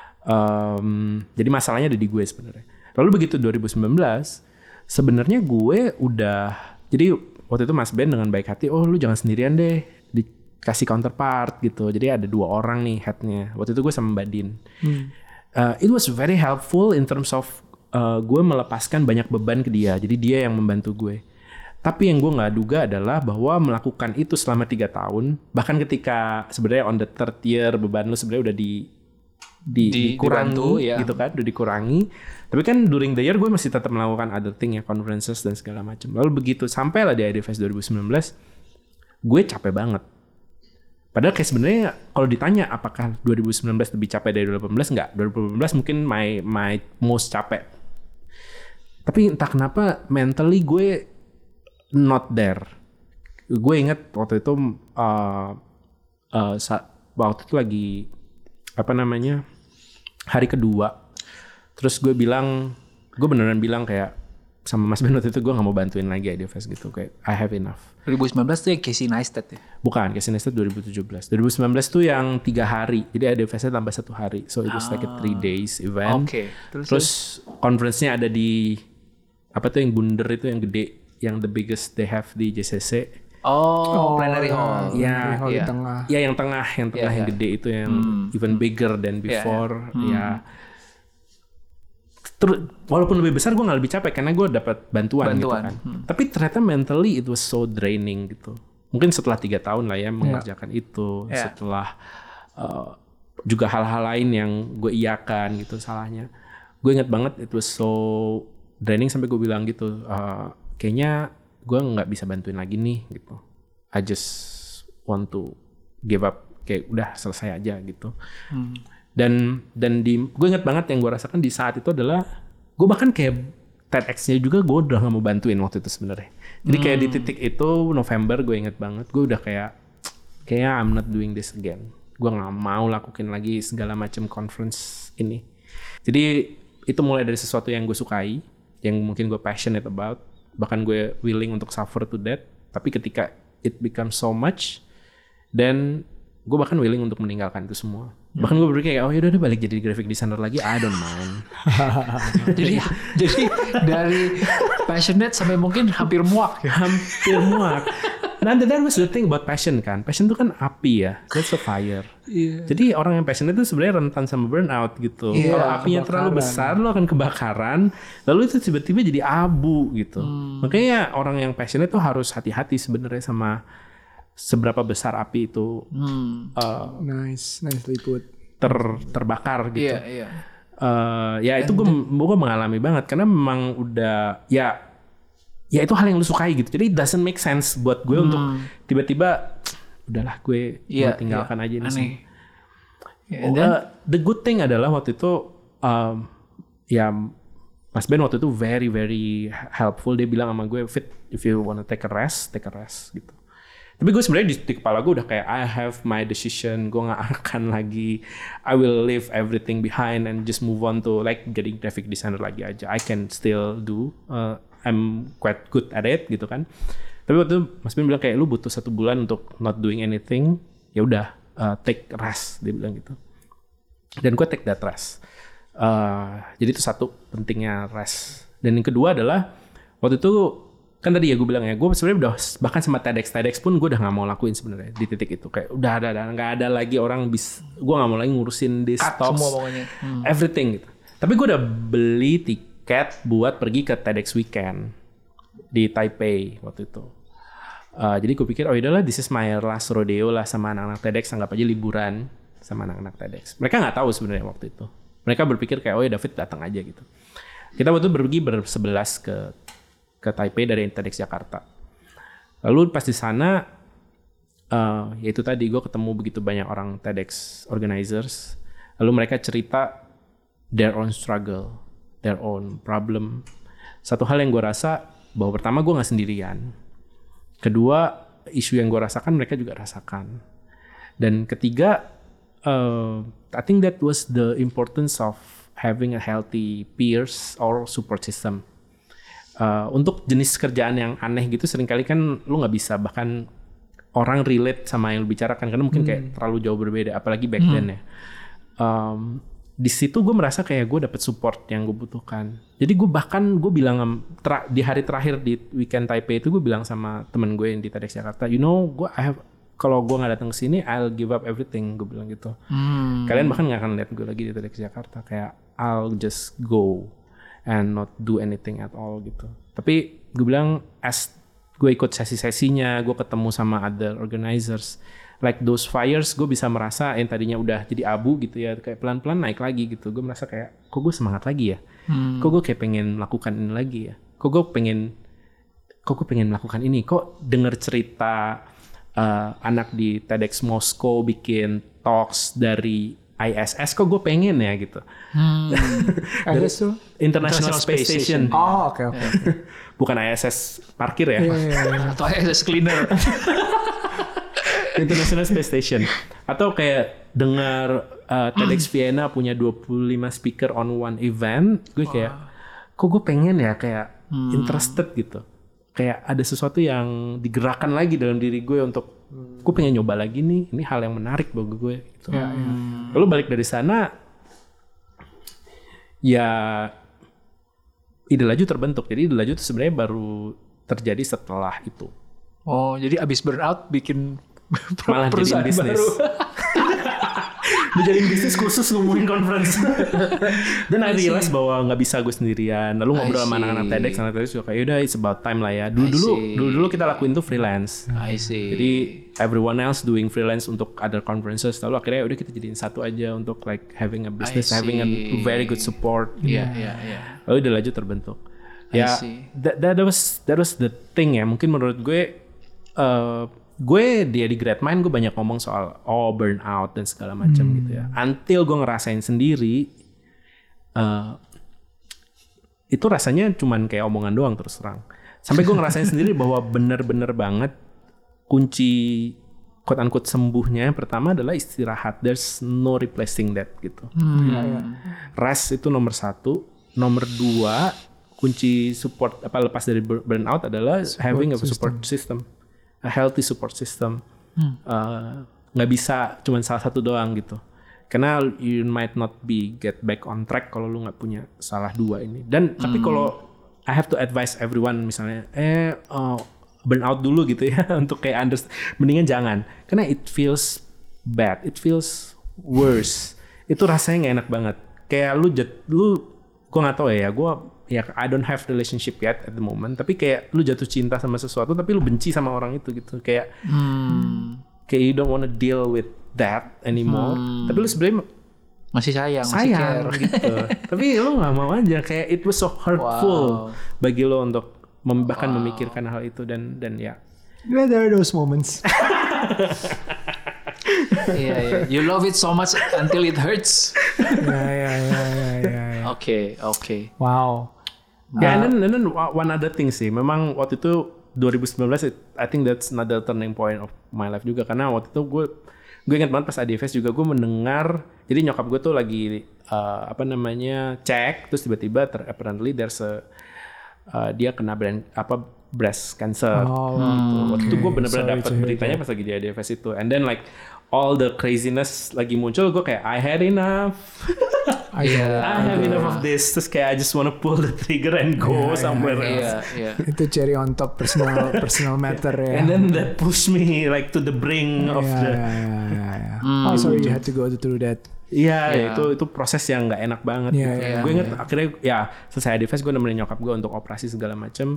Um, jadi masalahnya ada di gue sebenarnya. Lalu begitu dua ribu sembilan belas, sebenarnya gue udah jadi waktu itu Mas Ben dengan baik hati, oh lu jangan sendirian deh, dikasih counterpart gitu. Jadi ada dua orang nih headnya. Waktu itu gue sama Mbak Din. Hmm. Uh, it was very helpful in terms of uh, gue melepaskan banyak beban ke dia. Jadi dia yang membantu gue. Tapi yang gue nggak duga adalah bahwa melakukan itu selama tiga tahun, bahkan ketika sebenarnya on the third year beban lu sebenarnya udah di Di, di, dikurangi dibantu, ya. gitu kan, udah dikurangi. Tapi kan during the year gue masih tetap melakukan other thing ya, conferences dan segala macam. Lalu begitu sampai lah di IdeaFest dua ribu sembilan belas, gue capek banget. Padahal kayak sebenarnya kalau ditanya apakah dua ribu sembilan belas lebih capek dari dua ribu delapan belas, enggak. dua ribu delapan belas mungkin my my most capek. Tapi entah kenapa mentally gue not there. Gue inget waktu itu uh, uh, saat, waktu itu lagi apa namanya hari kedua, terus gue bilang, gue beneran bilang kayak sama Mas Ben waktu itu gue gak mau bantuin lagi IdeaFest gitu, kayak I have enough. dua ribu sembilan belas tuh yang Casey Neistat ya? Bukan, Casey Neistat dua ribu tujuh belas. dua ribu sembilan belas tuh yang tiga hari, jadi IdeaFestnya tambah satu hari, so it was ah. like a three days event. Okay. Terus, terus conference-nya ada di apa tuh yang bundar itu yang gede, yang the biggest they have di J C C. Oh, oh plenary hall. Ya, hall ya, di tengah. Ya yang tengah, yang tengah yeah, yang yeah. gede itu yang hmm. even bigger than before. Yeah, yeah. Hmm. Ya. Terus walaupun lebih besar gue nggak lebih capek karena gue dapat bantuan, bantuan gitu kan. Hmm. Tapi ternyata mentally it was so draining gitu. mungkin setelah tiga tahun lah ya mengerjakan yeah. itu, yeah. setelah uh, juga hal-hal lain yang gue iyakan gitu salahnya. Gue ingat banget it was so draining sampai gue bilang gitu, uh, kayaknya gue nggak bisa bantuin lagi nih gitu. I just want to give up, kayak udah selesai aja gitu. Hmm. Dan dan di gue ingat banget yang gue rasakan di saat itu adalah gue bahkan kayak TEDx-nya juga gue udah nggak mau bantuin waktu itu sebenarnya. Jadi kayak hmm. di titik itu November gue inget banget, gue udah kayak kayaknya I'm not doing this again. Gue nggak mau lakuin lagi segala macam conference ini. Jadi itu mulai dari sesuatu yang gue sukai, yang mungkin gue passionate about, bahkan gue willing untuk suffer to that. Tapi ketika it becomes so much, then gue bahkan willing untuk meninggalkan itu semua. Bahkan gue berpikir kayak, oh yaudah udah balik jadi graphic designer lagi, I don't mind. jadi jadi dari passionate sampai mungkin hampir muak. Hampir muak. Nah, that was the thing about passion kan. Passion itu kan api ya, that's a fire. Yeah. Jadi orang yang passionate itu sebenarnya rentan sama burnout gitu. Yeah, kalau apinya kebakaran. Terlalu besar, lo akan kebakaran. Lalu itu tiba-tiba jadi abu gitu. Hmm. Makanya orang yang passionate itu harus hati-hati sebenarnya sama seberapa besar api itu hmm. uh, nice nicely put ter terbakar gitu. Iya, iya. Uh, ya itu gue gue mengalami banget karena memang udah ya ya itu hal yang lu sukai gitu. Jadi it doesn't make sense buat gue hmm. untuk tiba-tiba udahlah gue yeah, tinggalkan yeah. aja ini sih. Yeah, then, uh, the good thing adalah waktu itu um, ya Mas Ben waktu itu very very helpful. Dia bilang sama gue, Fit, if you wanna take a rest, take a rest gitu. Tapi gue sebenarnya di, di kepala gue udah kayak I have my decision, gue nggak akan lagi, I will leave everything behind and just move on to like jadi graphic designer lagi aja. I can still do, uh, I'm quite good at it gitu kan. Tapi waktu itu Mas Ben bilang kayak lu butuh satu bulan untuk not doing anything, ya udah uh, take rest, dia bilang gitu. Dan gue take that rest. Uh, jadi itu satu pentingnya rest. Dan yang kedua adalah waktu itu kan tadi ya gue bilang ya, gue sebenarnya udah bahkan sama TEDx TEDx pun gue udah nggak mau lakuin sebenarnya di titik itu, kayak udah ada ada nggak ada lagi orang bis, gue nggak mau lagi ngurusin di stocks, hmm. everything gitu. Tapi gue udah beli tiket buat pergi ke TEDx weekend di Taipei waktu itu. Uh, jadi gue pikir oh udahlah, this is my last rodeo lah sama anak-anak TEDx, anggap aja liburan sama anak-anak TEDx. Mereka nggak tahu sebenarnya waktu itu. Mereka berpikir kayak oh ya David datang aja gitu. Kita waktu itu pergi bersebelas ke ke Taipei dari TEDx Jakarta. Lalu pas di sana, uh, ya itu tadi gue ketemu begitu banyak orang TEDx organizers. Lalu mereka cerita their own struggle, their own problem. Satu hal yang gue rasa bahwa pertama gue nggak sendirian. Kedua, isu yang gue rasakan mereka juga rasakan. Dan ketiga, uh, I think that was the importance of having a healthy peers or support system. Uh, untuk jenis kerjaan yang aneh gitu seringkali kan lu nggak bisa bahkan orang relate sama yang lu bicarakan karena mungkin kayak hmm. terlalu jauh berbeda, apalagi back then hmm. ya. Um, di situ gue merasa kayak gue dapet support yang gue butuhkan. Jadi gue bahkan gue bilang tra- di hari terakhir di weekend Taipei itu gue bilang sama temen gue yang di TEDx Jakarta, you know, gue I have kalau gue nggak datang ke sini, I'll give up everything. Gue bilang gitu. Hmm. Kalian bahkan nggak akan lihat gue lagi di TEDx Jakarta. Kayak I'll just go and not do anything at all gitu. Tapi gue bilang as gue ikut sesi-sesinya, gue ketemu sama other organizers, like those fires, gue bisa merasa yang tadinya udah jadi abu gitu ya, kayak pelan-pelan naik lagi gitu. Gue merasa kayak, kok gue semangat lagi ya? Hmm. Kok gue kayak pengen melakukan ini lagi ya? Kok gue pengen, kok gue pengen melakukan ini? Kok denger cerita uh, anak di TEDx Moskow bikin talks dari I S S, kok gue pengen ya gitu. Hmm. I S S tuh? International, International Space, Space Station. Station. Oh oke okay, oke. Okay. Bukan I S S parkir ya? Yeah, yeah, yeah. Atau I S S cleaner. International Space Station. Atau kayak dengar uh, TEDx Vienna punya dua puluh lima speaker on one event, gue kayak, kok gue pengen ya kayak hmm. interested gitu. Kayak ada sesuatu yang digerakkan lagi dalam diri gue untuk hmm. gue pengen nyoba lagi nih, ini hal yang menarik bagi gue gitu. Ya, ya. Lalu balik dari sana ya ide laju terbentuk. Jadi ide laju itu sebenarnya baru terjadi setelah itu. Oh, jadi abis burnout bikin malah jadiin bisnis. Udah jadi bisnis khusus ngomongin conference. Dan I realize bahwa nggak bisa gue sendirian. Lalu ngobrol sama anak-anak TEDx, anak TEDx juga kayak udah it's about time lah ya. Dulu dulu dulu dulu kita lakuin tuh freelance. I see. Jadi everyone else doing freelance untuk other conferences. Lalu akhirnya udah kita jadiin satu aja untuk like having a business, having a very good support. Iya iya iya. Lalu udah lanjut terbentuk. Ya, that, that was that was the thing ya. Mungkin menurut gue, uh, gue dia di Great Mind gue banyak ngomong soal oh burnout dan segala macam hmm. gitu ya. Until gue ngerasain sendiri, uh, itu rasanya cuman kayak omongan doang terus terang. Sampai gue ngerasain sendiri bahwa bener-bener banget kunci quote unquote sembuhnya yang pertama adalah istirahat. There's no replacing that gitu. Hmm. Ya, ya. Rest itu nomor satu, nomor dua. Kunci support apa lepas dari burnout adalah support having a support system, a healthy support system. Hmm. Uh, nggak bisa cuma salah satu doang gitu. Karena you might not be get back on track kalau lu nggak punya salah dua ini. Dan hmm. tapi kalau I have to advise everyone misalnya, eh uh, burnout dulu gitu ya untuk kayak understand. Mendingan jangan, karena it feels bad, it feels worse. Itu rasanya nggak enak banget. Kayak lu jat, lu, gua nggak tahu ya, gua ya I don't have relationship yet at the moment, tapi kayak lu jatuh cinta sama sesuatu tapi lu benci sama orang itu gitu, kayak hmm. kayak you don't wanna deal with that anymore, hmm. tapi lu sebenarnya masih sayang, sayang masih gitu, tapi lu nggak mau aja, kayak it was so hurtful wow. bagi lu untuk mem- bahkan wow. memikirkan hal itu dan dan ya. Yeah, there are those moments. yeah, yeah. You love it so much until it hurts. yeah, yeah, yeah, yeah, yeah. Oke, oke. Wow. Ya, yeah, uh, and, then, and then one other thing sih, memang waktu itu dua ribu sembilan belas, it, I think that's another turning point of my life juga, karena waktu itu gue gue ingat banget pas A D F S juga gue mendengar, jadi nyokap gue tuh lagi uh, apa namanya cek, terus tiba-tiba ter, apparently there's a uh, dia kena brand, apa breast cancer. Oh, gitu. Okay. Waktu itu gue bener-bener dapet beritanya pas lagi di A D F S itu, and then like all the craziness lagi muncul, gue kayak I had enough. I, yeah, I have enough of this. Terus kayak I just wanna pull the trigger and go yeah, somewhere yeah, else. Yeah, yeah. Itu cherry on top personal personal matter ya. And then that push me like to the brink of yeah, the. Yeah, yeah, yeah, yeah. Mm. Oh sorry you had to go through that. Iya, yeah, itu itu proses yang nggak enak banget. Yeah, gitu. yeah, gue inget yeah. akhirnya ya selesai A D F S gue nemenin nyokap gue untuk operasi segala macam.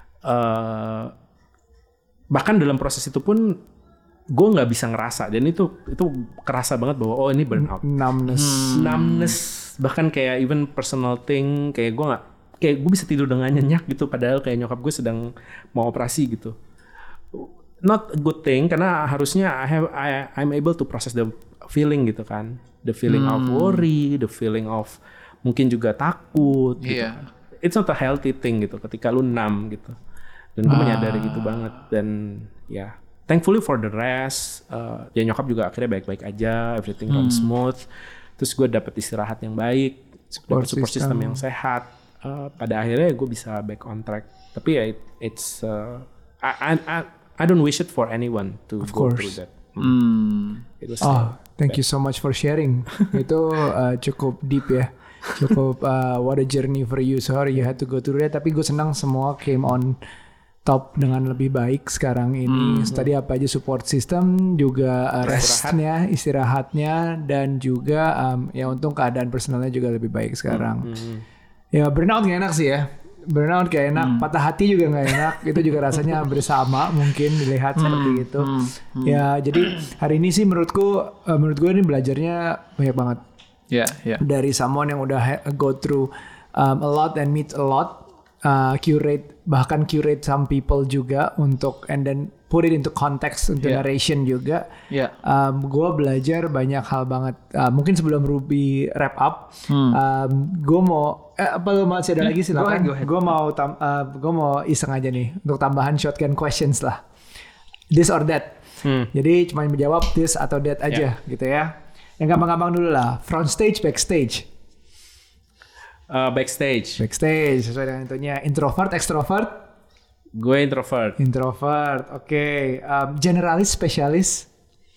Uh, bahkan dalam proses itu pun gue nggak bisa ngerasa, dan itu itu kerasa banget bahwa oh ini burnout, numbness, hmm. numbness, bahkan kayak even personal thing, kayak gue nggak, kayak gue bisa tidur dengan nyenyak gitu, padahal kayak nyokap gue sedang mau operasi gitu. Not a good thing, karena harusnya I have I I'm able to process the feeling gitu kan, the feeling hmm. of worry, the feeling of mungkin juga takut. Gitu. Yeah. It's not a healthy thing gitu, ketika lu numb gitu. Dan gue ah. menyadari gitu banget, dan ya. Thankfully for the rest, uh, ya nyokap juga akhirnya baik-baik aja, everything runs hmm. smooth. Terus gue dapet istirahat yang baik, support, support system. system yang sehat. Uh, pada akhirnya gue bisa back on track. Tapi ya it, it's, uh, I, I, I don't wish it for anyone to of go course. through that. Hmm. It was, oh, uh, thank bad. you so much for sharing. Itu uh, cukup deep ya. Cukup uh, what a journey for you. Sorry you had to go through that. Tapi gue senang semua came on top dengan lebih baik sekarang ini. Hmm. Tadi apa aja support system, juga uh, restnya, istirahatnya, dan juga um, ya untung keadaan personalnya juga lebih baik sekarang. Hmm. Ya burnout gak enak sih ya. Burnout gak enak, hmm. patah hati juga gak enak. Itu juga rasanya bersama mungkin dilihat hmm. seperti itu. Hmm. Hmm. Ya jadi hari ini sih menurutku, uh, menurut gue ini belajarnya banyak banget. Yeah, yeah. Dari someone yang udah ha- go through um, a lot and meet a lot. Uh, curate bahkan curate some people juga untuk and then put it into context untuk yeah. narration juga. Yeah. Um, gue belajar banyak hal banget. Uh, mungkin sebelum Ruby wrap up, hmm. um, gue mau eh, apa lo masih ada lagi silakan. Gue mau tam, uh, gue mau iseng aja nih untuk tambahan shotgun questions lah. This or that. Hmm. Jadi cuma menjawab this atau that aja yeah. gitu ya. Yang gampang-gampang dulu lah. Front stage, backstage. Uh, backstage. Backstage sesuai dengan itunya. Introvert, extrovert? Gue introvert. Introvert, oke. Okay. Um, generalis, spesialis?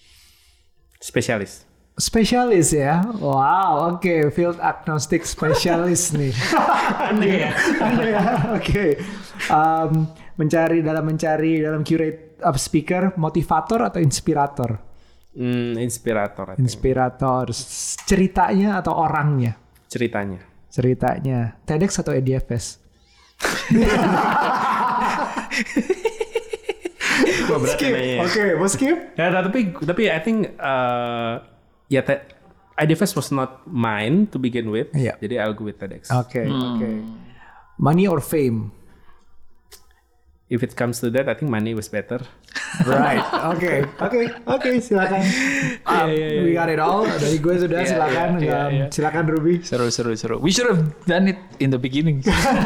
Spesialis. Spesialis ya? Wow, oke. Okay. Field agnostic spesialis nih. Aneh ya? Aneh ya, oke. Okay. Um, mencari, dalam mencari, dalam curate of speaker, motivator atau inspirator? Hmm, inspirator. I think. Inspirator. Ceritanya atau orangnya? Ceritanya. Ceritanya. TEDx atau E D F S? Skip. Oke, okay, mau skip? Ya, tapi tapi I think uh, ya te- E D F S was not mine to begin with. Yeah. Jadi I'll go with TEDx. Oke, okay, hmm. oke. Okay. Money or fame? If it comes to that, I think money was better. Right. Oke, oke, oke. Silakan. Um, yeah, yeah, yeah. We got it all. Dari gue sudah. Yeah, silakan. Yeah, yeah, yeah. Silakan Ruby. Seru, seru, seru. We should have done it in the beginning.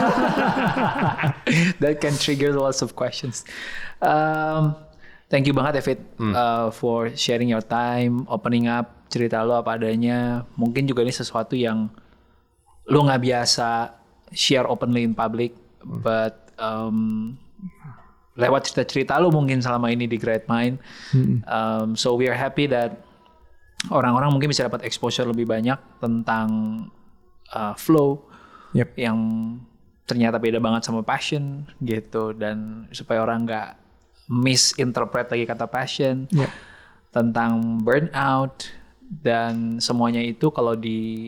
That can trigger lots of questions. Um, thank you banget, David, hmm. uh, for sharing your time, opening up cerita lo apa adanya. Mungkin juga ini sesuatu yang lo nggak biasa share openly in public, hmm. but um, lewat cerita-cerita lo mungkin selama ini di Great Mind. Hmm. Um, so we are happy that orang-orang mungkin bisa dapat exposure lebih banyak tentang uh, flow yep. yang ternyata beda banget sama passion gitu, dan supaya orang nggak misinterpret lagi kata passion, yep. tentang burnout dan semuanya itu kalau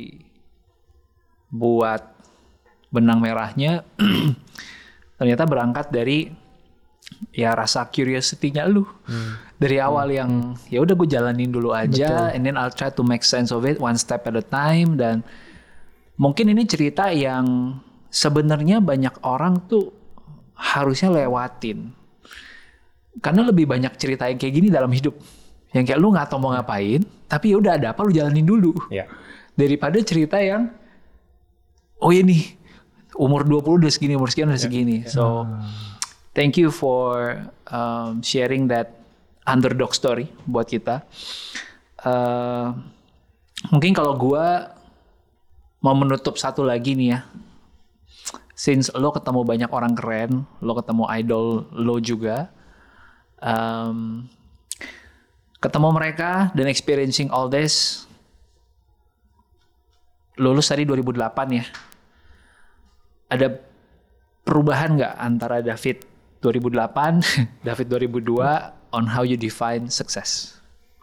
dibuat benang merahnya ternyata berangkat dari ya rasa curiosity-nya lu hmm. dari awal hmm. yang ya udah gue jalanin dulu aja. Betul. And then I'll try to make sense of it one step at a time. Dan mungkin ini cerita yang sebenarnya banyak orang tuh harusnya lewatin, karena lebih banyak cerita yang kayak gini dalam hidup, yang kayak lu nggak tahu mau ngapain tapi ya udah ada apa lu jalanin dulu, yeah. daripada cerita yang oh ini umur dua puluh udah segini, umur sekian udah segini. Yeah. So thank you for um, sharing that underdog story buat kita. Uh, mungkin kalau gue mau menutup satu lagi nih ya. Since lo ketemu banyak orang keren, lo ketemu idol lo juga. Um, ketemu mereka dan experiencing all this. Lulus tadi dua ribu delapan ya. Ada perubahan nggak antara David dua ribu delapan, David dua ribu dua on how you define success?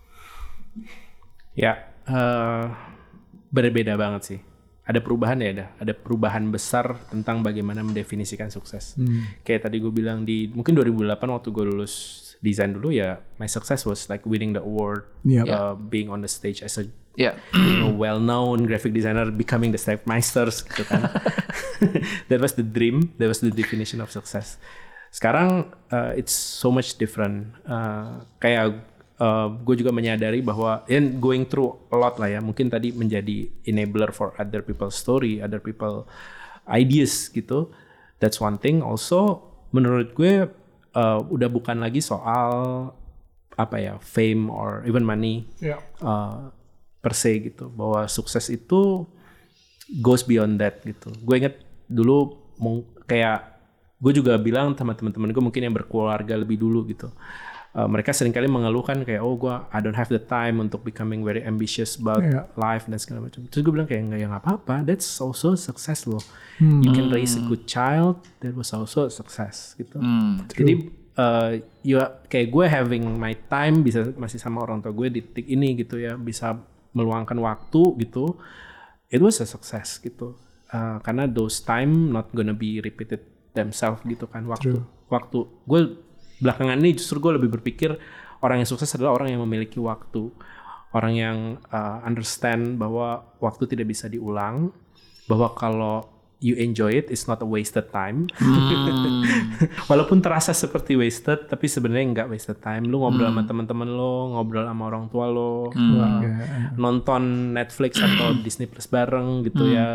Ya, uh, berbeda banget sih. Ada perubahan ya, ada, ada perubahan besar tentang bagaimana mendefinisikan sukses. Hmm. Kayak tadi gue bilang di mungkin dua ribu delapan waktu gue lulus desain dulu ya, my success was like winning the award, yep. uh, being on the stage as a yeah. you know, well-known graphic designer, becoming the Stepmeisters gitu kan. That was the dream, that was the definition of success. Sekarang uh, it's so much different. Uh, kayak uh, gue juga menyadari bahwa and going through a lot lah ya. Mungkin tadi menjadi enabler for other people's story, other people ideas gitu. That's one thing. Also menurut gue uh, udah bukan lagi soal apa ya fame or even money yeah. uh, per se gitu. Bahwa sukses itu goes beyond that gitu. Gue inget dulu kayak gue juga bilang sama teman-teman gue mungkin yang berkeluarga lebih dulu gitu. Uh, mereka seringkali mengeluhkan kayak oh gue I don't have the time untuk becoming very ambitious about yeah. life dan segala macam. Terus gue bilang kayak nggak, ya nggak apa-apa. That's also success loh. Hmm. You can raise a good child. That was also a success gitu. Hmm. Jadi uh, you kayak gue having my time bisa masih sama orang tua gue di titik ini gitu ya, bisa meluangkan waktu gitu. It was a success gitu. Uh, karena those time not gonna be repeated themselves gitu kan. Waktu True. waktu gue belakangan ini justru gue lebih berpikir orang yang sukses adalah orang yang memiliki waktu, orang yang uh, understand bahwa waktu tidak bisa diulang, bahwa kalau you enjoy it it's not a wasted time. hmm. Walaupun terasa seperti wasted tapi sebenarnya nggak wasted time. Lu ngobrol hmm. sama teman-teman lo, ngobrol sama orang tua lo, hmm. uh, nonton Netflix atau Disney Plus bareng gitu hmm. ya.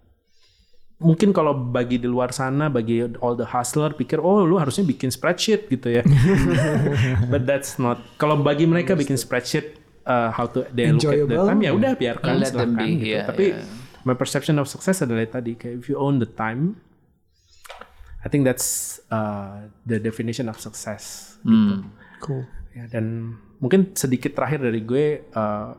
Mungkin kalau bagi di luar sana, bagi all the hustler pikir oh lu harusnya bikin spreadsheet gitu ya. But that's not. Kalau bagi mereka bikin spreadsheet uh, how to they look at the time ya udah biarkan silakan gitu. Yeah, Tapi yeah. my perception of success adalah tadi kayak if you own the time, I think that's uh, the definition of success. Mm. Gitu. Cool. Ya, dan mungkin sedikit terakhir dari gue, uh,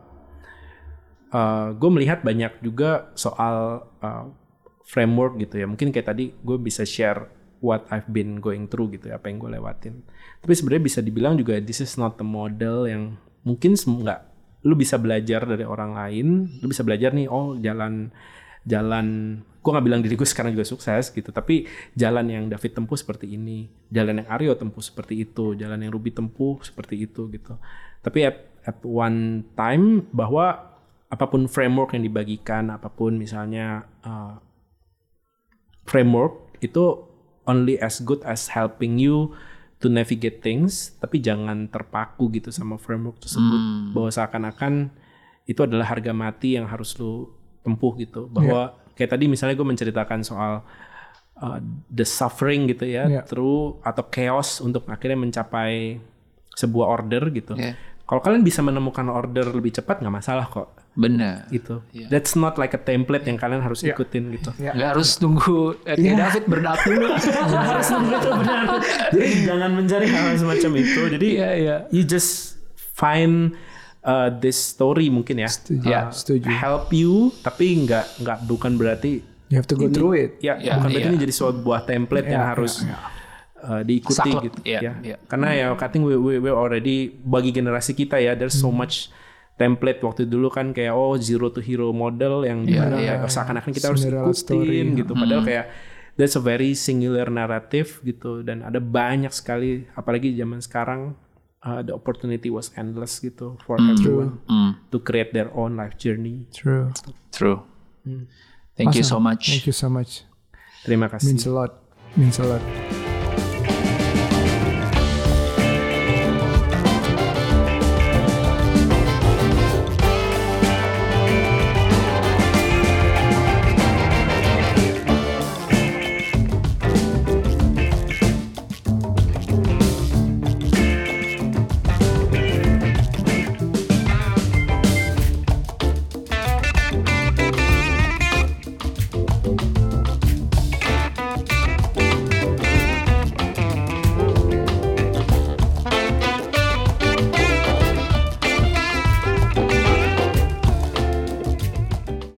uh, gue melihat banyak juga soal uh, framework gitu ya. Mungkin kayak tadi gue bisa share what I've been going through gitu ya, apa yang gue lewatin. Tapi sebenarnya bisa dibilang juga this is not the model yang mungkin nggak, lu bisa belajar dari orang lain, lu bisa belajar nih, oh jalan jalan gue nggak bilang diri gue sekarang juga sukses gitu, tapi jalan yang David tempuh seperti ini, jalan yang Aryo tempuh seperti itu, jalan yang Ruby tempuh seperti itu gitu. Tapi at, at one time bahwa apapun framework yang dibagikan, apapun misalnya uh, framework itu only as good as helping you to navigate things, tapi jangan terpaku gitu sama framework tersebut. Hmm. Bahwa seakan-akan itu adalah harga mati yang harus lu tempuh gitu. Bahwa yeah. kayak tadi misalnya gue menceritakan soal uh, the suffering gitu ya, yeah. through atau chaos untuk akhirnya mencapai sebuah order gitu. Yeah. Kalau kalian bisa menemukan order lebih cepat nggak masalah kok. Benar. Itu. Yeah. That's not like a template yang kalian harus yeah. ikutin gitu. Yeah. Nggak harus tunggu eh, yeah. David burnout dulu. Harus nunggu itu benar. Jadi jangan mencari hal semacam itu. Jadi yeah, yeah. you just find uh, this story mungkin ya. Setuju. Uh, Yeah, setuju. Help you, tapi nggak nggak bukan berarti you have to go ini, through it. Ya, yeah, bukan berarti yeah. ini jadi sebuah template yeah, yang harus yeah, yeah. Uh, diikuti Saklek, gitu yeah, ya. yeah. Karena ya I think we, we we already bagi generasi kita ya, there's so much template waktu dulu kan kayak oh zero to hero model yang yeah, dimana yeah. kayak seakan-akan kita harus Cinderella ikutin story. gitu. Padahal hmm. kayak that's a very singular narrative gitu, dan ada banyak sekali apalagi zaman sekarang uh, the opportunity was endless gitu for mm. everyone mm. to create their own life journey. True. True. Mm. Thank awesome. you so much. Thank you so much. Terima kasih. Means a lot. Means a lot.